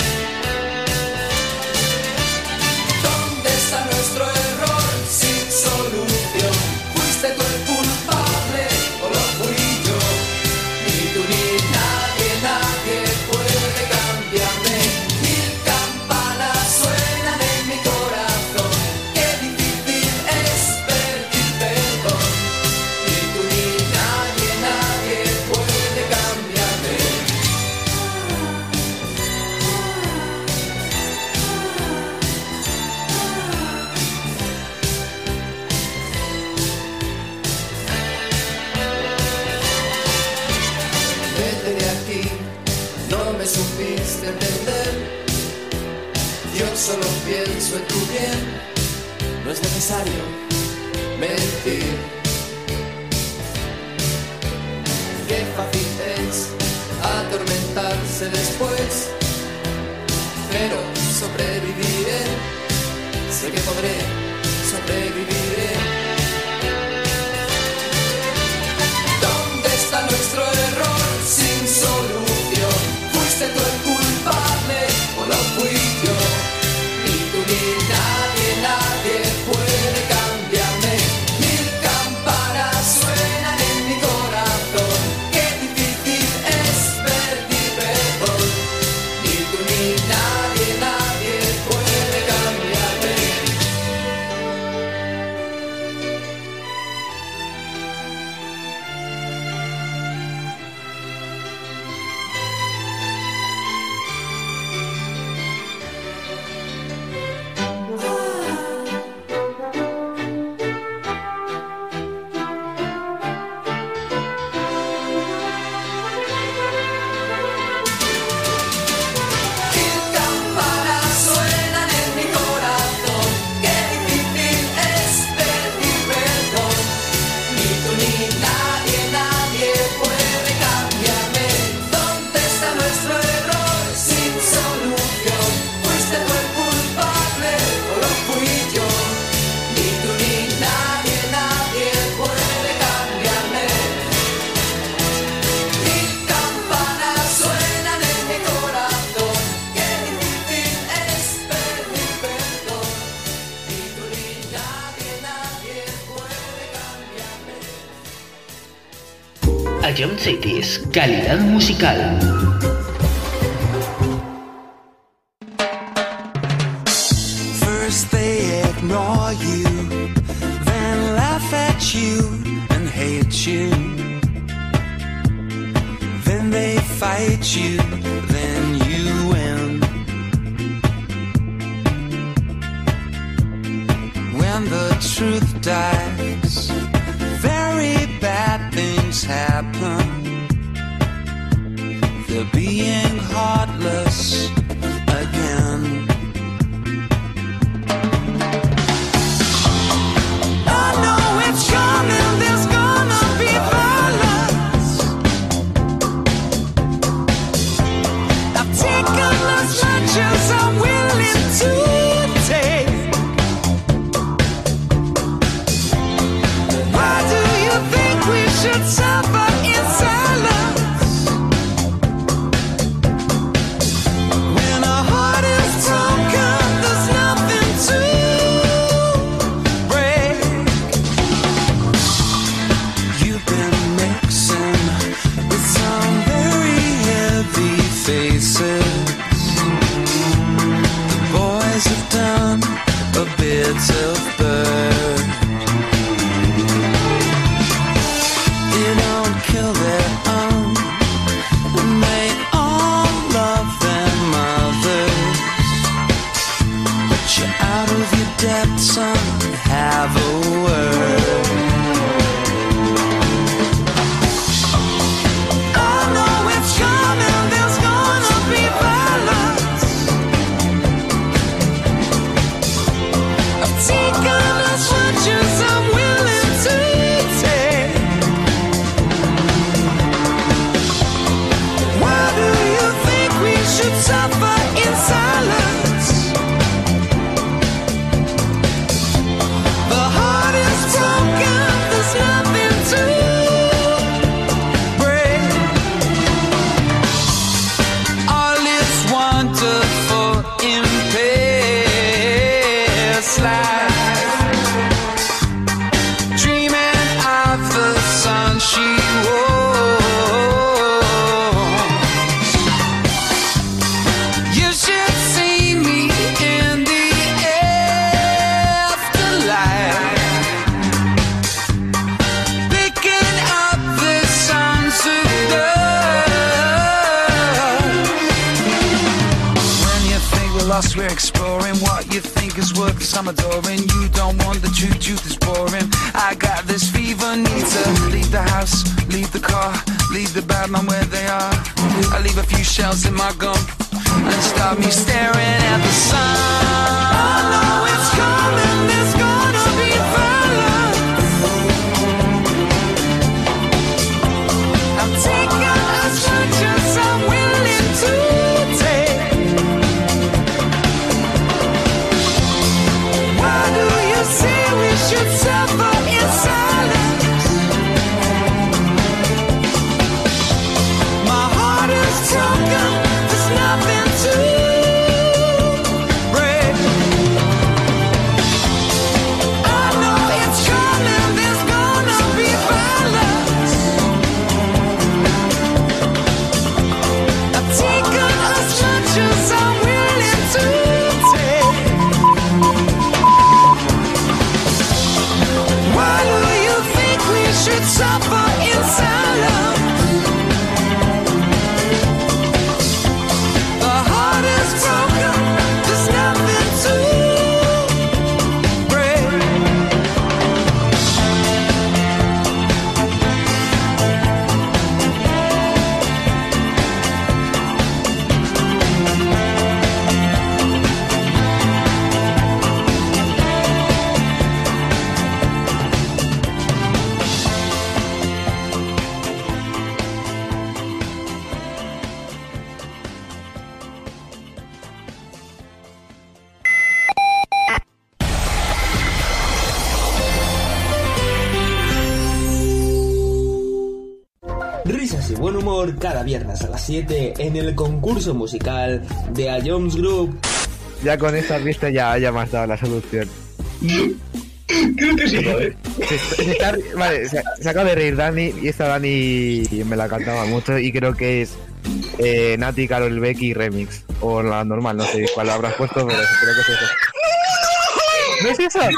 ¿Dónde está nuestro error sin solución? ¿Fuiste tú el culpable o lo fui yo? Ni tú ni nadie, nadie puede cambiarme. Mil campanas suenan en mi corazón. Qué difícil es pedir perdón. Ni tú ni nadie, nadie puede cambiarme. Vete de aquí, no me supiste entender. Yo solo pienso en tu bien. No es necesario mentir. Qué fácil es atormentarse después, pero sobreviviré. Sé que podré, sobreviviré. ¿Dónde está nuestro error sin solución? ¿Fuiste tú el culpable o lo fui yo? Ni tú ni nadie, nadie puede cambiarme. Mil campanas suenan en mi corazón. Qué difícil es pedir perdón. Ni tú ni nadie, nadie puede cambiarme. Mil campanas suenan en mi corazón. Qué difícil es pedir perdón. Ni tú ni nadie, nadie puede cambiarme. ¿Dónde está nuestro error sin solución? ¿Fuiste tú el culpable o lo fui yo? Ni tú ni nadie, nadie puede cambiarme. Mil campanas suenan en mi corazón. Qué difícil es pedir perdón. Ni tú ni nadie, nadie puede cambiarme. Ion Cities, calidad musical. First they ignore you, then laugh at you and hate you. Then they fight you, then you win. When the truth dies, very bad things happen. They're being heartless again. I know it's coming, there's gonna be violence. I've taken as much as I'm willing to take. Why do you think we should suffer in silence? When our heart is broken, there's nothing to break. You've been mixing with some very heavy faces. The boys have done a bit of bird. They don't kill their own, and they all love their mothers. But you're out of your depth, son, have a word. I know it's coming, there's gonna be violence. I've taken as much as I'm willing to take. lost, we're exploring what you think is worth, cause I'm adoring. You don't want the truth, truth is boring. I got this fever, need to leave the house, leave the car, leave the bad man where they are. I leave a few shells in my gum and start me staring at the sun. I know it's coming, there's gonna be violence. I'm taking as much as I'm willing to take. Why do you say we should suffer in silence? My heart is broken, there's nothing to break. I know it's coming, there's gonna be violence. I've taken as much as I'm willing to take. Why do you think we should suffer in silence? The heart is broken, there's nothing to break. Risas y buen humor cada viernes a las siete en el concurso musical de A Jones Group. Ya con esta vista ya, ya me has dado la solución. Creo que sí, ¿vale? Se, se está, vale, se, se acaba de reír Dani y esta Dani me la cantaba mucho y creo que es eh, Nati, Karol Becky remix. O la normal, no sé cuál habrás puesto, pero creo que es eso. ¿No es eso?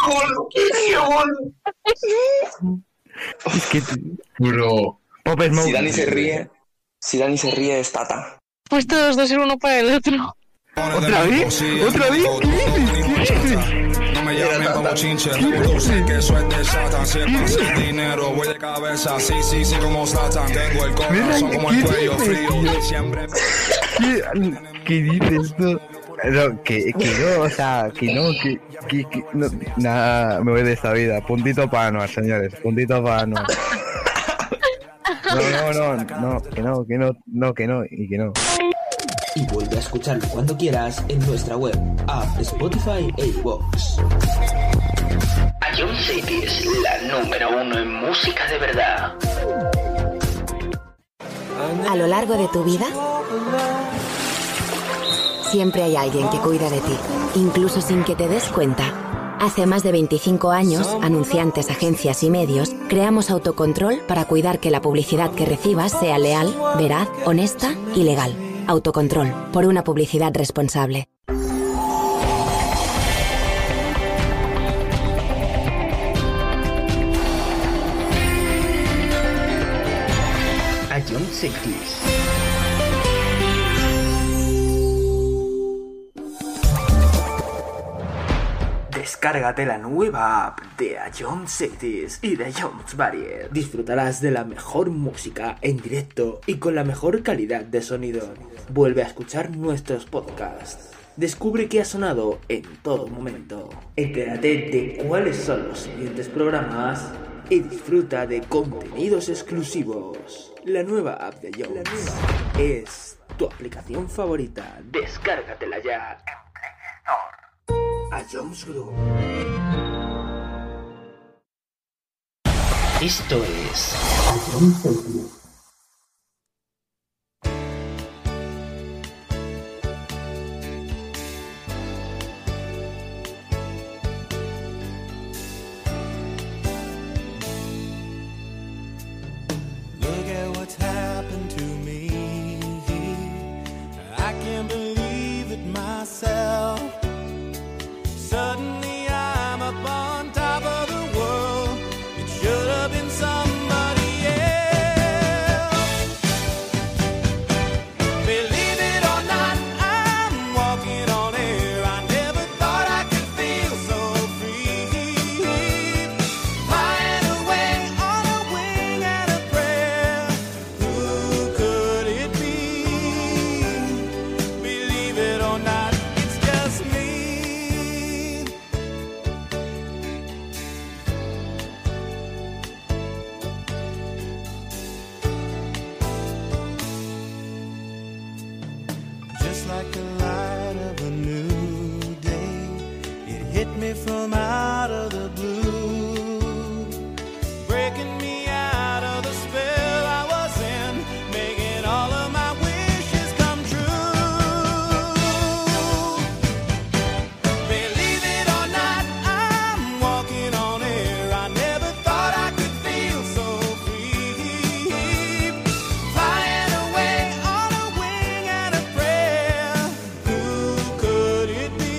Es que... Bro. Pop Smoke. Si Dani se ríe, si Dani se ríe es Tata. Pues todos dos ser uno para el otro. ¿Otra vez? ¿Otra vez? ¿Qué dices? ¿Qué dices? No me llamen como chinche, tú sé que eso es de Satan. Si es fácil dinero, voy de cabeza, sí, sí, sí, como Satan. Tengo el corazón como el cuello frío, siempre... ¿Qué, ¿Qué dices tú? No, que, que no, o sea, que no, que, que, que no, nada, me voy de esta vida. Puntito para Anuar, señores, puntito para Anuar. No, no, no, no, que no, que no, no, que no, y que no. Y vuelve a escucharlo cuando quieras en nuestra web, app, Spotify e iVoox. A Jones City es la número uno en música de verdad. A lo largo de tu vida, siempre hay alguien que cuida de ti, incluso sin que te des cuenta. Hace más de veinticinco años, anunciantes, agencias y medios, creamos Autocontrol para cuidar que la publicidad que recibas sea leal, veraz, honesta y legal. Autocontrol, por una publicidad responsable. A Jones City. Descárgate la nueva app de A Jones Cities y de Jones Barrier. Disfrutarás de la mejor música en directo y con la mejor calidad de sonido. Vuelve a escuchar nuestros podcasts. Descubre qué ha sonado en todo momento. Entérate de cuáles son los siguientes programas y disfruta de contenidos exclusivos. La nueva app de Jones es tu aplicación favorita. Descárgatela ya en Play Store. A Jones Group. Esto es A Jones Group. Look at what's happened to me. I can't believe it myself. Suddenly I'm up on top of the world. It should have been somebody else. hit me from out of the blue, breaking me out of the spell I was in, making all of my wishes come true. Believe it or not, I'm walking on air. I never thought I could feel so free, flying away on a wing and a prayer. Who could it be?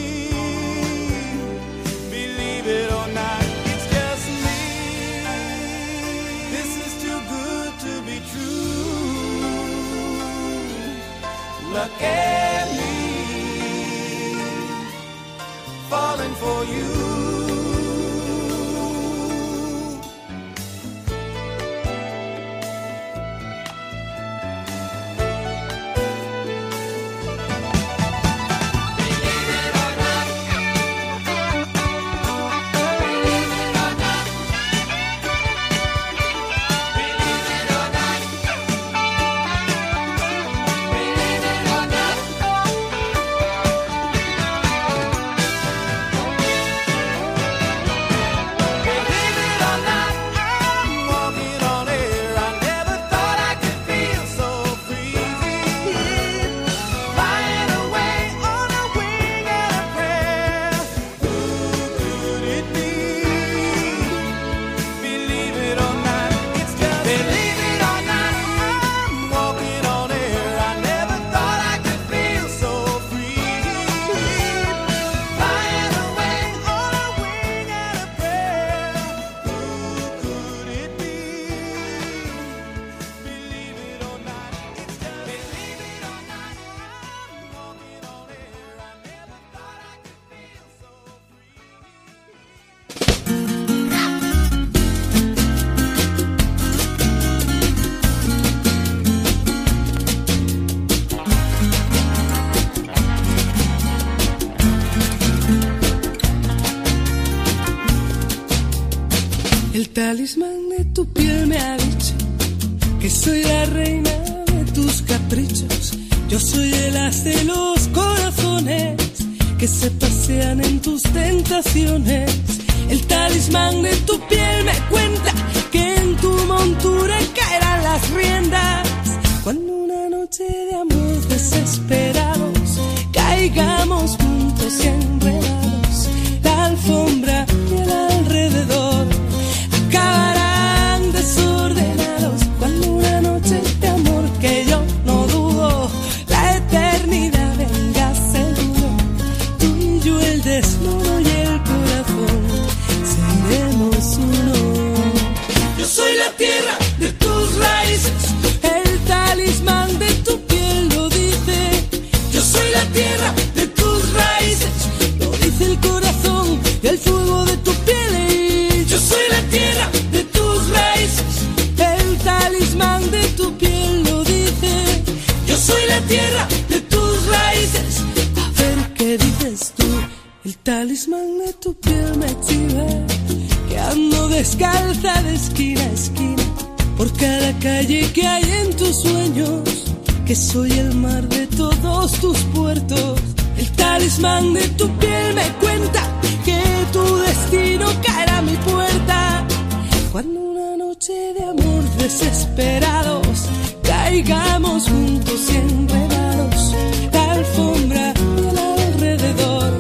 Believe it or not, it's just me. This is too good to be true. Look at me, falling for you. El talismán de tu piel me ha dicho que soy la reina de tus caprichos. Yo soy el as de los corazones que se pasean en tus tentaciones. El talismán de tu piel me cuenta que en tu montura caerán las riendas cuando una noche de amor desesperados caigamos juntos y enredados. La alfombra y el alrededor acabarán desordenados cuando una noche de amor que yo no dudo la eternidad venga seguro. Tú y yo el desnudo y el corazón seremos uno. Yo soy la tierra de tus raíces, el talismán de tu piel lo dice. Yo soy la tierra de tus raíces, lo dice el corazón y el fuego de tu piel. Yo soy la tierra de tus raíces, el talismán de tu piel lo dice. Yo soy la tierra de tus raíces. A ver qué dices tú. El talismán de tu piel me chiva que ando descalza de esquina a esquina por cada calle que hay en tus sueños, que soy el mar de todos tus puertos. El talismán de tu piel me cuenta que tu destino caerá a mi puerta cuando una noche de amor desesperados caigamos juntos y enredados. La alfombra y el alrededor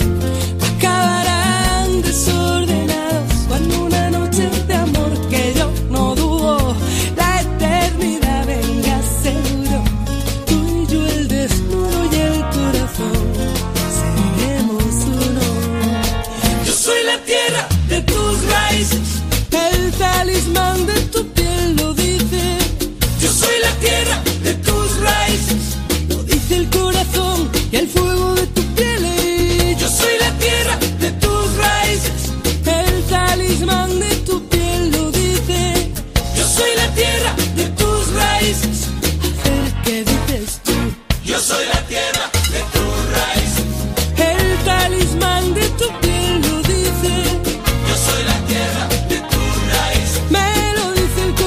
acabarán desordenados cuando una noche de amor que yo no dudo la eternidad venga seguro. Tú y yo el desnudo y el corazón seremos uno. Yo soy la tierra de tus raíces, el talismán de tu piel lo dice. Yo soy la tierra de tus raíces, lo dice el corazón y el fuego de tu piel. Yo soy la tierra de tus raíces, el talismán de tu piel lo dice. Yo soy la tierra de tus raíces. A ver qué dices tú. Yo soy la tierra de tus raíces, el talismán de tu piel lo dice. Yo soy la tierra de tus raíces, me lo dice el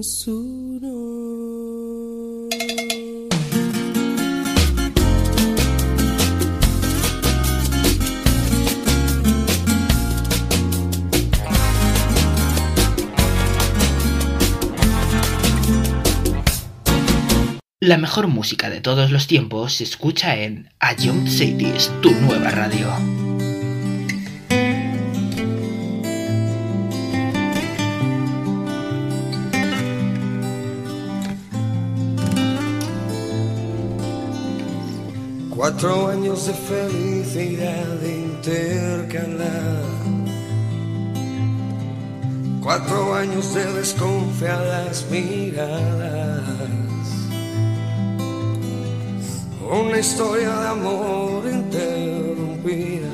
nessuno. La mejor música de todos los tiempos se escucha en A Young Cities, tu nueva radio. Cuatro años de felicidad intercalada, cuatro años de desconfiadas miradas, una historia de amor interrumpida.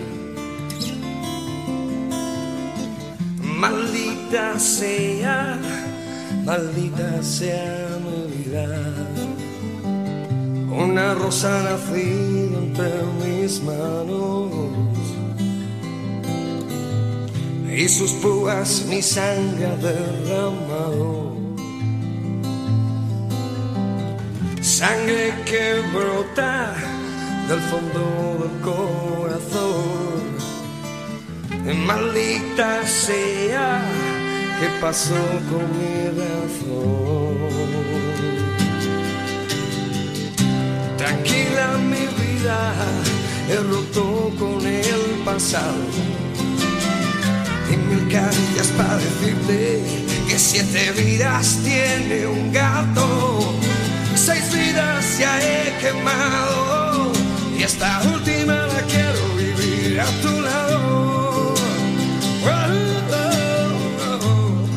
Maldita sea, maldita sea mi vida. Una rosa nacida entre mis manos y sus púas mi sangre ha derramado. Sangre que brota del fondo del corazón. Maldita sea, ¿qué pasó con mi razón? Tranquila mi vida, he roto con el pasado y mil caricias para decirte que siete vidas tiene un gato. Seis vidas ya he quemado y esta última la quiero vivir a tu lado. Oh, oh, oh,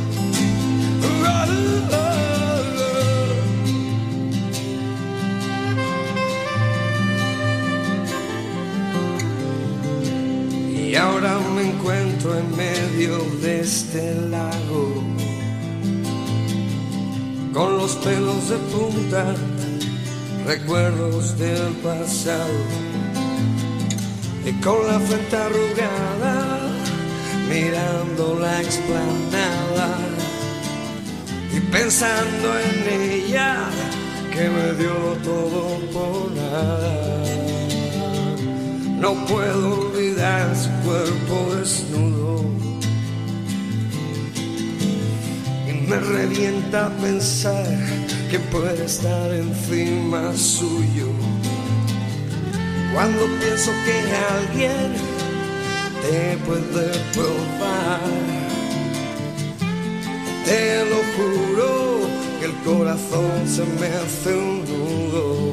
oh, oh. Y ahora me encuentro en medio de este lago, con los pelos de punta, recuerdos del pasado, y con la frente arrugada, mirando la explanada, y pensando en ella, que me dio todo por nada. No puedo olvidar su cuerpo desnudo, me revienta pensar que puede estar encima suyo. Cuando pienso que alguien te puede probar, te lo juro que el corazón se me hace un nudo.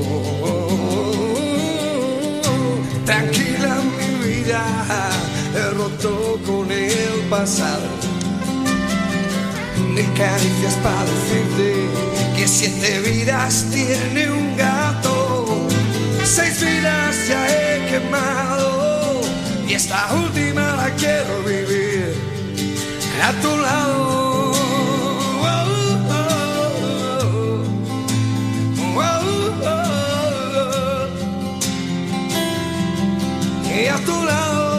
Tranquila mi vida, he roto con el pasado. Mil caricias para decirte que siete vidas tiene un gato. Seis vidas ya he quemado y esta última la quiero vivir a tu lado. Oh, oh, oh, oh, oh, oh. Y a tu lado.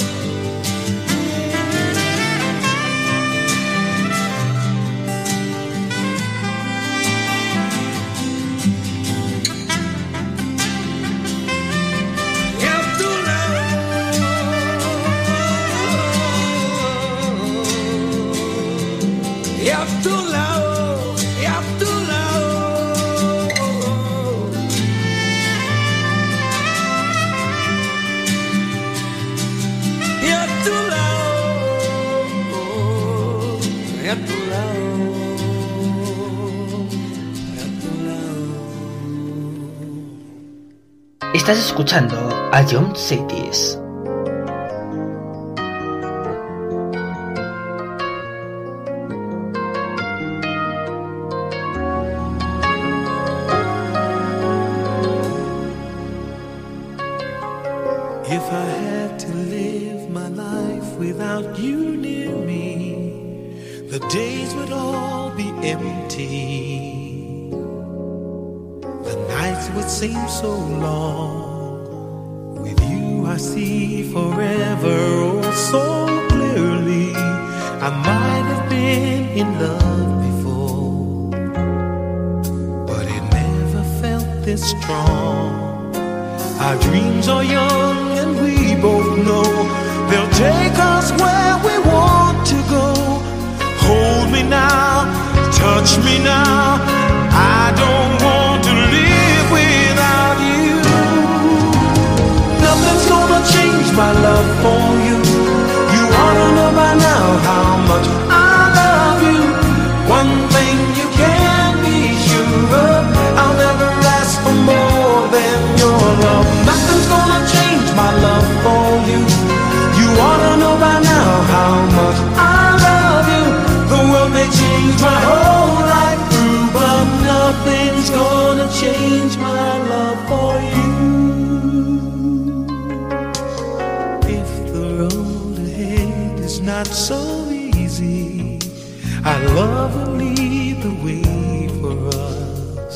Y a tu lado, y a tu lado. Y a tu lado, y a tu lado, y a tu lado. Estás escuchando A Young Cities. If I had to live my life without you near me, the days would all be empty. The nights would seem so long. With you I see forever oh so clearly. I might have been in love before, strong. Our dreams are young and we both know they'll take us where we want to go. Hold me now, touch me now, I don't want to live without you. Nothing's gonna change my love for you. You ought to know by now how much I love you. One thing you can be sure of, I'll never ask for more than your love. Nothing's gonna change my love for you. You ought to know by now how much I love you. The world may change my whole life through, but nothing's gonna change my love for you. If the road ahead is not so easy, our love will lead the way for us.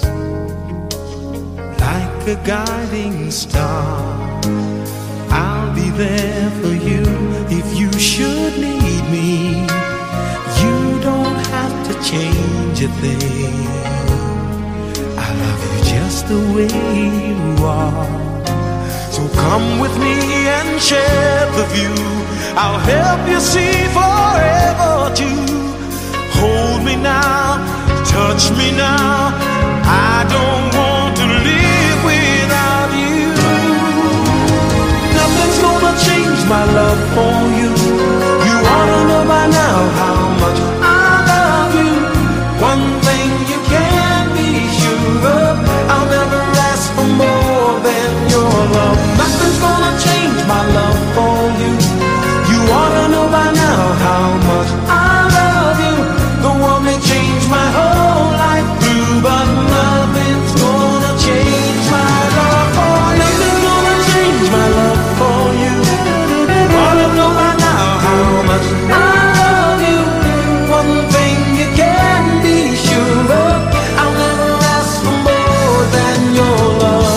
Like a guiding star, I'll be there for you if you should need me. You don't have to change a thing. I love you just the way you are. So come with me and share the view. I'll help you see forever too. Hold me now, touch me now, I don't want to live without you. Nothing's gonna change my love for you. You ought to know by now how much I love you. One thing you can be sure of, I'll never ask for more than your love. Nothing's gonna change my love for you. You ought to know by now how much I love you. The world may change my whole life through, but nothing's gonna change my love for you. Nothing's gonna change my love for you. You ought to know by now how much I love you. One thing you can be sure of, I'll never ask for more than your love.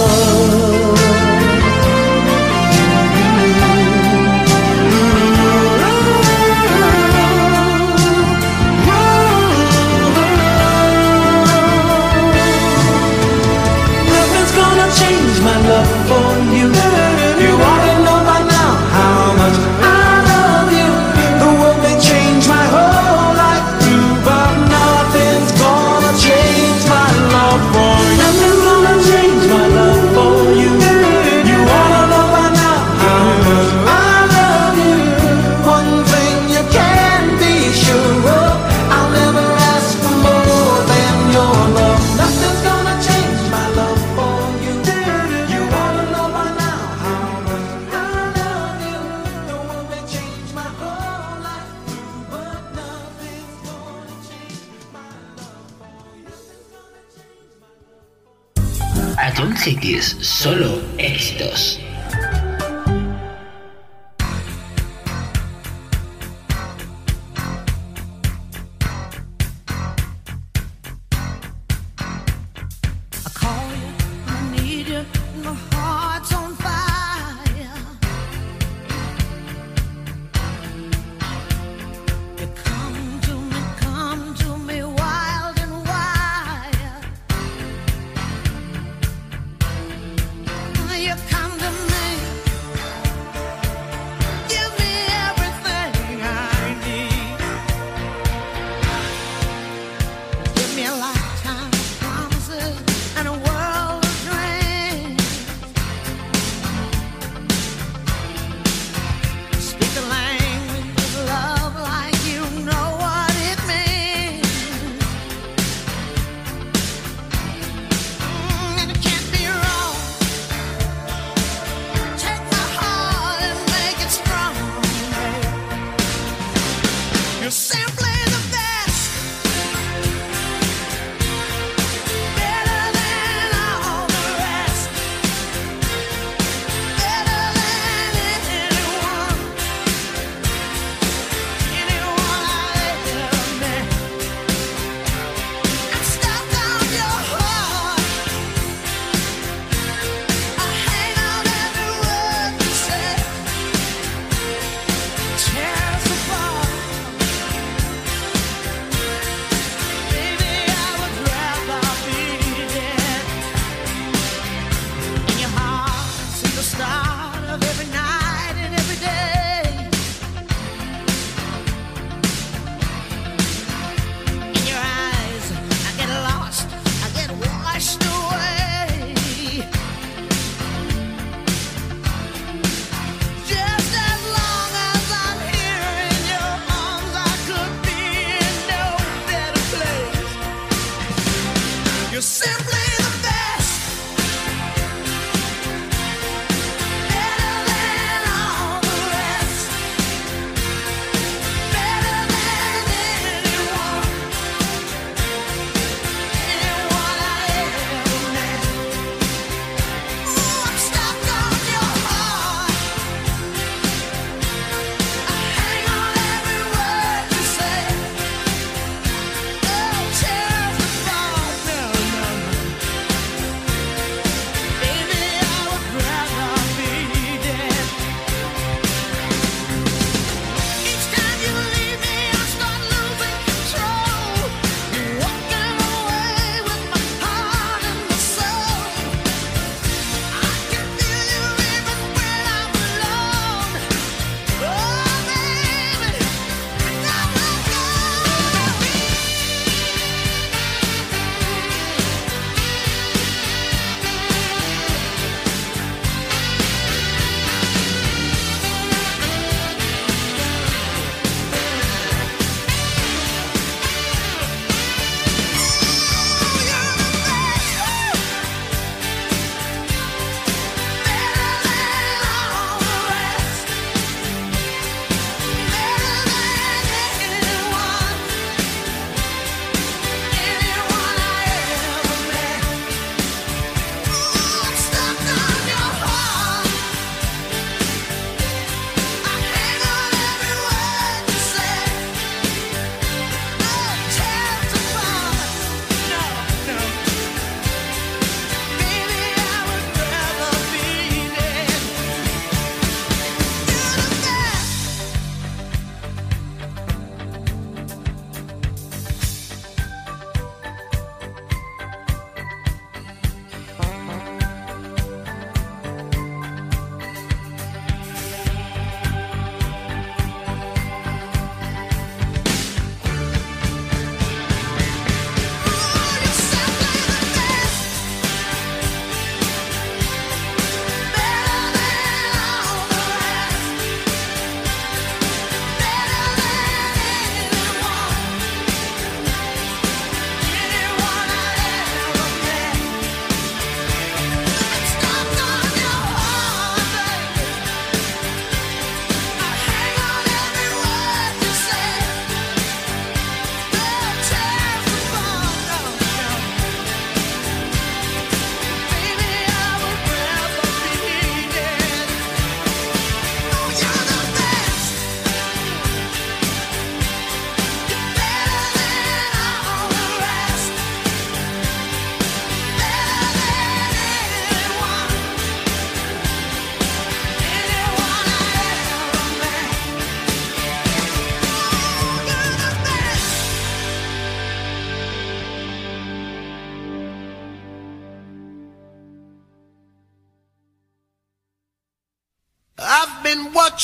Nothing's gonna change my love for you. You ought to know by now how much I love you. The world may change my whole life through, but nothing's gonna change my love for you. Nothing's gonna change my love for you. You ought to know by now how much I love you. One thing you can be sure of, I'll never ask for more than your love. Nothing's gonna change my love for you. You ought to know by now how much I love you. The world may change my whole life through, but nothing's gonna change my love for you. Atom Cities, solo éxitos. I call you, I need you, my heart's on fire. You come to me, come to me, wild and wild. You come to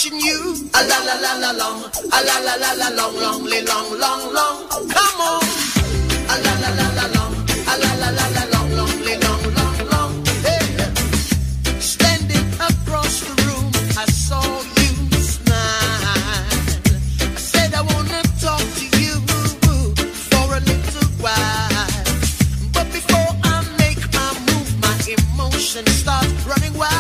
watching you. A la la la la long, a la la la la long, long, long, long, long. Come on. A la la la la long, a la la la la long, long, long, long, long. Hey. Standing across the room, I saw you smile. I said I wanna talk to you for a little while. But before I make my move, my emotions start running wild.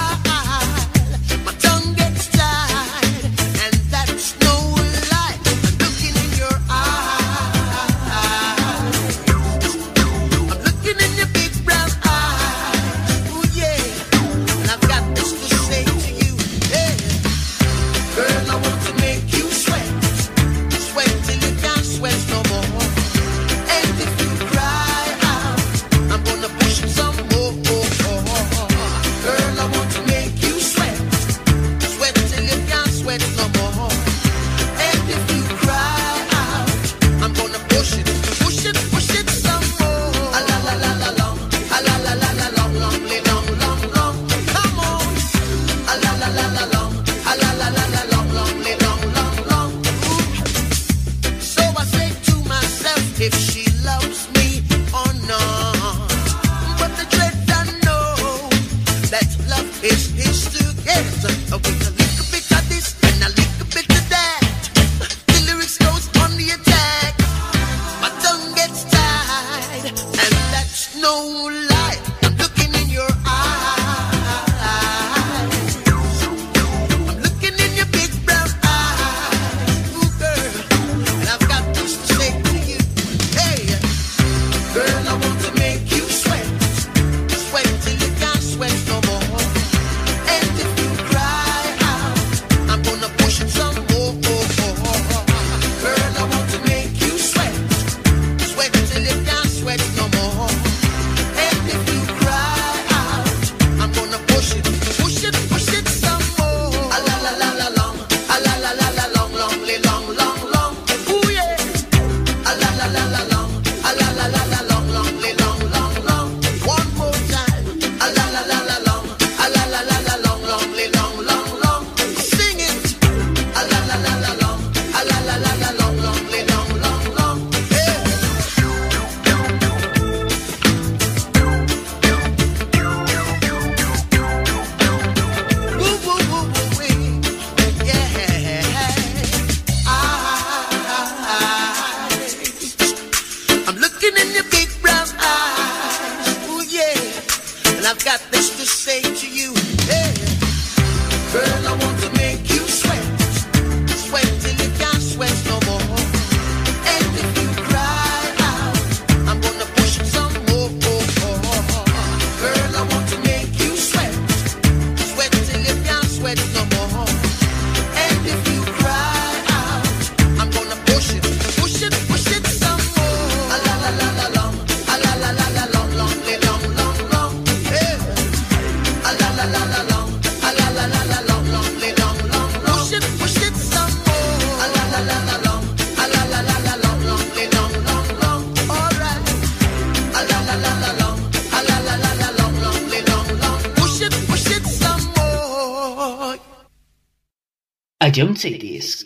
John Cities.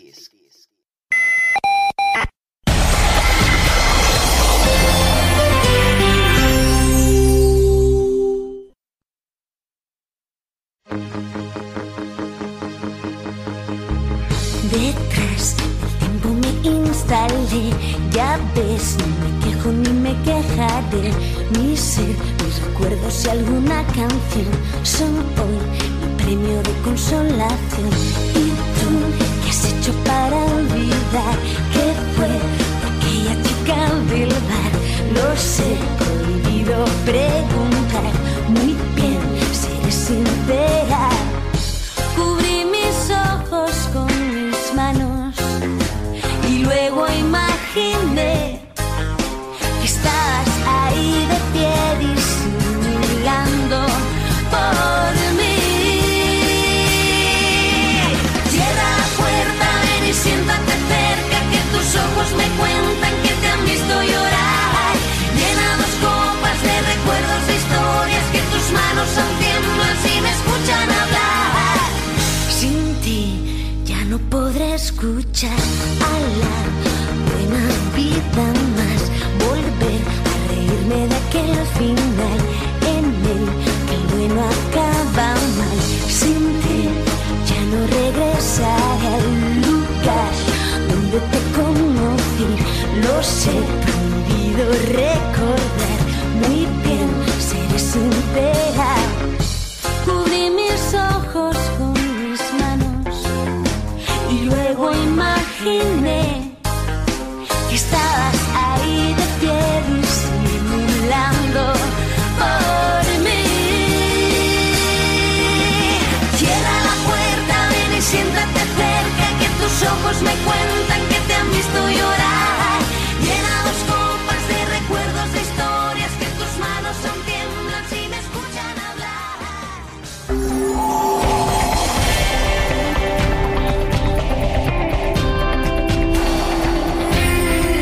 Detrás del tiempo me instalé, ya ves, no me quejo ni me quejaré. Mi ser, mis recuerdos y alguna canción son hoy mi premio de consolación. ¿Y tú qué has hecho para olvidar qué fue aquella chica del bar? Lo sé, prohibido preguntar, muy bien, seré sincera. Cubrí mis ojos con mis manos y luego imaginé que estabas ahí de pie disimulando por mí. Cierra la puerta, ven y siéntate cerca, que tus ojos me cuentan que te han visto llorar. Llena dos copas de recuerdos, de historias que tus manos aún tiemblan si me escuchan hablar. Sin ti ya luchar a la buena vida más, volver a reírme de aquel final en el que el bueno acaba mal. Sin ti ya no regresaré al lugar donde te conocí, lo sé, prohibido recordar.